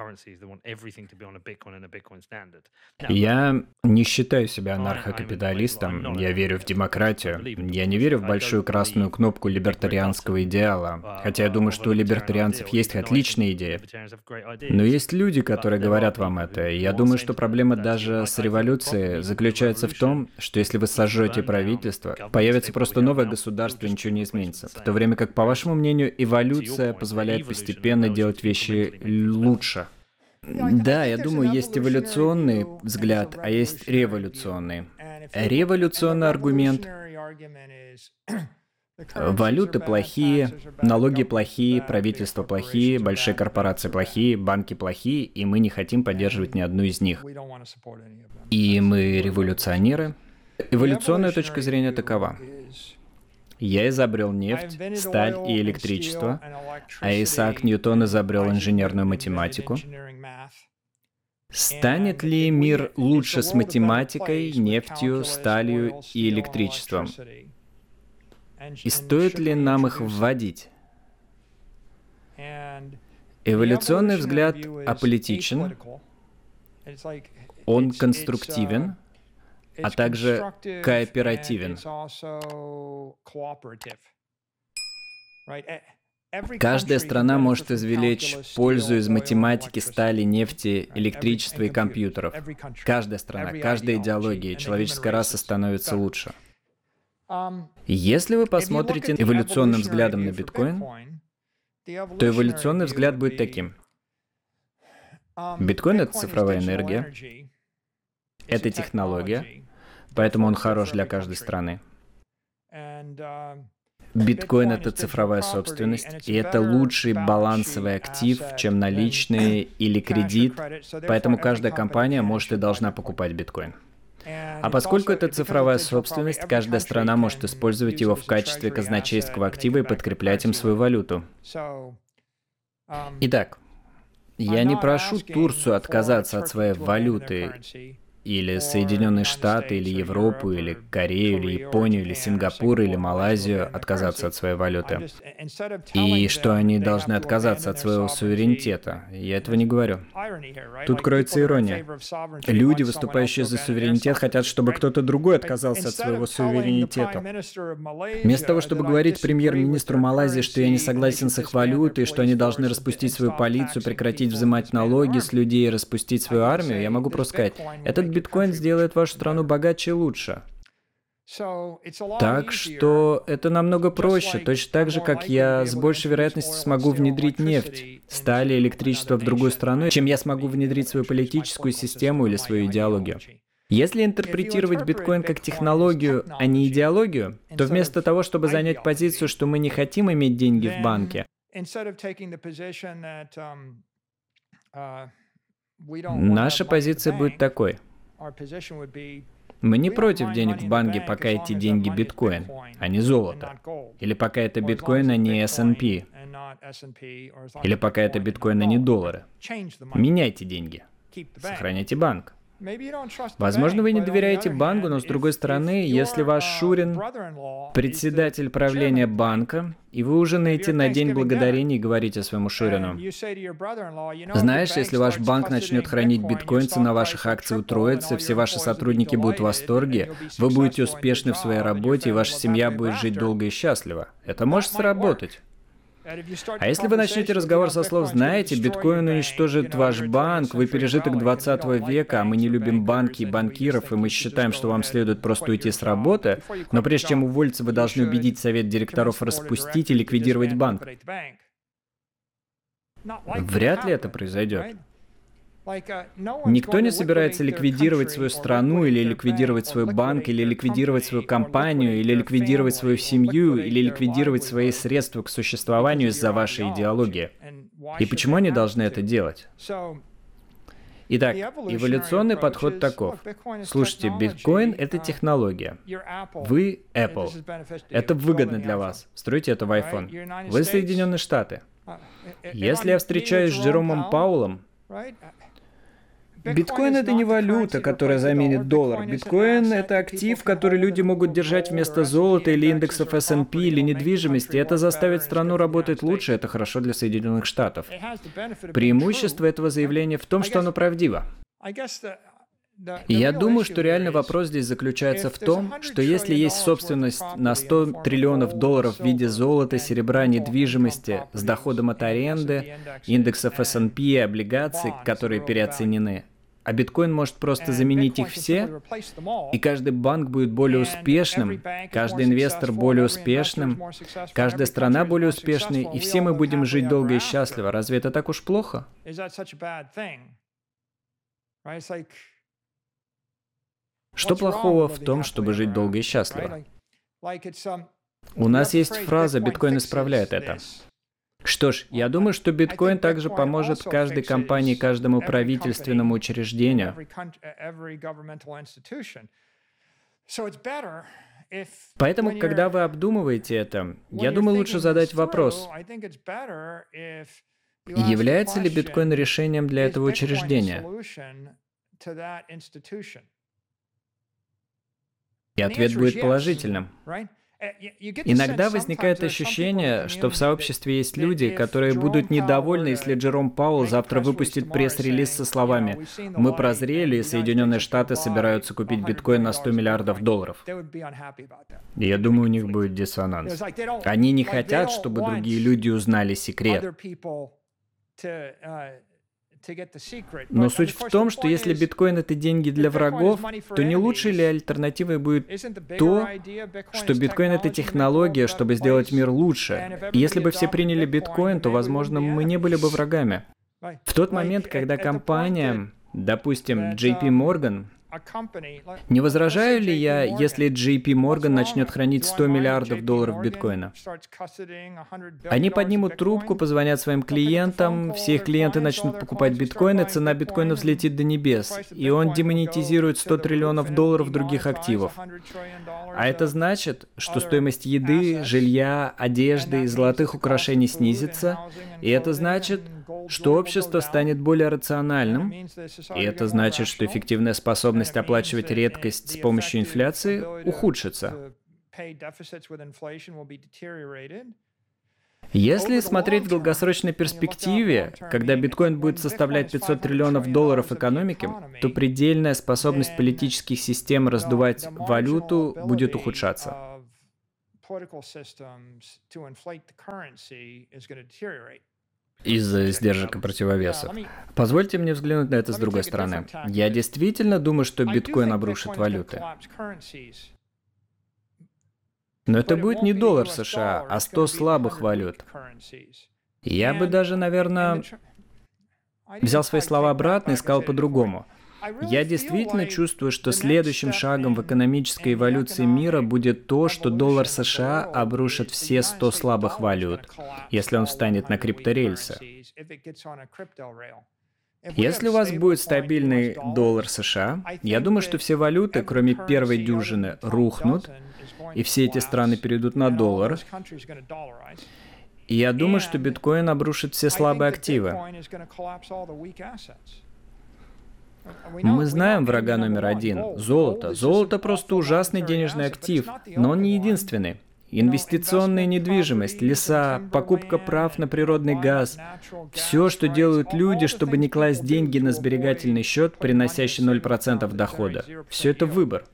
Я не считаю себя анархокапиталистом, я верю в демократию. Я не верю в большую красную кнопку либертарианского идеала, хотя я думаю, что у либертарианцев есть отличные идеи. Но есть люди, которые говорят вам это, и я думаю, что проблема даже с революцией заключается в том, что если вы сожжете правительство, появится просто новое государство, и ничего не изменится. В то время как, по вашему мнению, эволюция позволяет постепенно делать вещи лучше. Да, я думаю, есть эволюционный взгляд, а есть революционный. Революционный аргумент — валюты плохие, налоги плохие, правительства плохие, большие корпорации плохие, банки плохие, и мы не хотим поддерживать ни одну из них. И мы революционеры. Эволюционная точка зрения такова. Я изобрел нефть, сталь и электричество, а Исаак Ньютон изобрел инженерную математику. Станет ли мир лучше с математикой, нефтью, сталью и электричеством? И стоит ли нам их вводить? Эволюционный взгляд аполитичен, он конструктивен, а также кооперативен. Каждая страна может извлечь пользу из математики, стали, нефти, электричества и компьютеров. Каждая страна, каждая идеология, человеческая раса становится лучше. Если вы посмотрите эволюционным взглядом на биткоин, то эволюционный взгляд будет таким. Биткоин — это цифровая энергия, это технология, поэтому он хорош для каждой страны. Биткоин — это цифровая собственность, и это лучший балансовый актив, чем наличные или кредит, поэтому каждая компания может и должна покупать биткоин. А поскольку это цифровая собственность, каждая страна может использовать его в качестве казначейского актива и подкреплять им свою валюту. Итак, я не прошу Турцию отказаться от своей валюты, или Соединенные Штаты, или Европу, или Корею, или Японию, или Сингапур, или Малайзию отказаться от своей валюты. И что они должны отказаться от своего суверенитета. Я этого не говорю. Тут кроется ирония. Люди, выступающие за суверенитет, хотят, чтобы кто-то другой отказался от своего суверенитета. Вместо того, чтобы говорить премьер-министру Малайзии, что я не согласен с их валютой, что они должны распустить свою полицию, прекратить взимать налоги с людей и распустить свою армию, я могу просто сказать, этот биткоин сделает вашу страну богаче и лучше. Так что это намного проще, точно так же, как я с большей вероятностью смогу внедрить нефть, сталь и электричество в другую страну, чем я смогу внедрить свою политическую систему или свою идеологию. Если интерпретировать биткоин как технологию, а не идеологию, то вместо того, чтобы занять позицию, что мы не хотим иметь деньги в банке, наша позиция будет такой. Мы не против денег в банке, пока эти деньги биткоин, а не золото. Или пока это биткоин, а не эс энд пи. Или пока это биткоин, а не доллары. Меняйте деньги. Сохраняйте банк. Возможно, вы не доверяете банку, но с другой стороны, если ваш Шурин – председатель правления банка, и вы ужинаете на День Благодарения и говорите своему Шурину: знаешь, если ваш банк начнет хранить биткоин, цена ваших акций утроится, все ваши сотрудники будут в восторге, вы будете успешны в своей работе, и ваша семья будет жить долго и счастливо. Это может сработать. А если вы начнете разговор со слов: знаете, биткоин уничтожит ваш банк, вы пережиток двадцатого века, а мы не любим банки и банкиров, и мы считаем, что вам следует просто уйти с работы, но прежде чем уволиться, вы должны убедить совет директоров распустить и ликвидировать банк. Вряд ли это произойдет. Никто не собирается ликвидировать свою страну, или ликвидировать свой банк, или ликвидировать свою компанию, или ликвидировать свою семью, или ликвидировать свои средства к существованию из-за вашей идеологии. И почему они должны это делать? Итак, эволюционный подход таков. Слушайте, биткоин — это технология. Вы Apple. Это выгодно для вас. Строите это в iPhone. Вы Соединенные Штаты. Если я встречаюсь с Джеромом Пауэллом, биткоин — это не валюта, которая заменит доллар. Биткоин — это актив, который люди могут держать вместо золота или индексов эс энд пи или недвижимости. Это заставит страну работать лучше, это хорошо для Соединенных Штатов. Преимущество этого заявления в том, что оно правдиво. И я думаю, что реальный вопрос здесь заключается в том, что если есть собственность на сто триллионов долларов в виде золота, серебра, недвижимости с доходом от аренды, индексов эс энд пи и облигаций, которые переоценены, а биткоин может просто заменить их все, и каждый банк будет более успешным, каждый инвестор более успешным, каждая страна более успешной, и все мы будем жить долго и счастливо. Разве это так уж плохо? Что плохого в том, чтобы жить долго и счастливо? У нас есть фраза «биткоин исправляет это». Что ж, я думаю, что биткоин также поможет каждой компании, каждому правительственному учреждению. Поэтому, когда вы обдумываете это, я думаю, лучше задать вопрос, является ли биткоин решением для этого учреждения? И ответ будет положительным. Иногда возникает ощущение, что в сообществе есть люди, которые будут недовольны, если Джером Пауэлл завтра выпустит пресс-релиз со словами «Мы прозрели, и Соединенные Штаты собираются купить биткоин на сто миллиардов долларов». И я думаю, у них будет диссонанс. Они не хотят, чтобы другие люди узнали секрет. Но суть в том, что если биткоин — это деньги для врагов, то не лучшей ли альтернативой будет то, что биткоин — это технология, чтобы сделать мир лучше? И если бы все приняли биткоин, то, возможно, мы не были бы врагами. В тот момент, когда компания, допустим, джей пи Morgan, не возражаю ли я, если джей пи Morgan начнет хранить сто миллиардов долларов биткоина? Они поднимут трубку, позвонят своим клиентам, все их клиенты начнут покупать биткоины, цена биткоина взлетит до небес, и он демонетизирует сто триллионов долларов других активов. А это значит, что стоимость еды, жилья, одежды и золотых украшений снизится, и это значит, что общество станет более рациональным, и это значит, что эффективная способность оплачивать редкость с помощью инфляции ухудшится. Если смотреть в долгосрочной перспективе, когда биткоин будет составлять пятьсот триллионов долларов экономики, то предельная способность политических систем раздувать валюту будет ухудшаться. Из-за сдержек и противовесов. Позвольте мне взглянуть на это с другой стороны. Я действительно думаю, что биткоин обрушит валюты. Но это будет не доллар США, а сто слабых валют. Я бы даже, наверное, взял свои слова обратно и сказал по-другому. Я действительно чувствую, что следующим шагом в экономической эволюции мира будет то, что доллар США обрушит все сто слабых валют, если он встанет на крипторельсы. Если у вас будет стабильный доллар США, я думаю, что все валюты, кроме первой дюжины, рухнут, и все эти страны перейдут на доллар. И я думаю, что биткоин обрушит все слабые активы. Мы знаем врага номер один – золото. Золото просто ужасный денежный актив, но он не единственный. Инвестиционная недвижимость, леса, покупка прав на природный газ – все, что делают люди, чтобы не класть деньги на сберегательный счет, приносящий ноль процентов дохода. Все это выбор.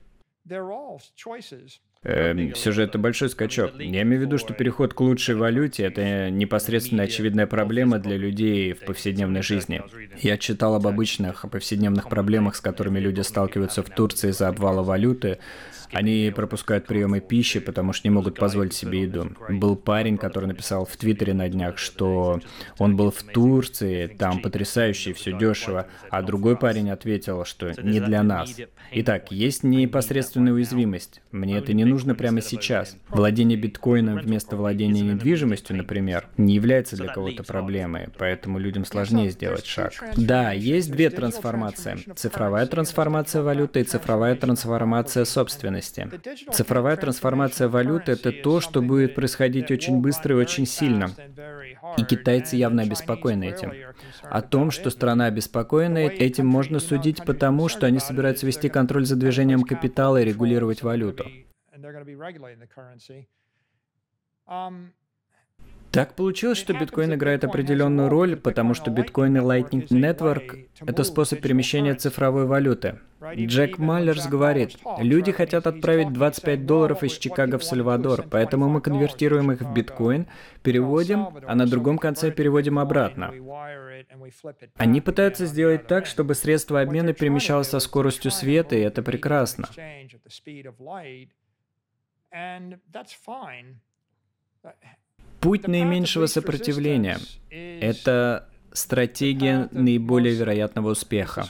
Эм, все же это большой скачок. Я имею в виду, что переход к лучшей валюте – это непосредственно очевидная проблема для людей в повседневной жизни. Я читал об обычных повседневных проблемах, с которыми люди сталкиваются в Турции из-за обвала валюты. Они пропускают приемы пищи, потому что не могут позволить себе еду. Был парень, который написал в Твиттере на днях, что он был в Турции, там потрясающе, все дешево, а другой парень ответил, что не для нас. Итак, есть непосредственная уязвимость. Мне это не нужно прямо сейчас. Владение биткоином вместо владения недвижимостью, например, не является для кого-то проблемой, поэтому людям сложнее сделать шаг. Да, есть две трансформации. Цифровая трансформация валюты и цифровая трансформация собственности. Цифровая трансформация валюты — это то, что будет происходить очень быстро и очень сильно. И китайцы явно обеспокоены этим. О том, что страна обеспокоена этим, можно судить потому, что они собираются вести контроль за движением капитала и регулировать валюту. Так получилось, что биткоин играет определенную роль, потому что биткоин и Lightning Network — это способ перемещения цифровой валюты. Джек Маллерс говорит, люди хотят отправить двадцать пять долларов из Чикаго в Сальвадор, поэтому мы конвертируем их в биткоин, переводим, а на другом конце переводим обратно. Они пытаются сделать так, чтобы средство обмена перемещалось со скоростью света, и это прекрасно. Путь наименьшего сопротивления — это стратегия наиболее вероятного успеха.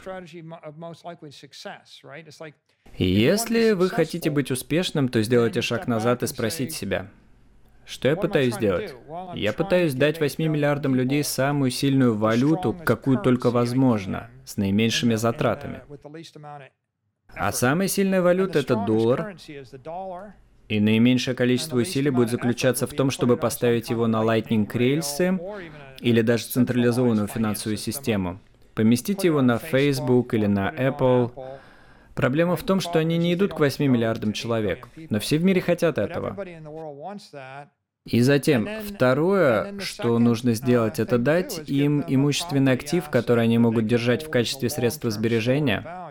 И если вы хотите быть успешным, то сделайте шаг назад и спросите себя, что я пытаюсь сделать? Я пытаюсь дать восьми миллиардам людей самую сильную валюту, какую только возможно, с наименьшими затратами. А самая сильная валюта — это доллар. И наименьшее количество усилий будет заключаться в том, чтобы поставить его на Lightning рельсы или даже централизованную финансовую систему. Поместите его на Facebook или на Apple. Проблема в том, что они не идут к восьми миллиардам человек, но все в мире хотят этого. И затем, второе, что нужно сделать, это дать им имущественный актив, который они могут держать в качестве средства сбережения.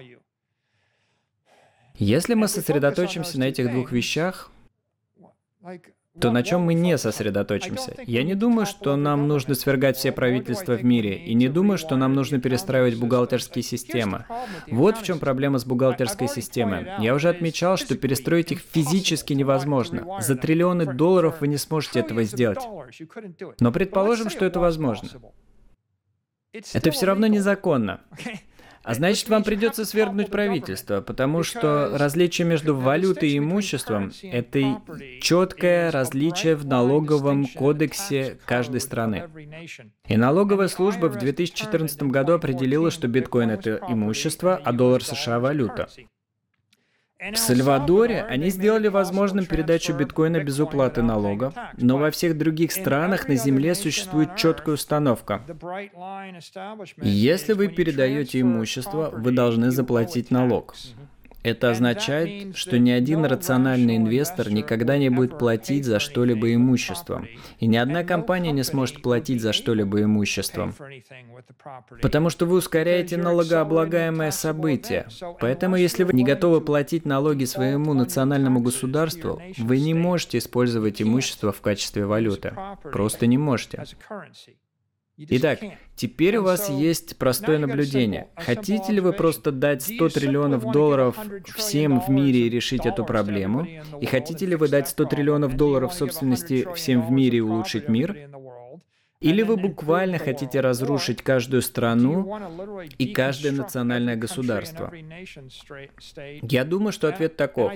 Если мы сосредоточимся на этих двух вещах, то на чем мы не сосредоточимся? Я не думаю, что нам нужно свергать все правительства в мире, и не думаю, что нам нужно перестраивать бухгалтерские системы. Вот в чем проблема с бухгалтерской системой. Я уже отмечал, что перестроить их физически невозможно. За триллионы долларов вы не сможете этого сделать. Но предположим, что это возможно. Это все равно незаконно. А значит, вам придется свергнуть правительство, потому что различие между валютой и имуществом — это четкое различие в налоговом кодексе каждой страны. И налоговая служба в две тысячи четырнадцатом году определила, что биткоин — это имущество, а доллар США — валюта. В Сальвадоре они сделали возможным передачу биткоина без уплаты налога, но во всех других странах на Земле существует четкая установка. Если вы передаете имущество, вы должны заплатить налог. Это означает, что ни один рациональный инвестор никогда не будет платить за что-либо имуществом. И ни одна компания не сможет платить за что-либо имуществом. Потому что вы ускоряете налогооблагаемое событие. Поэтому, если вы не готовы платить налоги своему национальному государству, вы не можете использовать имущество в качестве валюты. Просто не можете. Итак, теперь у вас есть простое наблюдение. Хотите ли вы просто дать сто триллионов долларов всем в мире и решить эту проблему? И хотите ли вы дать сто триллионов долларов собственности всем в мире и улучшить мир? Или вы буквально хотите разрушить каждую страну и каждое национальное государство? Я думаю, что ответ таков.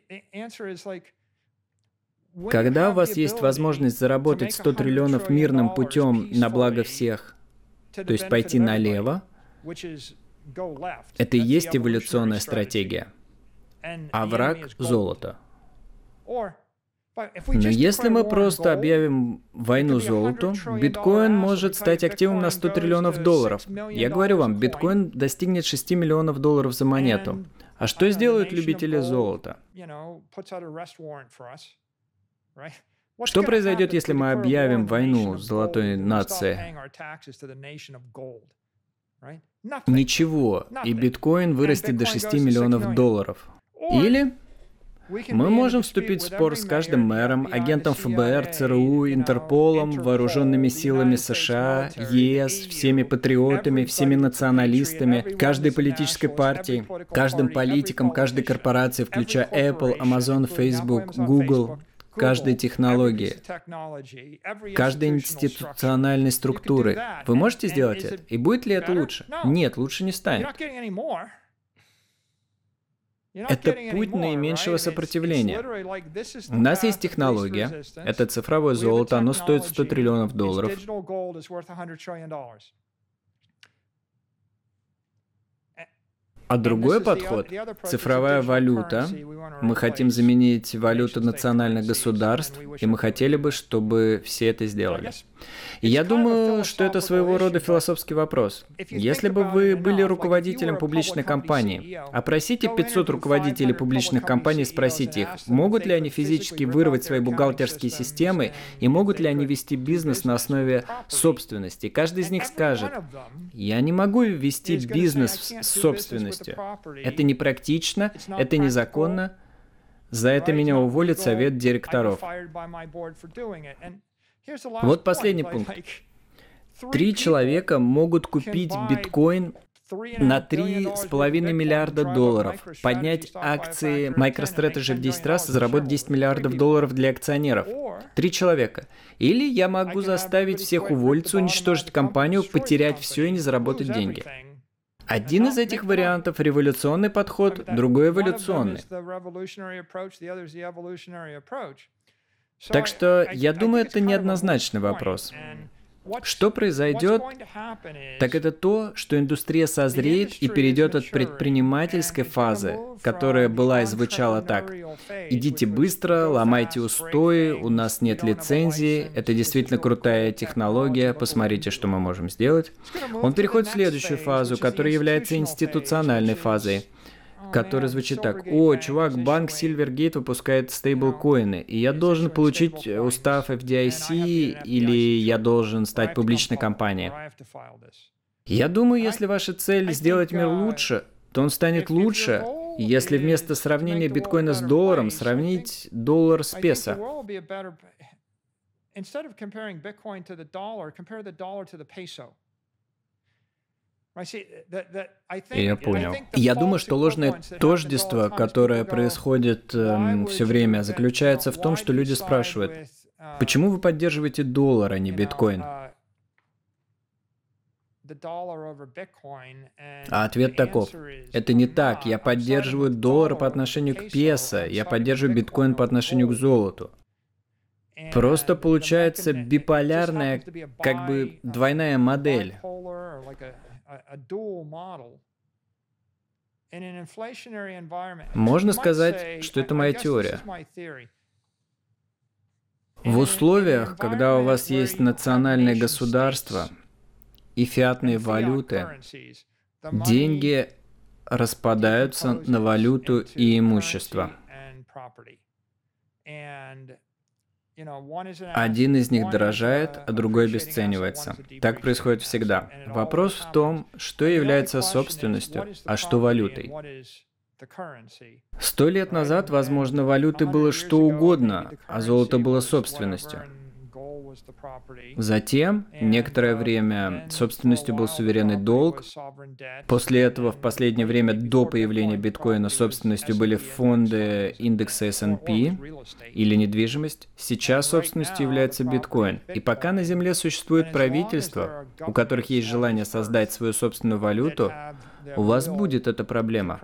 Когда у вас есть возможность заработать сто триллионов мирным путем на благо всех, то есть пойти налево, это и есть эволюционная стратегия. А враг — золото. Но если мы просто объявим войну золоту, биткоин может стать активом на сто триллионов долларов. Я говорю вам, биткоин достигнет шести миллионов долларов за монету. А что сделают любители золота? Что произойдет, если мы объявим войну золотой нации? Ничего, и биткоин вырастет до шести миллионов долларов. Или мы можем вступить в спор с каждым мэром, агентом эф бэ эр, цэ эр у, Интерполом, вооруженными силами США, е эс, всеми патриотами, всеми националистами, каждой политической партией, каждым политиком, каждой корпорацией, включая Apple, Amazon, Facebook, Google, каждой технологии, каждой институциональной структуры. Вы можете сделать это? И будет ли это лучше? Нет, лучше не станет. Это путь наименьшего сопротивления. У нас есть технология, это цифровое золото, оно стоит сто триллионов долларов. А другой подход – цифровая валюта. Мы хотим заменить валюту национальных государств, и мы хотели бы, чтобы все это сделали. И я думаю, что это своего рода философский вопрос. Если бы вы были руководителем публичной компании, опросите пятьсот руководителей публичных компаний и спросите их, могут ли они физически вырвать свои бухгалтерские системы и могут ли они вести бизнес на основе собственности. Каждый из них скажет, я не могу вести бизнес с собственностью. Это непрактично, это незаконно. За это меня уволит совет директоров. Вот последний пункт. Три человека могут купить биткоин на три с половиной миллиарда долларов, поднять акции MicroStrategy в десять раз и заработать десять миллиардов долларов для акционеров. Три человека. Или я могу заставить всех уволиться, уничтожить компанию, потерять все и не заработать деньги. Один из этих вариантов – революционный подход, другой – эволюционный. Так что, я думаю, это неоднозначный вопрос. Что произойдет, так это то, что индустрия созреет и перейдет от предпринимательской фазы, которая была и звучала так. Идите быстро, ломайте устои, у нас нет лицензии, это действительно крутая технология, посмотрите, что мы можем сделать. Он переходит в следующую фазу, которая является институциональной фазой, который звучит так. О, чувак, банк Silvergate выпускает стейблкоины, и я должен получить устав эф ди ай си, или я должен стать публичной компанией. Я думаю, если ваша цель сделать мир лучше, то он станет лучше, если вместо сравнения биткоина с долларом сравнить доллар с песо. Я понял. Я думаю, что ложное тождество, которое происходит э, все время, заключается в том, что люди спрашивают, почему вы поддерживаете доллар, а не биткоин? А ответ таков. Это не так. Я поддерживаю доллар по отношению к песо, я поддерживаю биткоин по отношению к золоту. Просто получается биполярная, как бы двойная модель. Можно сказать, что это моя теория. В условиях, когда у вас есть национальное государство и фиатные валюты, деньги распадаются на валюту и имущество. Один из них дорожает, а другой обесценивается. Так происходит всегда. Вопрос в том, что является собственностью, а что валютой. Сто лет назад, возможно, валютой было что угодно, а золото было собственностью. Затем, некоторое время, собственностью был суверенный долг. После этого, в последнее время, до появления биткоина, собственностью были фонды индекса эс энд пи или недвижимость. Сейчас собственностью является биткоин. И пока на Земле существует правительство, у которых есть желание создать свою собственную валюту, у вас будет эта проблема.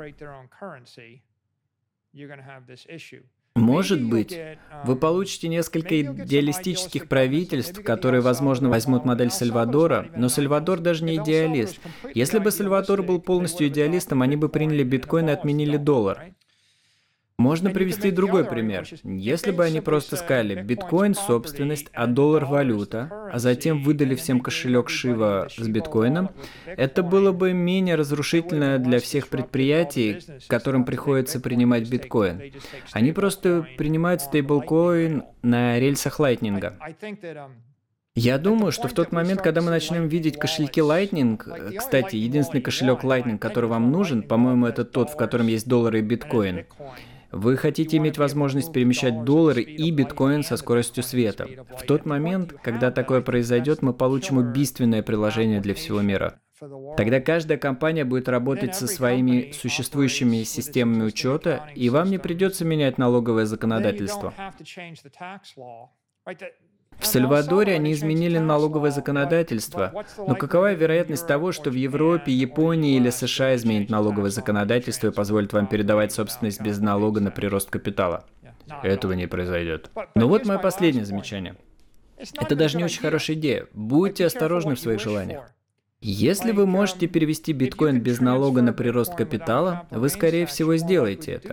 Может быть, вы получите несколько идеалистических правительств, которые, возможно, возьмут модель Сальвадора, но Сальвадор даже не идеалист. Если бы Сальвадор был полностью идеалистом, они бы приняли биткоин и отменили доллар. Можно привести другой пример. Если бы они просто сказали «биткоин – собственность, а доллар – валюта», а затем выдали всем кошелек Шива с биткоином, это было бы менее разрушительно для всех предприятий, которым приходится принимать биткоин. Они просто принимают стейблкоин на рельсах Лайтнинга. Я думаю, что в тот момент, когда мы начнем видеть кошельки Lightning, кстати, единственный кошелек Lightning, который вам нужен, по-моему, это тот, в котором есть доллары и биткоин, вы хотите иметь возможность перемещать доллары и биткоин со скоростью света. В тот момент, когда такое произойдет, мы получим убийственное приложение для всего мира. Тогда каждая компания будет работать со своими существующими системами учета, и вам не придется менять налоговое законодательство. В Сальвадоре они изменили налоговое законодательство, но какова вероятность того, что в Европе, Японии или США изменят налоговое законодательство и позволят вам передавать собственность без налога на прирост капитала? Этого не произойдет. Но вот мое последнее замечание. Это даже не очень хорошая идея. Будьте осторожны в своих желаниях. Если вы можете перевести биткоин без налога на прирост капитала, вы, скорее всего, сделаете это.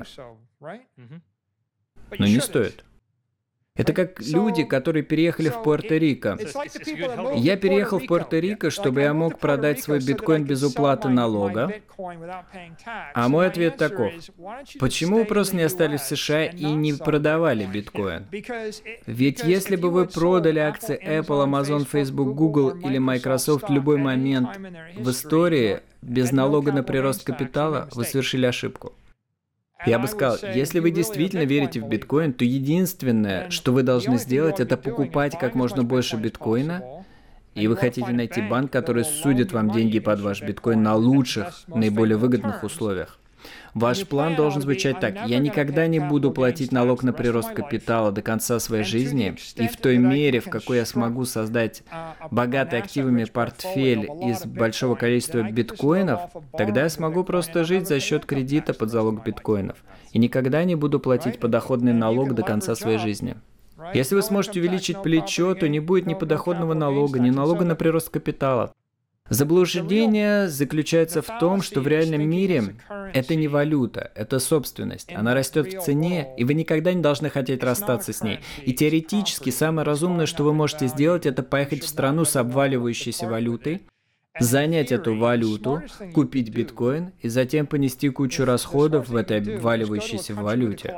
Но не стоит. Это как люди, которые переехали в Пуэрто-Рико. Я переехал в Пуэрто-Рико, чтобы я мог продать свой биткоин без уплаты налога. А мой ответ таков. Почему вы просто не остались в США и не продавали биткоин? Ведь если бы вы продали акции Apple, Amazon, Facebook, Google или Microsoft в любой момент в истории без налога на прирост капитала, вы совершили ошибку. Я бы сказал, если вы действительно верите в биткоин, то единственное, что вы должны сделать, это покупать как можно больше биткоина, и вы хотите найти банк, который судит вам деньги под ваш биткоин на лучших, наиболее выгодных условиях. Ваш план должен звучать так. Я никогда не буду платить налог на прирост капитала до конца своей жизни, и в той мере, в какой я смогу создать богатый активами портфель из большого количества биткоинов, тогда я смогу просто жить за счет кредита под залог биткоинов, и никогда не буду платить подоходный налог до конца своей жизни. Если вы сможете увеличить плечо, то не будет ни подоходного налога, ни налога на прирост капитала. Заблуждение заключается в том, что в реальном мире это не валюта, это собственность. Она растет в цене, и вы никогда не должны хотеть расстаться с ней. И теоретически самое разумное, что вы можете сделать, это поехать в страну с обваливающейся валютой, занять эту валюту, купить биткоин и затем понести кучу расходов в этой обваливающейся валюте.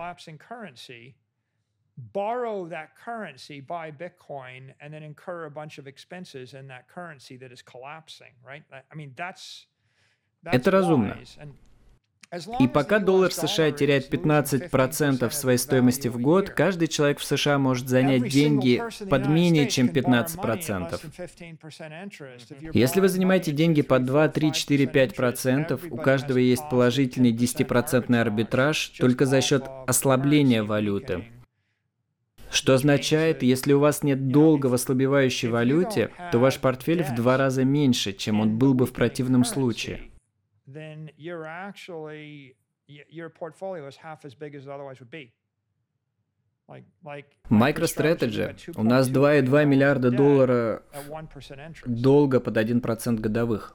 Borrow that currency, buy Bitcoin, and then incur a bunch of expenses in that currency that is collapsing, right? I mean, that's, that's Это разумно. wise. И пока доллар США теряет пятнадцать процентов своей стоимости в год, каждый человек в США может занять деньги под менее чем пятнадцать процентов. Если вы занимаете деньги под два, три, четыре, пять процентов, у каждого есть положительный десятипроцентный арбитраж только за счет ослабления валюты. Что означает, если у вас нет долга в ослабевающей валюте, то ваш портфель в два раза меньше, чем он был бы в противном случае. MicroStrategy. У нас два и два миллиарда долларов долга под один процент годовых.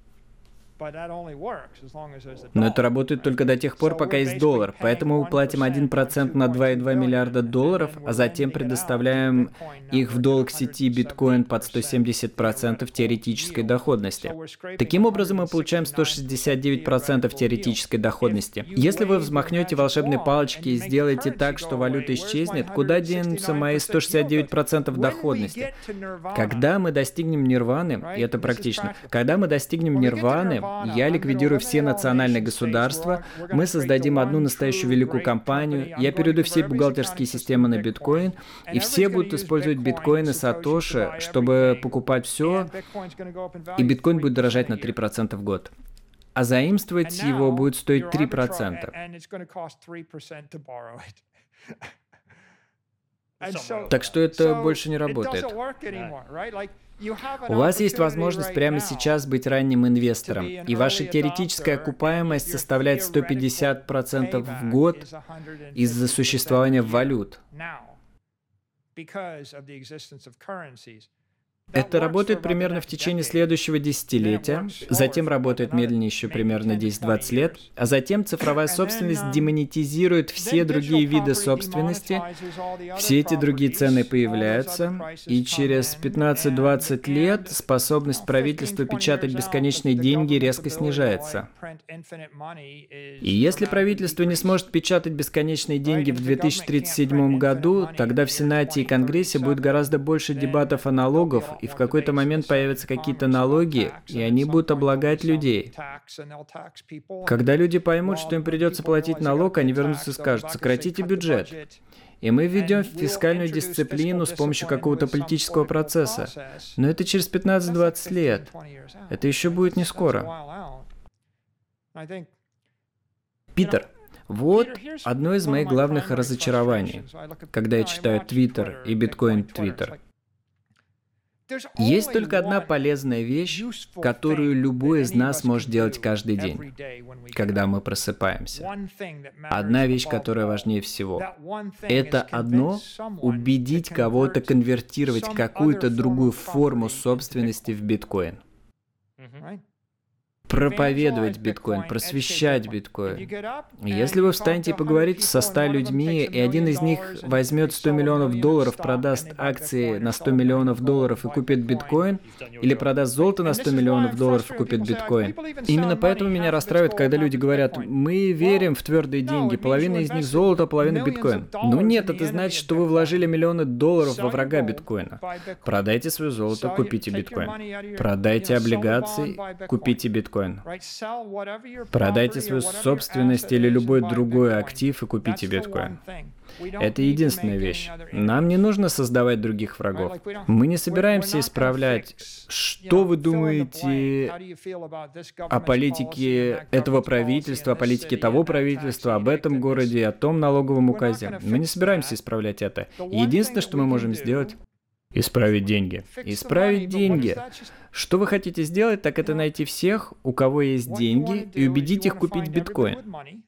Но это работает только до тех пор, пока есть доллар. Поэтому мы платим один процент на два и два миллиарда долларов, а затем предоставляем их в долг сети биткоин под сто семьдесят процентов теоретической доходности. Таким образом, мы получаем сто шестьдесят девять процентов теоретической доходности. Если вы взмахнете волшебной палочки и сделаете так, что валюта исчезнет, куда денутся мои сто шестьдесят девять процентов доходности? Когда мы достигнем нирваны, и это практично, когда мы достигнем нирваны, я ликвидирую все национальные государства, мы создадим одну настоящую великую компанию, я переведу все бухгалтерские системы на биткоин, и все будут использовать биткоины Сатоши, чтобы покупать все, и биткоин будет дорожать на три процента в год. А заимствовать его будет стоить три процента. Так что это больше не работает. У вас есть возможность прямо сейчас быть ранним инвестором, и ваша теоретическая окупаемость составляет сто пятьдесят процентов в год из-за существования валют. Это работает примерно в течение следующего десятилетия, затем работает медленнее еще примерно десять-двадцать лет, а затем цифровая собственность демонетизирует все другие виды собственности, все эти другие цены появляются, и через пятнадцать-двадцать лет способность правительства печатать бесконечные деньги резко снижается. И если правительство не сможет печатать бесконечные деньги в две тысячи тридцать седьмом году, тогда в Сенате и Конгрессе будет гораздо больше дебатов о налогах, и в какой-то момент появятся какие-то налоги, и они будут облагать людей. Когда люди поймут, что им придется платить налог, они вернутся и скажут: сократите бюджет. И мы введем фискальную дисциплину с помощью какого-то политического процесса. Но это через пятнадцать-двадцать лет. Это еще будет не скоро. Питер, вот одно из моих главных разочарований, когда я читаю Твиттер и биткоин Твиттер. Есть только одна полезная вещь, которую любой из нас может делать каждый день, когда мы просыпаемся. Одна вещь, которая важнее всего. Это одно — убедить кого-то конвертировать какую-то другую форму собственности в биткоин. Проповедовать биткоин, просвещать биткоин. Если вы встанете и поговорите со ста людьми, и один из них возьмет сто миллионов долларов, продаст акции на сто миллионов долларов и купит биткоин, или продаст золото на сто миллионов долларов и купит биткоин. Именно поэтому меня расстраивает, когда люди говорят: мы верим в твердые деньги, половина из них золото, половина биткоин. Ну нет, это значит, что вы вложили миллионы долларов во врага биткоина. Продайте свое золото, купите биткоин. Продайте облигации, купите биткоин. Продайте свою собственность или любой другой актив и купите биткоин. Это единственная вещь. Нам не нужно создавать других врагов. Мы не собираемся исправлять, что вы думаете о политике этого правительства, о политике того правительства, об этом городе, о том налоговом указе. Мы не собираемся исправлять это. Единственное, что мы можем сделать — исправить деньги. Исправить деньги. Что вы хотите сделать, так это найти всех, у кого есть деньги, и убедить их купить биткоин.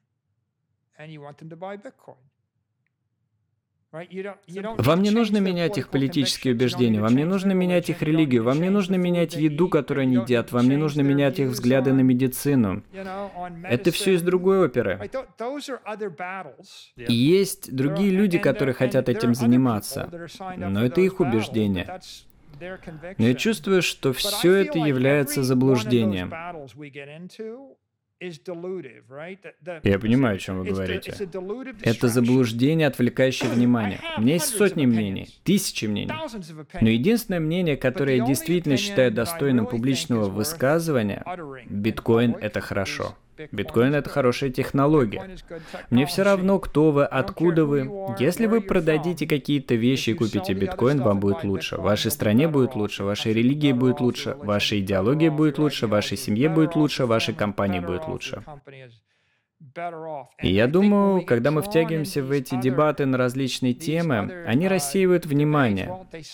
Вам не нужно менять их политические убеждения, вам не нужно менять их религию, вам не нужно менять еду, которую они едят, вам не нужно менять их взгляды на медицину. Это все из другой оперы. И есть другие люди, которые хотят этим заниматься, но это их убеждение. Но я чувствую, что все это является заблуждением. Я понимаю, о чем вы говорите. Это заблуждение, отвлекающее внимание. У меня есть сотни мнений, тысячи мнений. Но единственное мнение, которое я действительно считаю достойным публичного высказывания — биткоин — это хорошо. Биткоин — это хорошая технология. Мне все равно, кто вы, откуда вы. Если вы продадите какие-то вещи и купите биткоин, вам будет лучше. В вашей стране будет лучше, вашей религии будет лучше, вашей идеологии будет лучше, вашей семье будет лучше, вашей компании будет лучше. И я думаю, когда мы втягиваемся в эти дебаты на различные темы, они рассеивают внимание.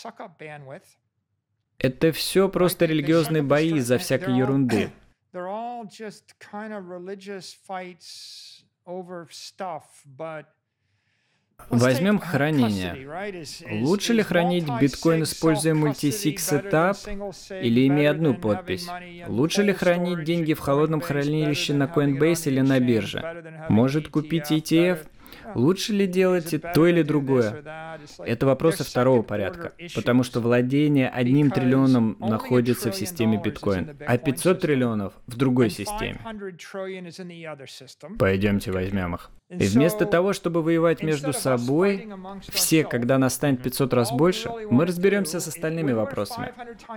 Это все просто религиозные бои из-за всякой ерунды. They're all just kind of religious fights over stuff, but Возьмем хранение. Лучше ли хранить биткоин, используя мультисиг сетап, или имея одну подпись? Лучше ли хранить деньги в холодном хранилище на Coinbase или на бирже? Может купить и ти эф? Лучше ли делать и то или другое? Это вопросы второго порядка, потому что владение одним триллионом находится в системе биткоин, а пятьсот триллионов в другой системе. Пойдемте возьмем их. И вместо того, чтобы воевать между собой, все, когда нас станет пятьсот раз больше, мы разберемся с остальными вопросами.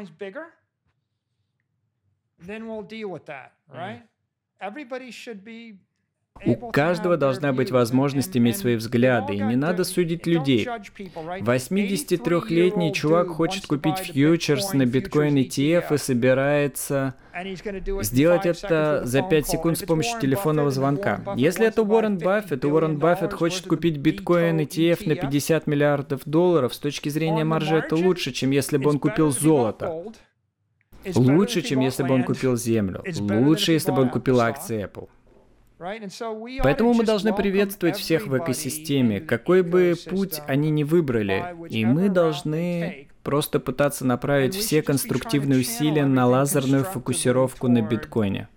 У каждого должна быть возможность иметь свои взгляды, и не надо судить людей. восьмидесятитрёхлетний чувак хочет купить фьючерс на биткоин и ти эф и собирается сделать это за пять секунд с помощью телефонного звонка. Если это Уоррен Баффет, и Уоррен Баффет хочет купить биткоин и ти эф на пятьдесят миллиардов долларов, с точки зрения маржи это лучше, чем если бы он купил золото. Лучше, чем если бы он купил землю. Лучше, если бы он купил акции Apple. Поэтому мы должны приветствовать всех в экосистеме, какой бы путь они ни выбрали, и мы должны просто пытаться направить все конструктивные усилия на лазерную фокусировку на биткоине.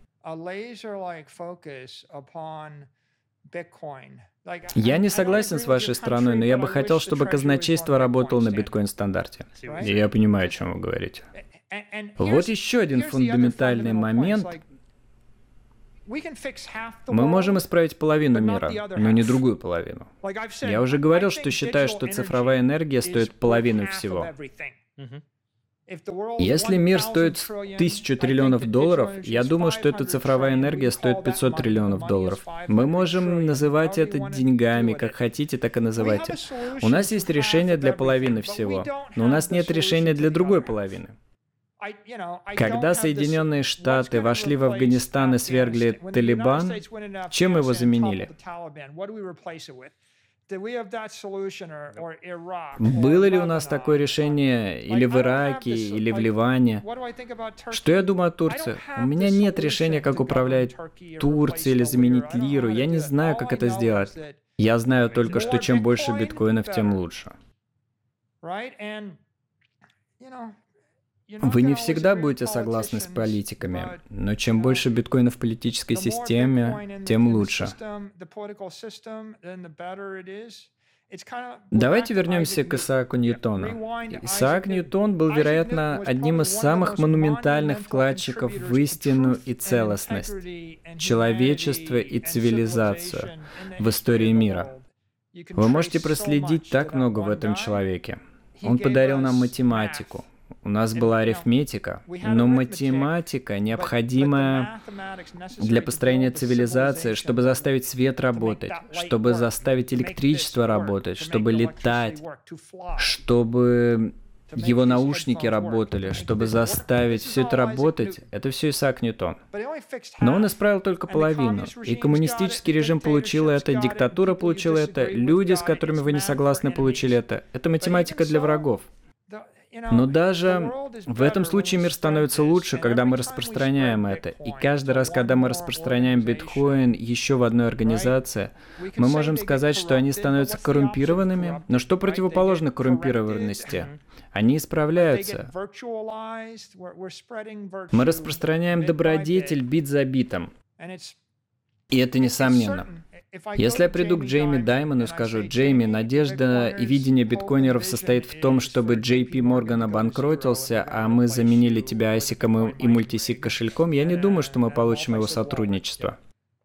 Я не согласен с вашей стороной, но я бы хотел, чтобы казначейство работало на биткоин-стандарте. И я понимаю, о чем вы говорите. Вот еще один фундаментальный момент. Мы можем исправить половину мира, но не другую половину. Я уже говорил, что считаю, что цифровая энергия стоит половину всего. Если мир стоит тысячу триллионов долларов, я думаю, что эта цифровая энергия стоит пятьсот триллионов долларов. Мы можем называть это деньгами, как хотите, так и называйте. У нас есть решение для половины всего, но у нас нет решения для другой половины. Когда Соединенные Штаты вошли в Афганистан и свергли Талибан, чем его заменили? Было ли у нас такое решение или в Ираке, или в Ливане? Что я думаю о Турции? У меня нет решения, как управлять Турцией или заменить лиру. Я не знаю, как это сделать. Я знаю только, что чем больше биткоинов, тем лучше. Вы не всегда будете согласны с политиками, но чем больше биткоинов в политической системе, тем лучше. Давайте вернемся к Исааку Ньютону. Исаак Ньютон был, вероятно, одним из самых монументальных вкладчиков в истину и целостность, человечество и цивилизацию в истории мира. Вы можете проследить так много в этом человеке. Он подарил нам математику. У нас была арифметика, но математика, необходимая для построения цивилизации, чтобы заставить свет работать, чтобы заставить электричество работать, чтобы летать, чтобы его наушники работали, чтобы заставить все это работать, это все Исаак Ньютон. Но он исправил только половину. И коммунистический режим получил это, диктатура получила это, люди, с которыми вы не согласны, получили это. Это математика для врагов. Но даже в этом случае мир становится лучше, когда мы распространяем это. И каждый раз, когда мы распространяем биткоин еще в одной организации, мы можем сказать, что они становятся коррумпированными. Но что противоположно коррумпированности? Они исправляются. Мы распространяем добродетель бит за битом. И это несомненно. Если я приду к Джейми Даймону и скажу: «Джейми, надежда и видение биткоинеров состоит в том, чтобы Джей Пи Морган обанкротился, а мы заменили тебя айсиком и мультисиг кошельком», я не думаю, что мы получим его сотрудничество.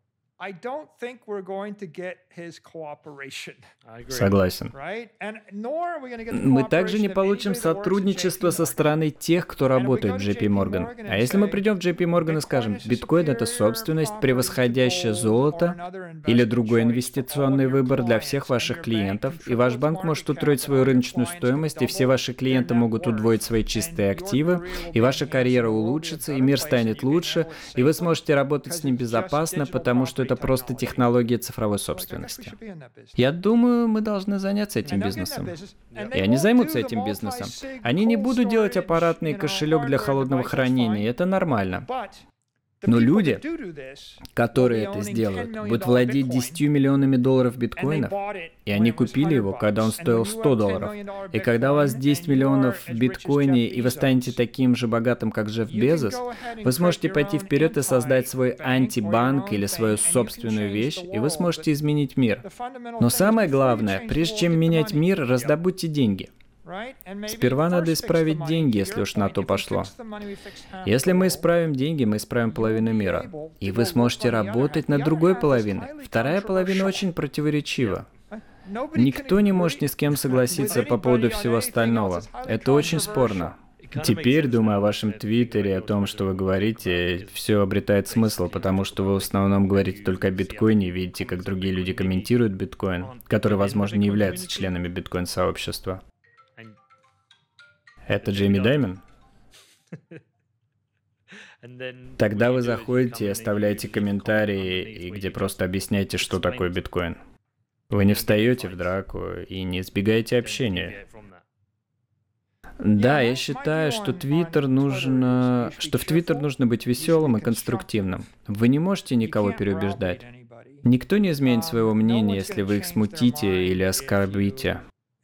Согласен. Мы также не получим сотрудничество со стороны тех, кто работает в Джей Пи Морган. А если мы придем в Джей Пи Морган и скажем: биткоин — это собственность, превосходящая золото или другой инвестиционный выбор для всех ваших клиентов, и ваш банк может утроить свою рыночную стоимость, и все ваши клиенты могут удвоить свои чистые активы, и ваша карьера улучшится, и мир станет лучше, и вы сможете работать с ним безопасно, потому что это просто технология цифровой собственности. Я думаю, мы должны заняться этим бизнесом. И они займутся этим бизнесом. Они не будут делать аппаратный кошелек для холодного хранения, это нормально. Но люди, которые это сделают, будут владеть десятью миллионами долларов биткоинов, и они купили его, когда он стоил сто долларов. И когда у вас десять миллионов в биткоине, и вы станете таким же богатым, как Джефф Безос, вы сможете пойти вперед и создать свой антибанк или свою собственную вещь, и вы сможете изменить мир. Но самое главное, прежде чем менять мир, раздобудьте деньги. Сперва надо исправить деньги, если уж на то пошло. Если мы исправим деньги, мы исправим половину мира. И вы сможете работать над другой половиной. Вторая половина очень противоречива. Никто не может ни с кем согласиться по поводу всего остального. Это очень спорно. Теперь, думая о вашем твиттере, о том, что вы говорите, все обретает смысл, потому что вы в основном говорите только о биткоине и видите, как другие люди комментируют биткоин, которые, возможно, не являются членами биткоин-сообщества. Это Джейми Даймон? Тогда вы заходите и оставляете комментарии, и где просто объясняете, что такое биткоин. Вы не встаете в драку и не избегаете общения. Да, я считаю, что Твиттер нужно, что в Твиттер нужно быть веселым и конструктивным. Вы не можете никого переубеждать. Никто не изменит своего мнения, если вы их смутите или оскорбите.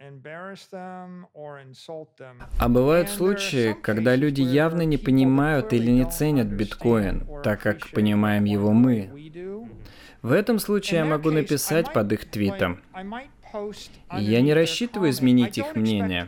А бывают случаи, когда люди явно не понимают или не ценят биткоин, так как понимаем его мы. В этом случае я могу написать под их твитом. Я не рассчитываю изменить их мнение.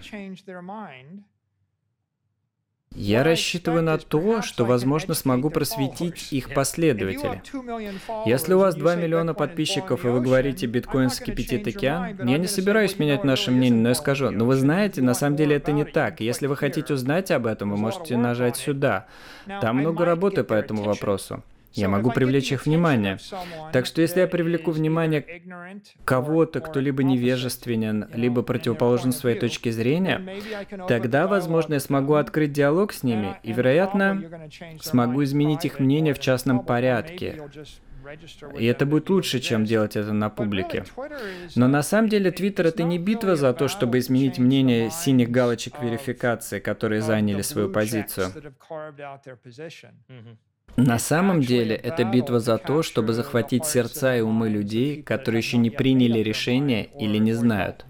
Я рассчитываю на то, что, возможно, смогу просветить их последователей. Если у вас два миллиона подписчиков, и вы говорите «биткоин вскипятит океан», я не собираюсь менять наше мнение, но я скажу: «Но вы знаете, на самом деле это не так. Если вы хотите узнать об этом, вы можете нажать сюда. Там много работы по этому вопросу». Я могу привлечь их внимание. Так что если я привлеку внимание кого-то, кто либо невежественен, либо противоположен своей точке зрения, тогда, возможно, я смогу открыть диалог с ними и, вероятно, смогу изменить их мнение в частном порядке. И это будет лучше, чем делать это на публике. Но на самом деле Твиттер — это не битва за то, чтобы изменить мнение синих галочек верификации, которые заняли свою позицию. На самом деле, это битва за то, чтобы захватить сердца и умы людей, которые еще не приняли решение или не знают.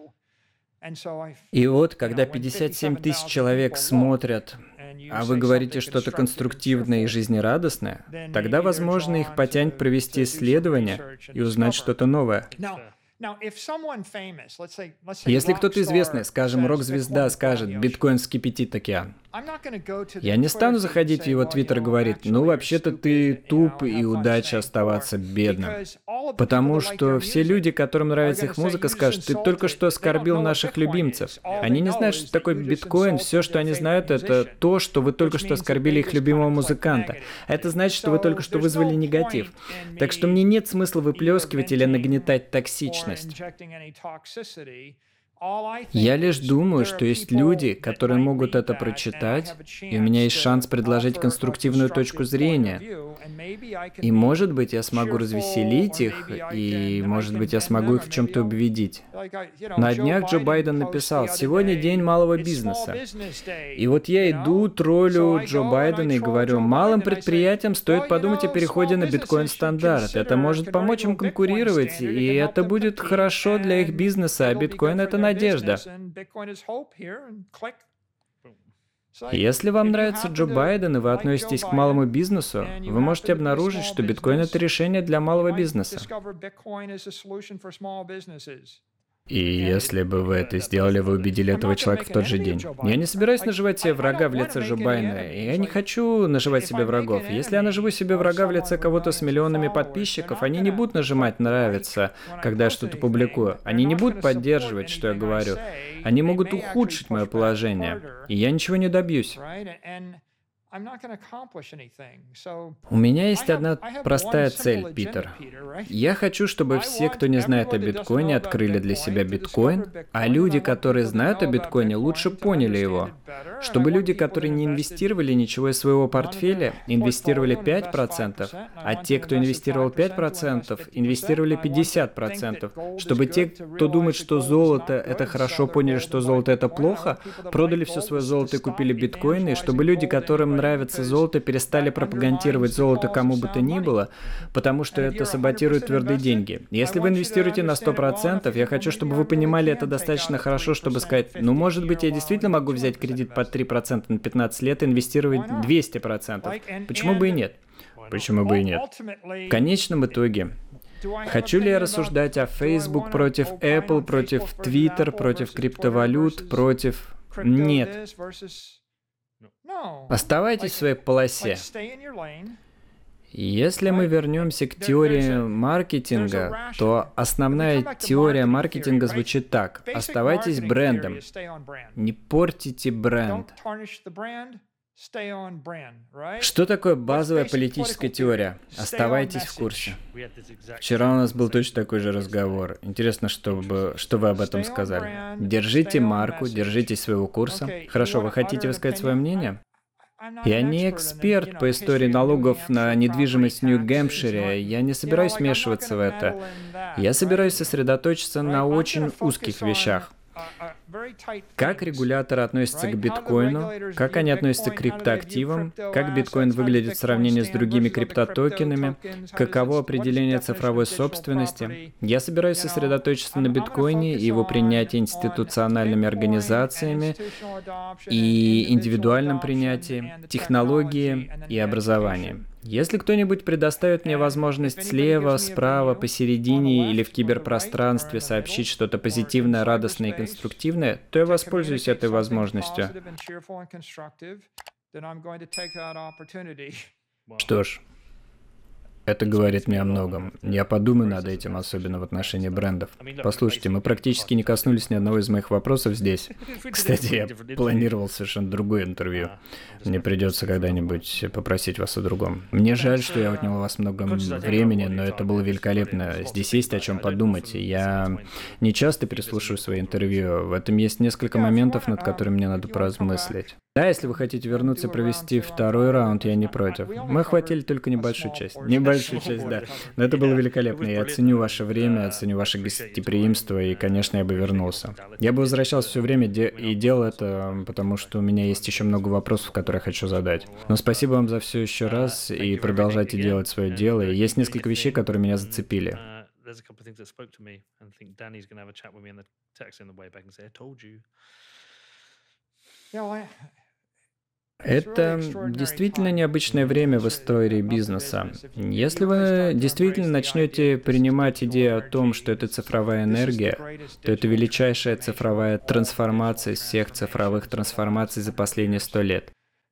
И вот, когда пятьдесят семь тысяч человек смотрят, а вы говорите что-то конструктивное и жизнерадостное, тогда, возможно, их потянет провести исследование и узнать что-то новое. Если кто-то известный, скажем, рок-звезда, скажет, биткоин вскипятит океан, я не стану заходить в его твиттер и говорить, ну, вообще-то ты туп и удача оставаться бедным. Потому что все люди, которым нравится их музыка, скажут, ты только что оскорбил наших любимцев. Они не знают, что такое биткоин, все, что они знают, это то, что вы только что оскорбили их любимого музыканта. Это значит, что вы только что вызвали негатив. Так что мне нет смысла выплескивать или нагнетать токсичность. Я лишь думаю, что есть люди, которые могут это прочитать, и у меня есть шанс предложить конструктивную точку зрения. И, может быть, я смогу развеселить их, и, может быть, я смогу их в чем-то убедить. На днях Джо Байден написал: «Сегодня день малого бизнеса». И вот я иду, троллю Джо Байдена и говорю, малым предприятиям стоит подумать о переходе на биткоин-стандарт. Это может помочь им конкурировать, и это будет хорошо для их бизнеса, а биткоин — это надежда. Если вам нравится Джо Байден и вы относитесь к малому бизнесу, вы можете обнаружить, что биткоин — это решение для малого бизнеса. И если бы вы это сделали, вы убедили этого человека в тот же день. Я не собираюсь наживать себе врага в лице Джо Байдена, и я не хочу наживать себе врагов. Если я наживу себе врага в лице кого-то с миллионами подписчиков, они не будут нажимать «нравится», когда я что-то публикую. Они не будут поддерживать, что я говорю. Они могут ухудшить мое положение, и я ничего не добьюсь. У меня есть одна простая цель, Питер. Я хочу, чтобы все, кто не знает о биткоине, открыли для себя биткоин, а люди, которые знают о биткоине, лучше поняли его. Чтобы люди, которые не инвестировали ничего из своего портфеля, инвестировали пять процентов, а те, кто инвестировал пять процентов, инвестировали пятьдесят процентов. Чтобы те, кто думает, что золото — это хорошо, поняли, что золото — это плохо, продали все свое золото и купили биткоины, и чтобы люди, которым нравится золото, перестали пропагандировать золото кому бы то ни было, потому что это саботирует твердые деньги. Если вы инвестируете на сто процентов, я хочу, чтобы вы понимали это достаточно хорошо, чтобы сказать, ну, может быть, я действительно могу взять кредит под три процента на пятнадцать лет и инвестировать двести процентов. Почему бы и нет? Почему бы и нет? В конечном итоге, хочу ли я рассуждать о Facebook против Apple, против Twitter, против криптовалют, против... Нет. Оставайтесь в своей полосе. Если мы вернемся к теории маркетинга, то основная теория маркетинга звучит так. Оставайтесь брендом. Не портите бренд. Что такое базовая политическая теория? Оставайтесь в курсе. Вчера у нас был точно такой же разговор. Интересно, что вы, что вы об этом сказали. Держите марку, держитесь своего курса. Хорошо, вы хотите высказать свое мнение? Я не эксперт по истории налогов на недвижимость в Нью-Гэмпшире. Я не собираюсь вмешиваться в это. Я собираюсь сосредоточиться на очень узких вещах. Как регуляторы относятся к биткоину, как они относятся к криптоактивам, как биткоин выглядит в сравнении с другими криптотокенами, каково определение цифровой собственности. Я собираюсь сосредоточиться на биткоине и его принятии институциональными организациями и индивидуальном принятии, технологии и образовании. Если кто-нибудь предоставит мне возможность слева, справа, посередине или в киберпространстве сообщить что-то позитивное, радостное и конструктивное, то я воспользуюсь этой возможностью. Что ж, это говорит мне о многом. Я подумаю над этим, особенно в отношении брендов. Послушайте, мы практически не коснулись ни одного из моих вопросов здесь. Кстати, я планировал совершенно другое интервью. Мне придется когда-нибудь попросить вас о другом. Мне жаль, что я отнял у вас много времени, но это было великолепно. Здесь есть о чем подумать. Я не часто переслушиваю свои интервью. В этом есть несколько моментов, над которыми мне надо поразмыслить. Да, если вы хотите вернуться и провести второй раунд, я не против. Мы охватили только небольшую часть. Небольшую часть, да. Но это было великолепно. Я ценю ваше время, оценю ваше гостеприимство, и, конечно, я бы вернулся. Я бы возвращался все время де- и делал это, потому что у меня есть еще много вопросов, которые я хочу задать. Но спасибо вам за все еще раз, и продолжайте делать свое дело. И есть несколько вещей, которые меня зацепили. Это действительно необычное время в истории бизнеса. Если вы действительно начнете принимать идею о том, что это цифровая энергия, то это величайшая цифровая трансформация из всех цифровых трансформаций за последние сто лет.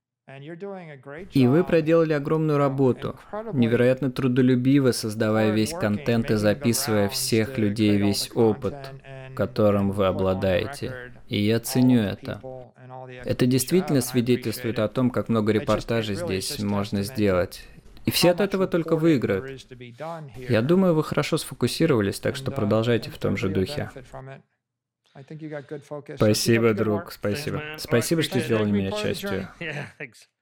И вы проделали огромную работу, невероятно трудолюбиво создавая весь контент и записывая всех людей, весь опыт, которым вы обладаете. И я ценю это. Это действительно свидетельствует о том, как много репортажей здесь можно сделать. И все от этого только выиграют. Я думаю, вы хорошо сфокусировались, так что продолжайте в том же духе. Спасибо, друг, спасибо. Спасибо, что сделали меня частью.